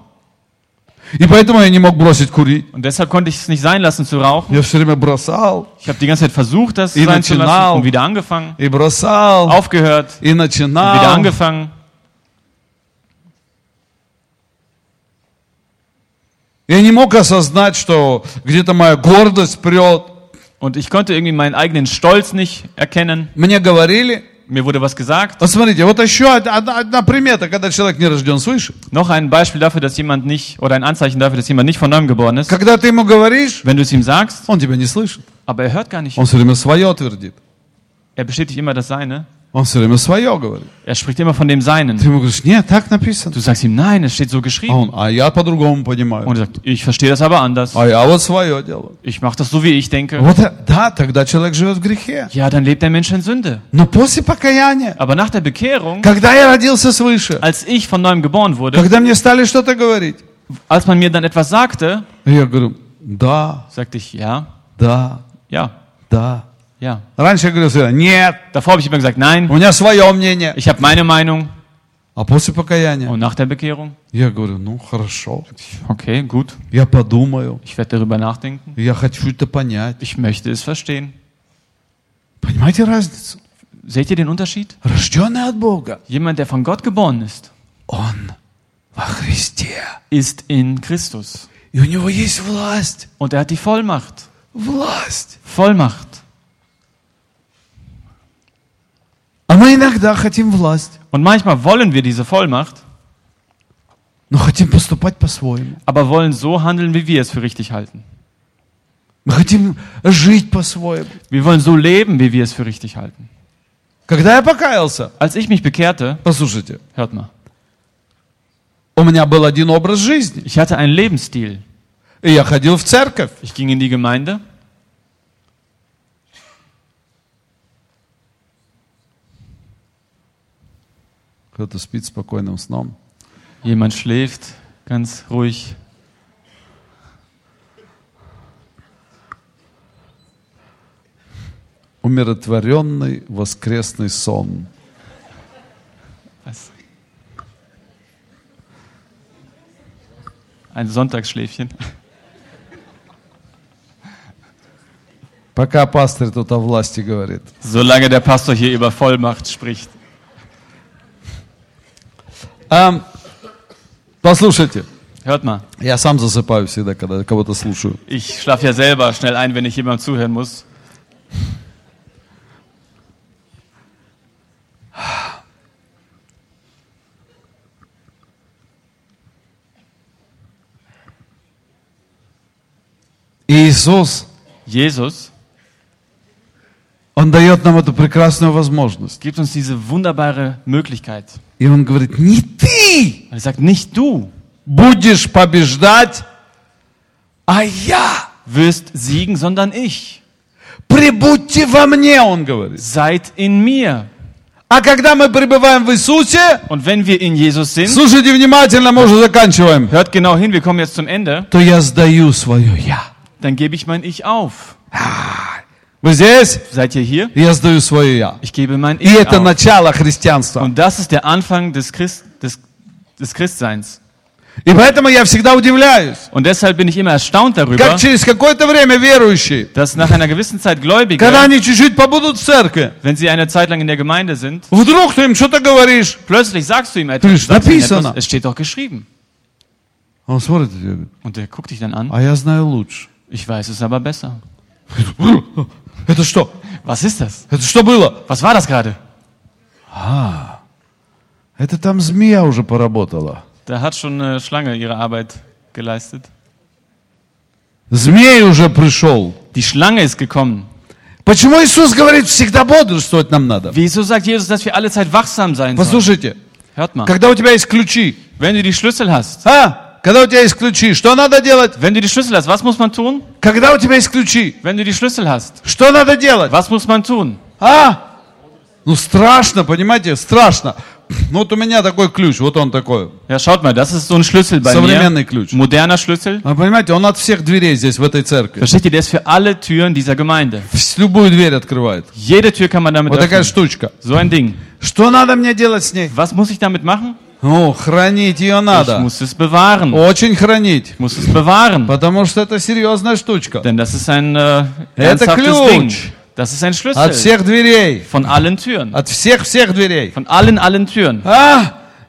[SPEAKER 1] И поэтому я не мог бросить курить.
[SPEAKER 2] Und deshalb konnte ich es nicht sein lassen zu rauchen.
[SPEAKER 1] Я все время бросал,
[SPEAKER 2] Ich habe die ganze Zeit versucht, das
[SPEAKER 1] И
[SPEAKER 2] sein zu
[SPEAKER 1] начинал.
[SPEAKER 2] lassen und wieder angefangen.
[SPEAKER 1] и бросал,
[SPEAKER 2] Aufgehört,
[SPEAKER 1] и
[SPEAKER 2] wieder
[SPEAKER 1] начинал.
[SPEAKER 2] angefangen.
[SPEAKER 1] Я не мог осознать, что где-то моя гордость прет.
[SPEAKER 2] Und ich konnte irgendwie meinen eigenen Stolz nicht erkennen.
[SPEAKER 1] Мне говорили.
[SPEAKER 2] Mir wurde was gesagt.
[SPEAKER 1] Вот смотрите, вот еще одна, одна примета, когда человек не рожден свыше.
[SPEAKER 2] Noch ein Beispiel dafür, dass jemand nicht, oder ein Anzeichen dafür, dass jemand nicht von neuem geboren ist.
[SPEAKER 1] Когда ты ему говоришь,
[SPEAKER 2] Wenn du es ihm sagst,
[SPEAKER 1] он тебя не слышит.
[SPEAKER 2] aber er hört gar nicht.
[SPEAKER 1] Он все время свое твердит.
[SPEAKER 2] Er bestätigt immer das Seine.
[SPEAKER 1] Он все время свое говорит.
[SPEAKER 2] Er spricht immer von dem
[SPEAKER 1] Ты
[SPEAKER 2] Seinen.
[SPEAKER 1] ему говоришь, нет, так написано.
[SPEAKER 2] Du sagst ihm, nein, es steht so
[SPEAKER 1] А
[SPEAKER 2] geschrieben.
[SPEAKER 1] он, а я по-другому понимаю.
[SPEAKER 2] Und er sagt, ich verstehe das aber anders.
[SPEAKER 1] А я вот свое делаю.
[SPEAKER 2] Ich mache das so, wie ich denke.
[SPEAKER 1] Вот, э, да, тогда человек живет в грехе.
[SPEAKER 2] Ja, dann lebt der Mensch in Sünde.
[SPEAKER 1] Но после покаяния,
[SPEAKER 2] Aber nach der Bekehrung,
[SPEAKER 1] когда я родился свыше,
[SPEAKER 2] als ich von neuem geboren wurde,
[SPEAKER 1] когда мне стали что-то говорить,
[SPEAKER 2] als man mir dann etwas sagte,
[SPEAKER 1] я говорю, да,
[SPEAKER 2] sagte ich, ja,
[SPEAKER 1] да,
[SPEAKER 2] ja,
[SPEAKER 1] да.
[SPEAKER 2] ja.
[SPEAKER 1] Раньше я говорил всегда, нет,
[SPEAKER 2] Davor habe ich immer gesagt, nein,
[SPEAKER 1] у меня свое мнение.
[SPEAKER 2] ich habe meine Meinung.
[SPEAKER 1] А после покаяния,
[SPEAKER 2] Und nach der Bekehrung,
[SPEAKER 1] я говорю, ну хорошо,
[SPEAKER 2] okay, gut,
[SPEAKER 1] я подумаю,
[SPEAKER 2] ich werde darüber nachdenken.
[SPEAKER 1] я хочу это понять.
[SPEAKER 2] Ich möchte es verstehen.
[SPEAKER 1] Понимаете разницу?
[SPEAKER 2] Seht ihr den Unterschied?
[SPEAKER 1] Рожденный от Бога,
[SPEAKER 2] Jemand, der von Gott geboren ist,
[SPEAKER 1] он во Христе.
[SPEAKER 2] ist in Christus.
[SPEAKER 1] И у него есть власть.
[SPEAKER 2] Und er hat die Vollmacht.
[SPEAKER 1] Власть.
[SPEAKER 2] Vollmacht.
[SPEAKER 1] А мы иногда хотим власть,
[SPEAKER 2] Und manchmal wollen wir diese Vollmacht,
[SPEAKER 1] но хотим поступать по-своему.
[SPEAKER 2] aber wollen so handeln, wie wir es für richtig halten.
[SPEAKER 1] Мы хотим жить по-своему.
[SPEAKER 2] Wir wollen so leben, wie wir es für richtig halten.
[SPEAKER 1] Когда я покаялся,
[SPEAKER 2] Als ich mich bekehrte,
[SPEAKER 1] послушайте,
[SPEAKER 2] hört mal,
[SPEAKER 1] у меня был один образ жизни.
[SPEAKER 2] ich hatte einen Lebensstil.
[SPEAKER 1] И я ходил в церковь.
[SPEAKER 2] Ich ging in die Gemeinde.
[SPEAKER 1] Кто-то спит спокойным сном.
[SPEAKER 2] Jemand schläft ganz ruhig.
[SPEAKER 1] Умиротворенный воскресный сон.
[SPEAKER 2] Was? Ein Sonntagsschläfchen.
[SPEAKER 1] Пока пастырь тут о власти говорит.
[SPEAKER 2] Solange der Pastor hier über Vollmacht spricht.
[SPEAKER 1] А, послушайте,
[SPEAKER 2] Hört mal,
[SPEAKER 1] я сам засыпаю всегда, когда кого-то слушаю.
[SPEAKER 2] ich schlafe ja selber schnell ein, wenn ich jemandem zuhören muss.
[SPEAKER 1] Иисус,
[SPEAKER 2] Jesus
[SPEAKER 1] Он дает нам эту прекрасную возможность.
[SPEAKER 2] gibt uns diese wunderbare Möglichkeit.
[SPEAKER 1] И Он говорит, не ты
[SPEAKER 2] Er sagt, nicht du
[SPEAKER 1] будешь побеждать, а я.
[SPEAKER 2] wirst siegen, sondern ich.
[SPEAKER 1] Прибудьте во мне, Он говорит.
[SPEAKER 2] Seid in mir.
[SPEAKER 1] А когда мы пребываем в Иисусе,
[SPEAKER 2] Und wenn wir in Jesus sind,
[SPEAKER 1] слушайте внимательно, мы уже заканчиваем,
[SPEAKER 2] hört genau hin, wir kommen jetzt zum Ende,
[SPEAKER 1] то я сдаю свое «я».
[SPEAKER 2] dann gebe ich mein Ich auf.
[SPEAKER 1] Вы здесь?
[SPEAKER 2] Seid ihr hier?
[SPEAKER 1] Я сдаю свое «я».
[SPEAKER 2] Ich gebe mein
[SPEAKER 1] И
[SPEAKER 2] Ich
[SPEAKER 1] это
[SPEAKER 2] auf.
[SPEAKER 1] начало христианства.
[SPEAKER 2] Und das ist der Anfang des, Christ, des, des Christseins.
[SPEAKER 1] И поэтому я всегда удивляюсь,
[SPEAKER 2] Und deshalb bin ich immer erstaunt darüber,
[SPEAKER 1] как через какое-то время верующие,
[SPEAKER 2] dass nach einer gewissen Zeit Gläubige,
[SPEAKER 1] когда они чуть-чуть побудут в церкви,
[SPEAKER 2] wenn sie eine Zeit lang in der Gemeinde sind,
[SPEAKER 1] вдруг ты им что-то говоришь.
[SPEAKER 2] plötzlich sagst du ihm
[SPEAKER 1] Du,
[SPEAKER 2] etwas, sagst ihm
[SPEAKER 1] написано.
[SPEAKER 2] etwas, es steht doch geschrieben.
[SPEAKER 1] Он смотрит и говорит,
[SPEAKER 2] Und der guckt dich dann an,
[SPEAKER 1] а я знаю лучше.
[SPEAKER 2] ich weiß es aber besser.
[SPEAKER 1] Это что?
[SPEAKER 2] Was ist das?
[SPEAKER 1] Это что было?
[SPEAKER 2] Was war das gerade?
[SPEAKER 1] Это там змея уже поработала.
[SPEAKER 2] Da hat schon eine Schlange ihre Arbeit geleistet.
[SPEAKER 1] Змей уже пришел.
[SPEAKER 2] Die Schlange ist gekommen.
[SPEAKER 1] Почему Иисус говорит, всегда бодрствовать нам надо?
[SPEAKER 2] Wieso sagt Jesus, dass wir alle Zeit wachsam sein sollen?
[SPEAKER 1] Послушайте,
[SPEAKER 2] Hört mal,
[SPEAKER 1] когда у тебя есть ключи,
[SPEAKER 2] wenn du die Schlüssel hast,
[SPEAKER 1] а? Когда у тебя есть ключи, что надо делать?
[SPEAKER 2] wenn du die Schlüssel hast, was muss man tun?
[SPEAKER 1] Когда у тебя есть ключи,
[SPEAKER 2] Wenn du die Schlüssel hast,
[SPEAKER 1] что надо делать?
[SPEAKER 2] was muss man tun?
[SPEAKER 1] А? Ну страшно, понимаете, страшно. Ну вот у меня такой ключ, вот он такой.
[SPEAKER 2] Ja, schaut mal, das ist so ein Schlüssel bei
[SPEAKER 1] Современный
[SPEAKER 2] mir.
[SPEAKER 1] ключ.
[SPEAKER 2] Moderner Schlüssel.
[SPEAKER 1] А понимаете, он от всех дверей здесь, в этой церкви.
[SPEAKER 2] Versteht ihr, der ist für alle Türen dieser Gemeinde.
[SPEAKER 1] Вс- Любую дверь открывает.
[SPEAKER 2] Jede Tür kann man damit
[SPEAKER 1] Вот такая
[SPEAKER 2] öffnen.
[SPEAKER 1] штучка.
[SPEAKER 2] So ein Ding.
[SPEAKER 1] Что надо мне делать с ней?
[SPEAKER 2] Was muss ich damit machen?
[SPEAKER 1] Ну, хранить ее
[SPEAKER 2] Ich
[SPEAKER 1] надо.
[SPEAKER 2] muss es bewahren.
[SPEAKER 1] Очень хранить.
[SPEAKER 2] Ich muss es bewahren.
[SPEAKER 1] Потому что это серьезная штучка.
[SPEAKER 2] Denn das ist ein äh,
[SPEAKER 1] Это
[SPEAKER 2] ernsthaftes
[SPEAKER 1] ключ.
[SPEAKER 2] Ding. Das ist ein
[SPEAKER 1] От
[SPEAKER 2] Schlüssel
[SPEAKER 1] всех дверей.
[SPEAKER 2] von allen Türen.
[SPEAKER 1] От всех-всех дверей.
[SPEAKER 2] Von allen, allen Türen.
[SPEAKER 1] А?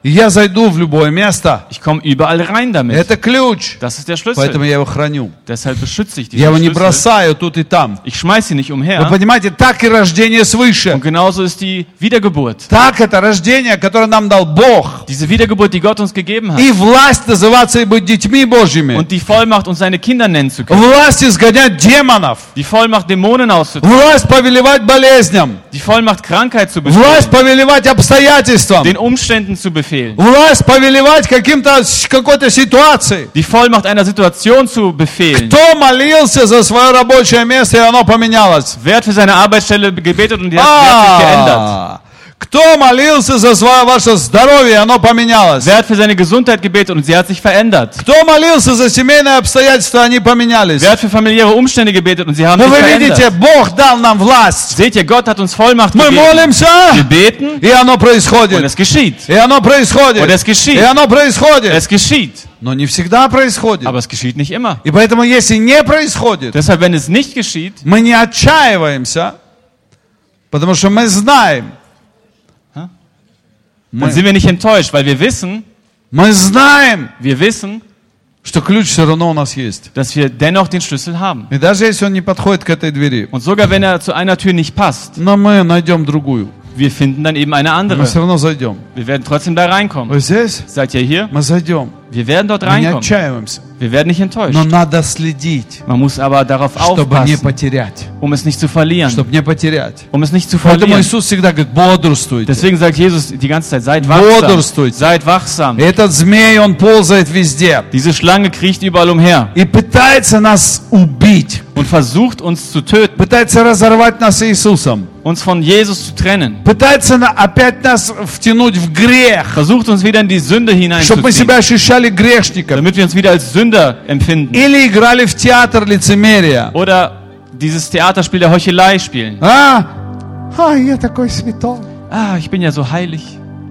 [SPEAKER 1] И я зайду в любое место.
[SPEAKER 2] Ich komme überall rein damit.
[SPEAKER 1] Это ключ.
[SPEAKER 2] Das ist der
[SPEAKER 1] Поэтому
[SPEAKER 2] Schlüssel.
[SPEAKER 1] я его храню.
[SPEAKER 2] Deshalb beschütze ich
[SPEAKER 1] Я его
[SPEAKER 2] diesen
[SPEAKER 1] не
[SPEAKER 2] Schlüssel.
[SPEAKER 1] бросаю тут и там.
[SPEAKER 2] Ich schmeiße ihn nicht
[SPEAKER 1] Вы
[SPEAKER 2] umher.
[SPEAKER 1] понимаете, так и рождение свыше.
[SPEAKER 2] Und genauso ist die Wiedergeburt.
[SPEAKER 1] Так это рождение, которое нам дал Бог.
[SPEAKER 2] Diese Wiedergeburt, die Gott uns gegeben hat.
[SPEAKER 1] И власть называться и быть детьми Божьими.
[SPEAKER 2] Und die Vollmacht, uns seine Kinder nennen zu können.
[SPEAKER 1] Власть изгонять демонов.
[SPEAKER 2] Die Vollmacht, Dämonen auszutreiben.
[SPEAKER 1] Власть повелевать болезням.
[SPEAKER 2] Die Vollmacht, Krankheit zu
[SPEAKER 1] Власть
[SPEAKER 2] befehlen.
[SPEAKER 1] повелевать обстоятельствам.
[SPEAKER 2] Den Umständen zu befehlen.
[SPEAKER 1] Власть повелевать каким-то, какой-то ситуации.
[SPEAKER 2] Die Vollmacht, einer Situation zu befehlen.
[SPEAKER 1] Кто молился за свое рабочее место, и оно поменялось?
[SPEAKER 2] Wer hat für seine Arbeitsstelle gebetet und die hat, die hat sich geändert?
[SPEAKER 1] А, кто молился за свое ваше здоровье, и оно поменялось?
[SPEAKER 2] Wer hat für seine Gesundheit gebetet und sie hat sich verändert?
[SPEAKER 1] Кто молился за семейные обстоятельства, они поменялись?
[SPEAKER 2] Wer hat für familiäre Umstände gebetet und sie haben
[SPEAKER 1] Но
[SPEAKER 2] sich
[SPEAKER 1] вы видите,
[SPEAKER 2] verändert?
[SPEAKER 1] Бог дал нам власть.
[SPEAKER 2] Seht ihr, Gott hat uns Vollmacht
[SPEAKER 1] Мы
[SPEAKER 2] gegeben.
[SPEAKER 1] молимся,
[SPEAKER 2] Wir beten
[SPEAKER 1] и оно
[SPEAKER 2] und
[SPEAKER 1] происходит.
[SPEAKER 2] es geschieht.
[SPEAKER 1] И оно происходит.
[SPEAKER 2] Und es geschieht.
[SPEAKER 1] И оно происходит.
[SPEAKER 2] Es geschieht.
[SPEAKER 1] Но не всегда происходит.
[SPEAKER 2] Aber es geschieht nicht immer.
[SPEAKER 1] И поэтому, если не происходит,
[SPEAKER 2] Deshalb, wenn es nicht geschieht,
[SPEAKER 1] мы не отчаиваемся, потому что мы знаем,
[SPEAKER 2] dann sind wir nicht enttäuscht, weil wir wissen,
[SPEAKER 1] мы знаем,
[SPEAKER 2] wir wissen,
[SPEAKER 1] что ключ все равно у нас есть.
[SPEAKER 2] dass wir dennoch den Schlüssel haben.
[SPEAKER 1] И даже если он не подходит к этой двери,
[SPEAKER 2] Und sogar wenn er zu einer Tür nicht passt,
[SPEAKER 1] но мы найдем другую.
[SPEAKER 2] wir finden dann eben eine
[SPEAKER 1] Мы
[SPEAKER 2] andere.
[SPEAKER 1] все равно зайдем.
[SPEAKER 2] Wir werden trotzdem da reinkommen.
[SPEAKER 1] Вы здесь?
[SPEAKER 2] Seid ihr hier?
[SPEAKER 1] Мы зайдем.
[SPEAKER 2] Wir werden dort
[SPEAKER 1] Мы не
[SPEAKER 2] reinkommen.
[SPEAKER 1] отчаиваемся.
[SPEAKER 2] Wir werden nicht enttäuscht.
[SPEAKER 1] Но надо следить,
[SPEAKER 2] Man muss aber darauf
[SPEAKER 1] чтобы не
[SPEAKER 2] aufpassen,
[SPEAKER 1] потерять.
[SPEAKER 2] um es nicht zu verlieren.
[SPEAKER 1] Чтобы не потерять.
[SPEAKER 2] Um es nicht zu
[SPEAKER 1] Поэтому
[SPEAKER 2] verlieren.
[SPEAKER 1] Иисус всегда говорит, бодрствуйте.
[SPEAKER 2] Deswegen sagt Jesus die ganze Zeit, seid wachsam.
[SPEAKER 1] Бодрствуйте.
[SPEAKER 2] Seid wachsam.
[SPEAKER 1] Этот змей, он ползает везде.
[SPEAKER 2] Diese Schlange kriecht überall umher
[SPEAKER 1] И пытается нас убить.
[SPEAKER 2] und versucht uns zu töten,
[SPEAKER 1] Пытается разорвать нас с Иисусом.
[SPEAKER 2] uns von Jesus zu trennen.
[SPEAKER 1] Пытается на- опять нас втянуть в грех.
[SPEAKER 2] Versucht uns wieder in die Sünde
[SPEAKER 1] Чтобы мы
[SPEAKER 2] hineinzuziehen,
[SPEAKER 1] себя ощущали грешниками.
[SPEAKER 2] damit wir uns wieder als Sünder empfinden.
[SPEAKER 1] Или играли в театр лицемерия.
[SPEAKER 2] Oder dieses Theaterspiel der Heuchelei spielen.
[SPEAKER 1] А? А, я такой святой.
[SPEAKER 2] Ah, ich bin ja so heilig.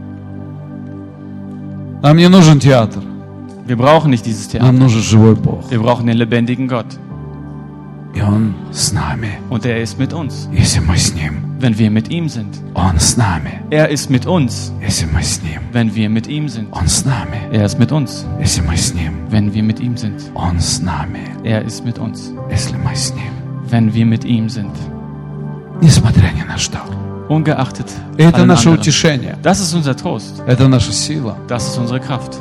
[SPEAKER 1] Нам не нужен театр.
[SPEAKER 2] Wir brauchen nicht dieses Theater.
[SPEAKER 1] Нам нужен живой Бог.
[SPEAKER 2] Wir brauchen den lebendigen Gott.
[SPEAKER 1] И Он с нами,
[SPEAKER 2] Und er ist mit uns,
[SPEAKER 1] если мы с Ним.
[SPEAKER 2] wenn wir mit ihm sind.
[SPEAKER 1] Он с нами,
[SPEAKER 2] Er ist mit uns,
[SPEAKER 1] если мы с Ним.
[SPEAKER 2] wenn wir mit ihm sind.
[SPEAKER 1] Он с нами,
[SPEAKER 2] Er ist mit uns,
[SPEAKER 1] если мы с Ним.
[SPEAKER 2] wenn wir mit ihm sind.
[SPEAKER 1] Он с нами,
[SPEAKER 2] Er ist mit uns,
[SPEAKER 1] если мы с Ним.
[SPEAKER 2] wenn wir mit ihm sind.
[SPEAKER 1] Несмотря ни на что.
[SPEAKER 2] Ungeachtet
[SPEAKER 1] И это
[SPEAKER 2] allem
[SPEAKER 1] наше
[SPEAKER 2] anderen.
[SPEAKER 1] утешение.
[SPEAKER 2] Das ist unser Trost.
[SPEAKER 1] Это наша сила.
[SPEAKER 2] Das ist unsere Kraft.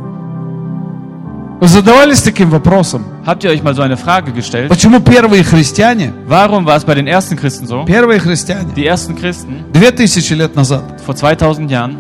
[SPEAKER 1] Вы задавались таким вопросом?
[SPEAKER 2] Habt ihr euch mal so eine Frage gestellt?
[SPEAKER 1] Почему первые христиане,
[SPEAKER 2] Warum war es bei den ersten Christen so?
[SPEAKER 1] первые христиане,
[SPEAKER 2] Die ersten Christen
[SPEAKER 1] две тысячи лет назад,
[SPEAKER 2] vor zweitausend Jahren,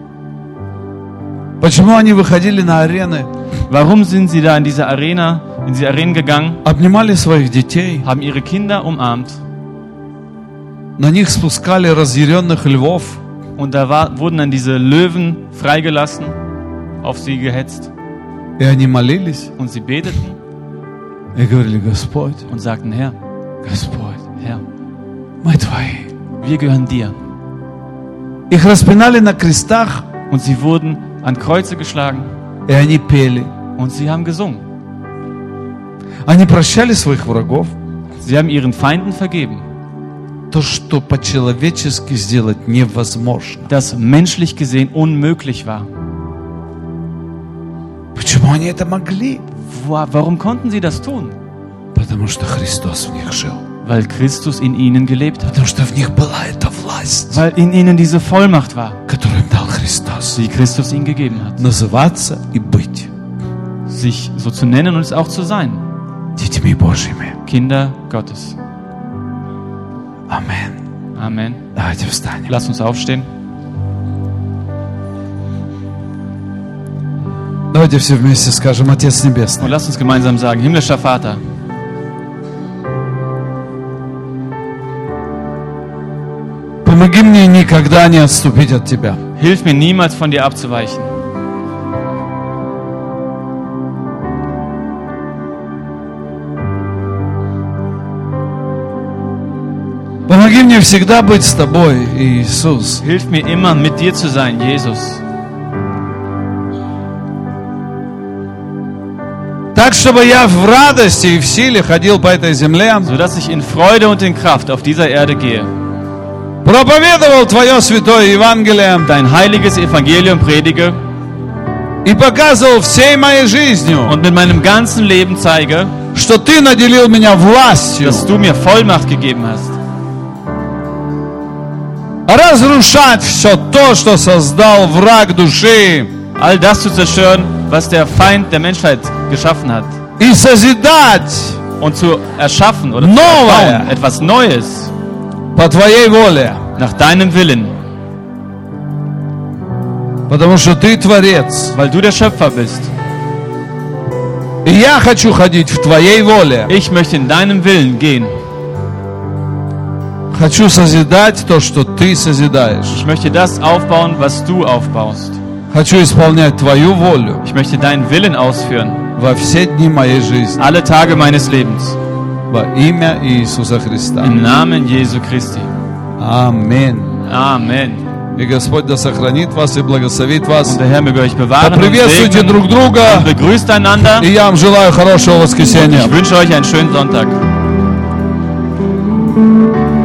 [SPEAKER 1] почему они выходили на арены,
[SPEAKER 2] warum sind sie da in diese Arena, in diese Arenen gegangen,
[SPEAKER 1] обнимали своих детей,
[SPEAKER 2] haben ihre Kinder umarmt
[SPEAKER 1] на них спускали разъяренных львов,
[SPEAKER 2] und da war, wurden dann diese Löwen freigelassen, auf sie gehetzt
[SPEAKER 1] и они молились,
[SPEAKER 2] und sie beteten
[SPEAKER 1] и говорили, Господь,
[SPEAKER 2] und sagten, Herr,
[SPEAKER 1] Господь,
[SPEAKER 2] Herr,
[SPEAKER 1] мы Твои.
[SPEAKER 2] wir gehören dir.
[SPEAKER 1] Их распинали на крестах,
[SPEAKER 2] Und sie wurden an Kreuze geschlagen
[SPEAKER 1] и они пели.
[SPEAKER 2] und sie haben gesungen.
[SPEAKER 1] Они прощали своих врагов.
[SPEAKER 2] Sie haben ihren Feinden vergeben.
[SPEAKER 1] То, что по-человечески сделать невозможно.
[SPEAKER 2] Das menschlich gesehen unmöglich war.
[SPEAKER 1] Почему они это могли?
[SPEAKER 2] Wo, warum konnten sie das tun?
[SPEAKER 1] Потому что Христос в них жил.
[SPEAKER 2] Weil Christus in ihnen gelebt hat.
[SPEAKER 1] Потому что в них была эта власть,
[SPEAKER 2] Weil in ihnen diese Vollmacht war,
[SPEAKER 1] которую им дал Христос.
[SPEAKER 2] die Christus ihnen gegeben hat.
[SPEAKER 1] Называться и быть
[SPEAKER 2] Sich so zu nennen und es auch zu sein.
[SPEAKER 1] детьми Божьими.
[SPEAKER 2] Kinder Gottes.
[SPEAKER 1] Амин.
[SPEAKER 2] Amen.
[SPEAKER 1] Давайте встанем.
[SPEAKER 2] Lass uns aufstehen.
[SPEAKER 1] Давайте все вместе скажем, Отец Небесный,
[SPEAKER 2] Und lass uns gemeinsam sagen, himmlischer Vater,
[SPEAKER 1] помоги мне никогда не отступить от Тебя.
[SPEAKER 2] hilf mir niemals von dir abzuweichen.
[SPEAKER 1] Помоги мне всегда быть с Тобой, Иисус.
[SPEAKER 2] Hilf mir immer, mit dir zu sein, Jesus.
[SPEAKER 1] Так, чтобы я в радости и в силе ходил по этой земле,
[SPEAKER 2] Sodass ich in Freude und in Kraft auf dieser Erde gehe.
[SPEAKER 1] проповедовал Твое святое Евангелие
[SPEAKER 2] Dein heiliges Evangelium predige
[SPEAKER 1] и показывал всей моей жизнью,
[SPEAKER 2] und mit meinem ganzen Leben zeige,
[SPEAKER 1] что Ты наделил меня властью
[SPEAKER 2] dass du mir Vollmacht gegeben hast,
[SPEAKER 1] разрушать все то, что создал враг души,
[SPEAKER 2] all das zu zerstören, was der Feind der Menschheit geschaffen hat,
[SPEAKER 1] и созидать
[SPEAKER 2] und zu erschaffen oder zu
[SPEAKER 1] Новое.
[SPEAKER 2] erbauen, etwas Neues,
[SPEAKER 1] по Твоей воле,
[SPEAKER 2] nach deinem Willen,
[SPEAKER 1] потому что Ты Творец.
[SPEAKER 2] weil du der Schöpfer bist.
[SPEAKER 1] И я хочу ходить в Твоей воле.
[SPEAKER 2] Ich möchte in deinem Willen gehen.
[SPEAKER 1] Хочу созидать то, что Ты созидаешь.
[SPEAKER 2] Ich möchte das aufbauen, was du aufbaust.
[SPEAKER 1] Хочу исполнять Твою волю
[SPEAKER 2] Ich möchte deinen Willen ausführen,
[SPEAKER 1] во все дни моей жизни.
[SPEAKER 2] alle Tage meines Lebens.
[SPEAKER 1] Во имя Иисуса Христа.
[SPEAKER 2] Im Namen Jesu Christi.
[SPEAKER 1] Аминь.
[SPEAKER 2] Amen.
[SPEAKER 1] И Господь да сохранит вас и благословит вас.
[SPEAKER 2] Und der Herr möge euch bewahren und
[SPEAKER 1] Поприветствуйте
[SPEAKER 2] segnen
[SPEAKER 1] друг друга.
[SPEAKER 2] und begrüßt einander.
[SPEAKER 1] И я вам желаю хорошего воскресенья.
[SPEAKER 2] Ich wünsche euch einen schönen Sonntag.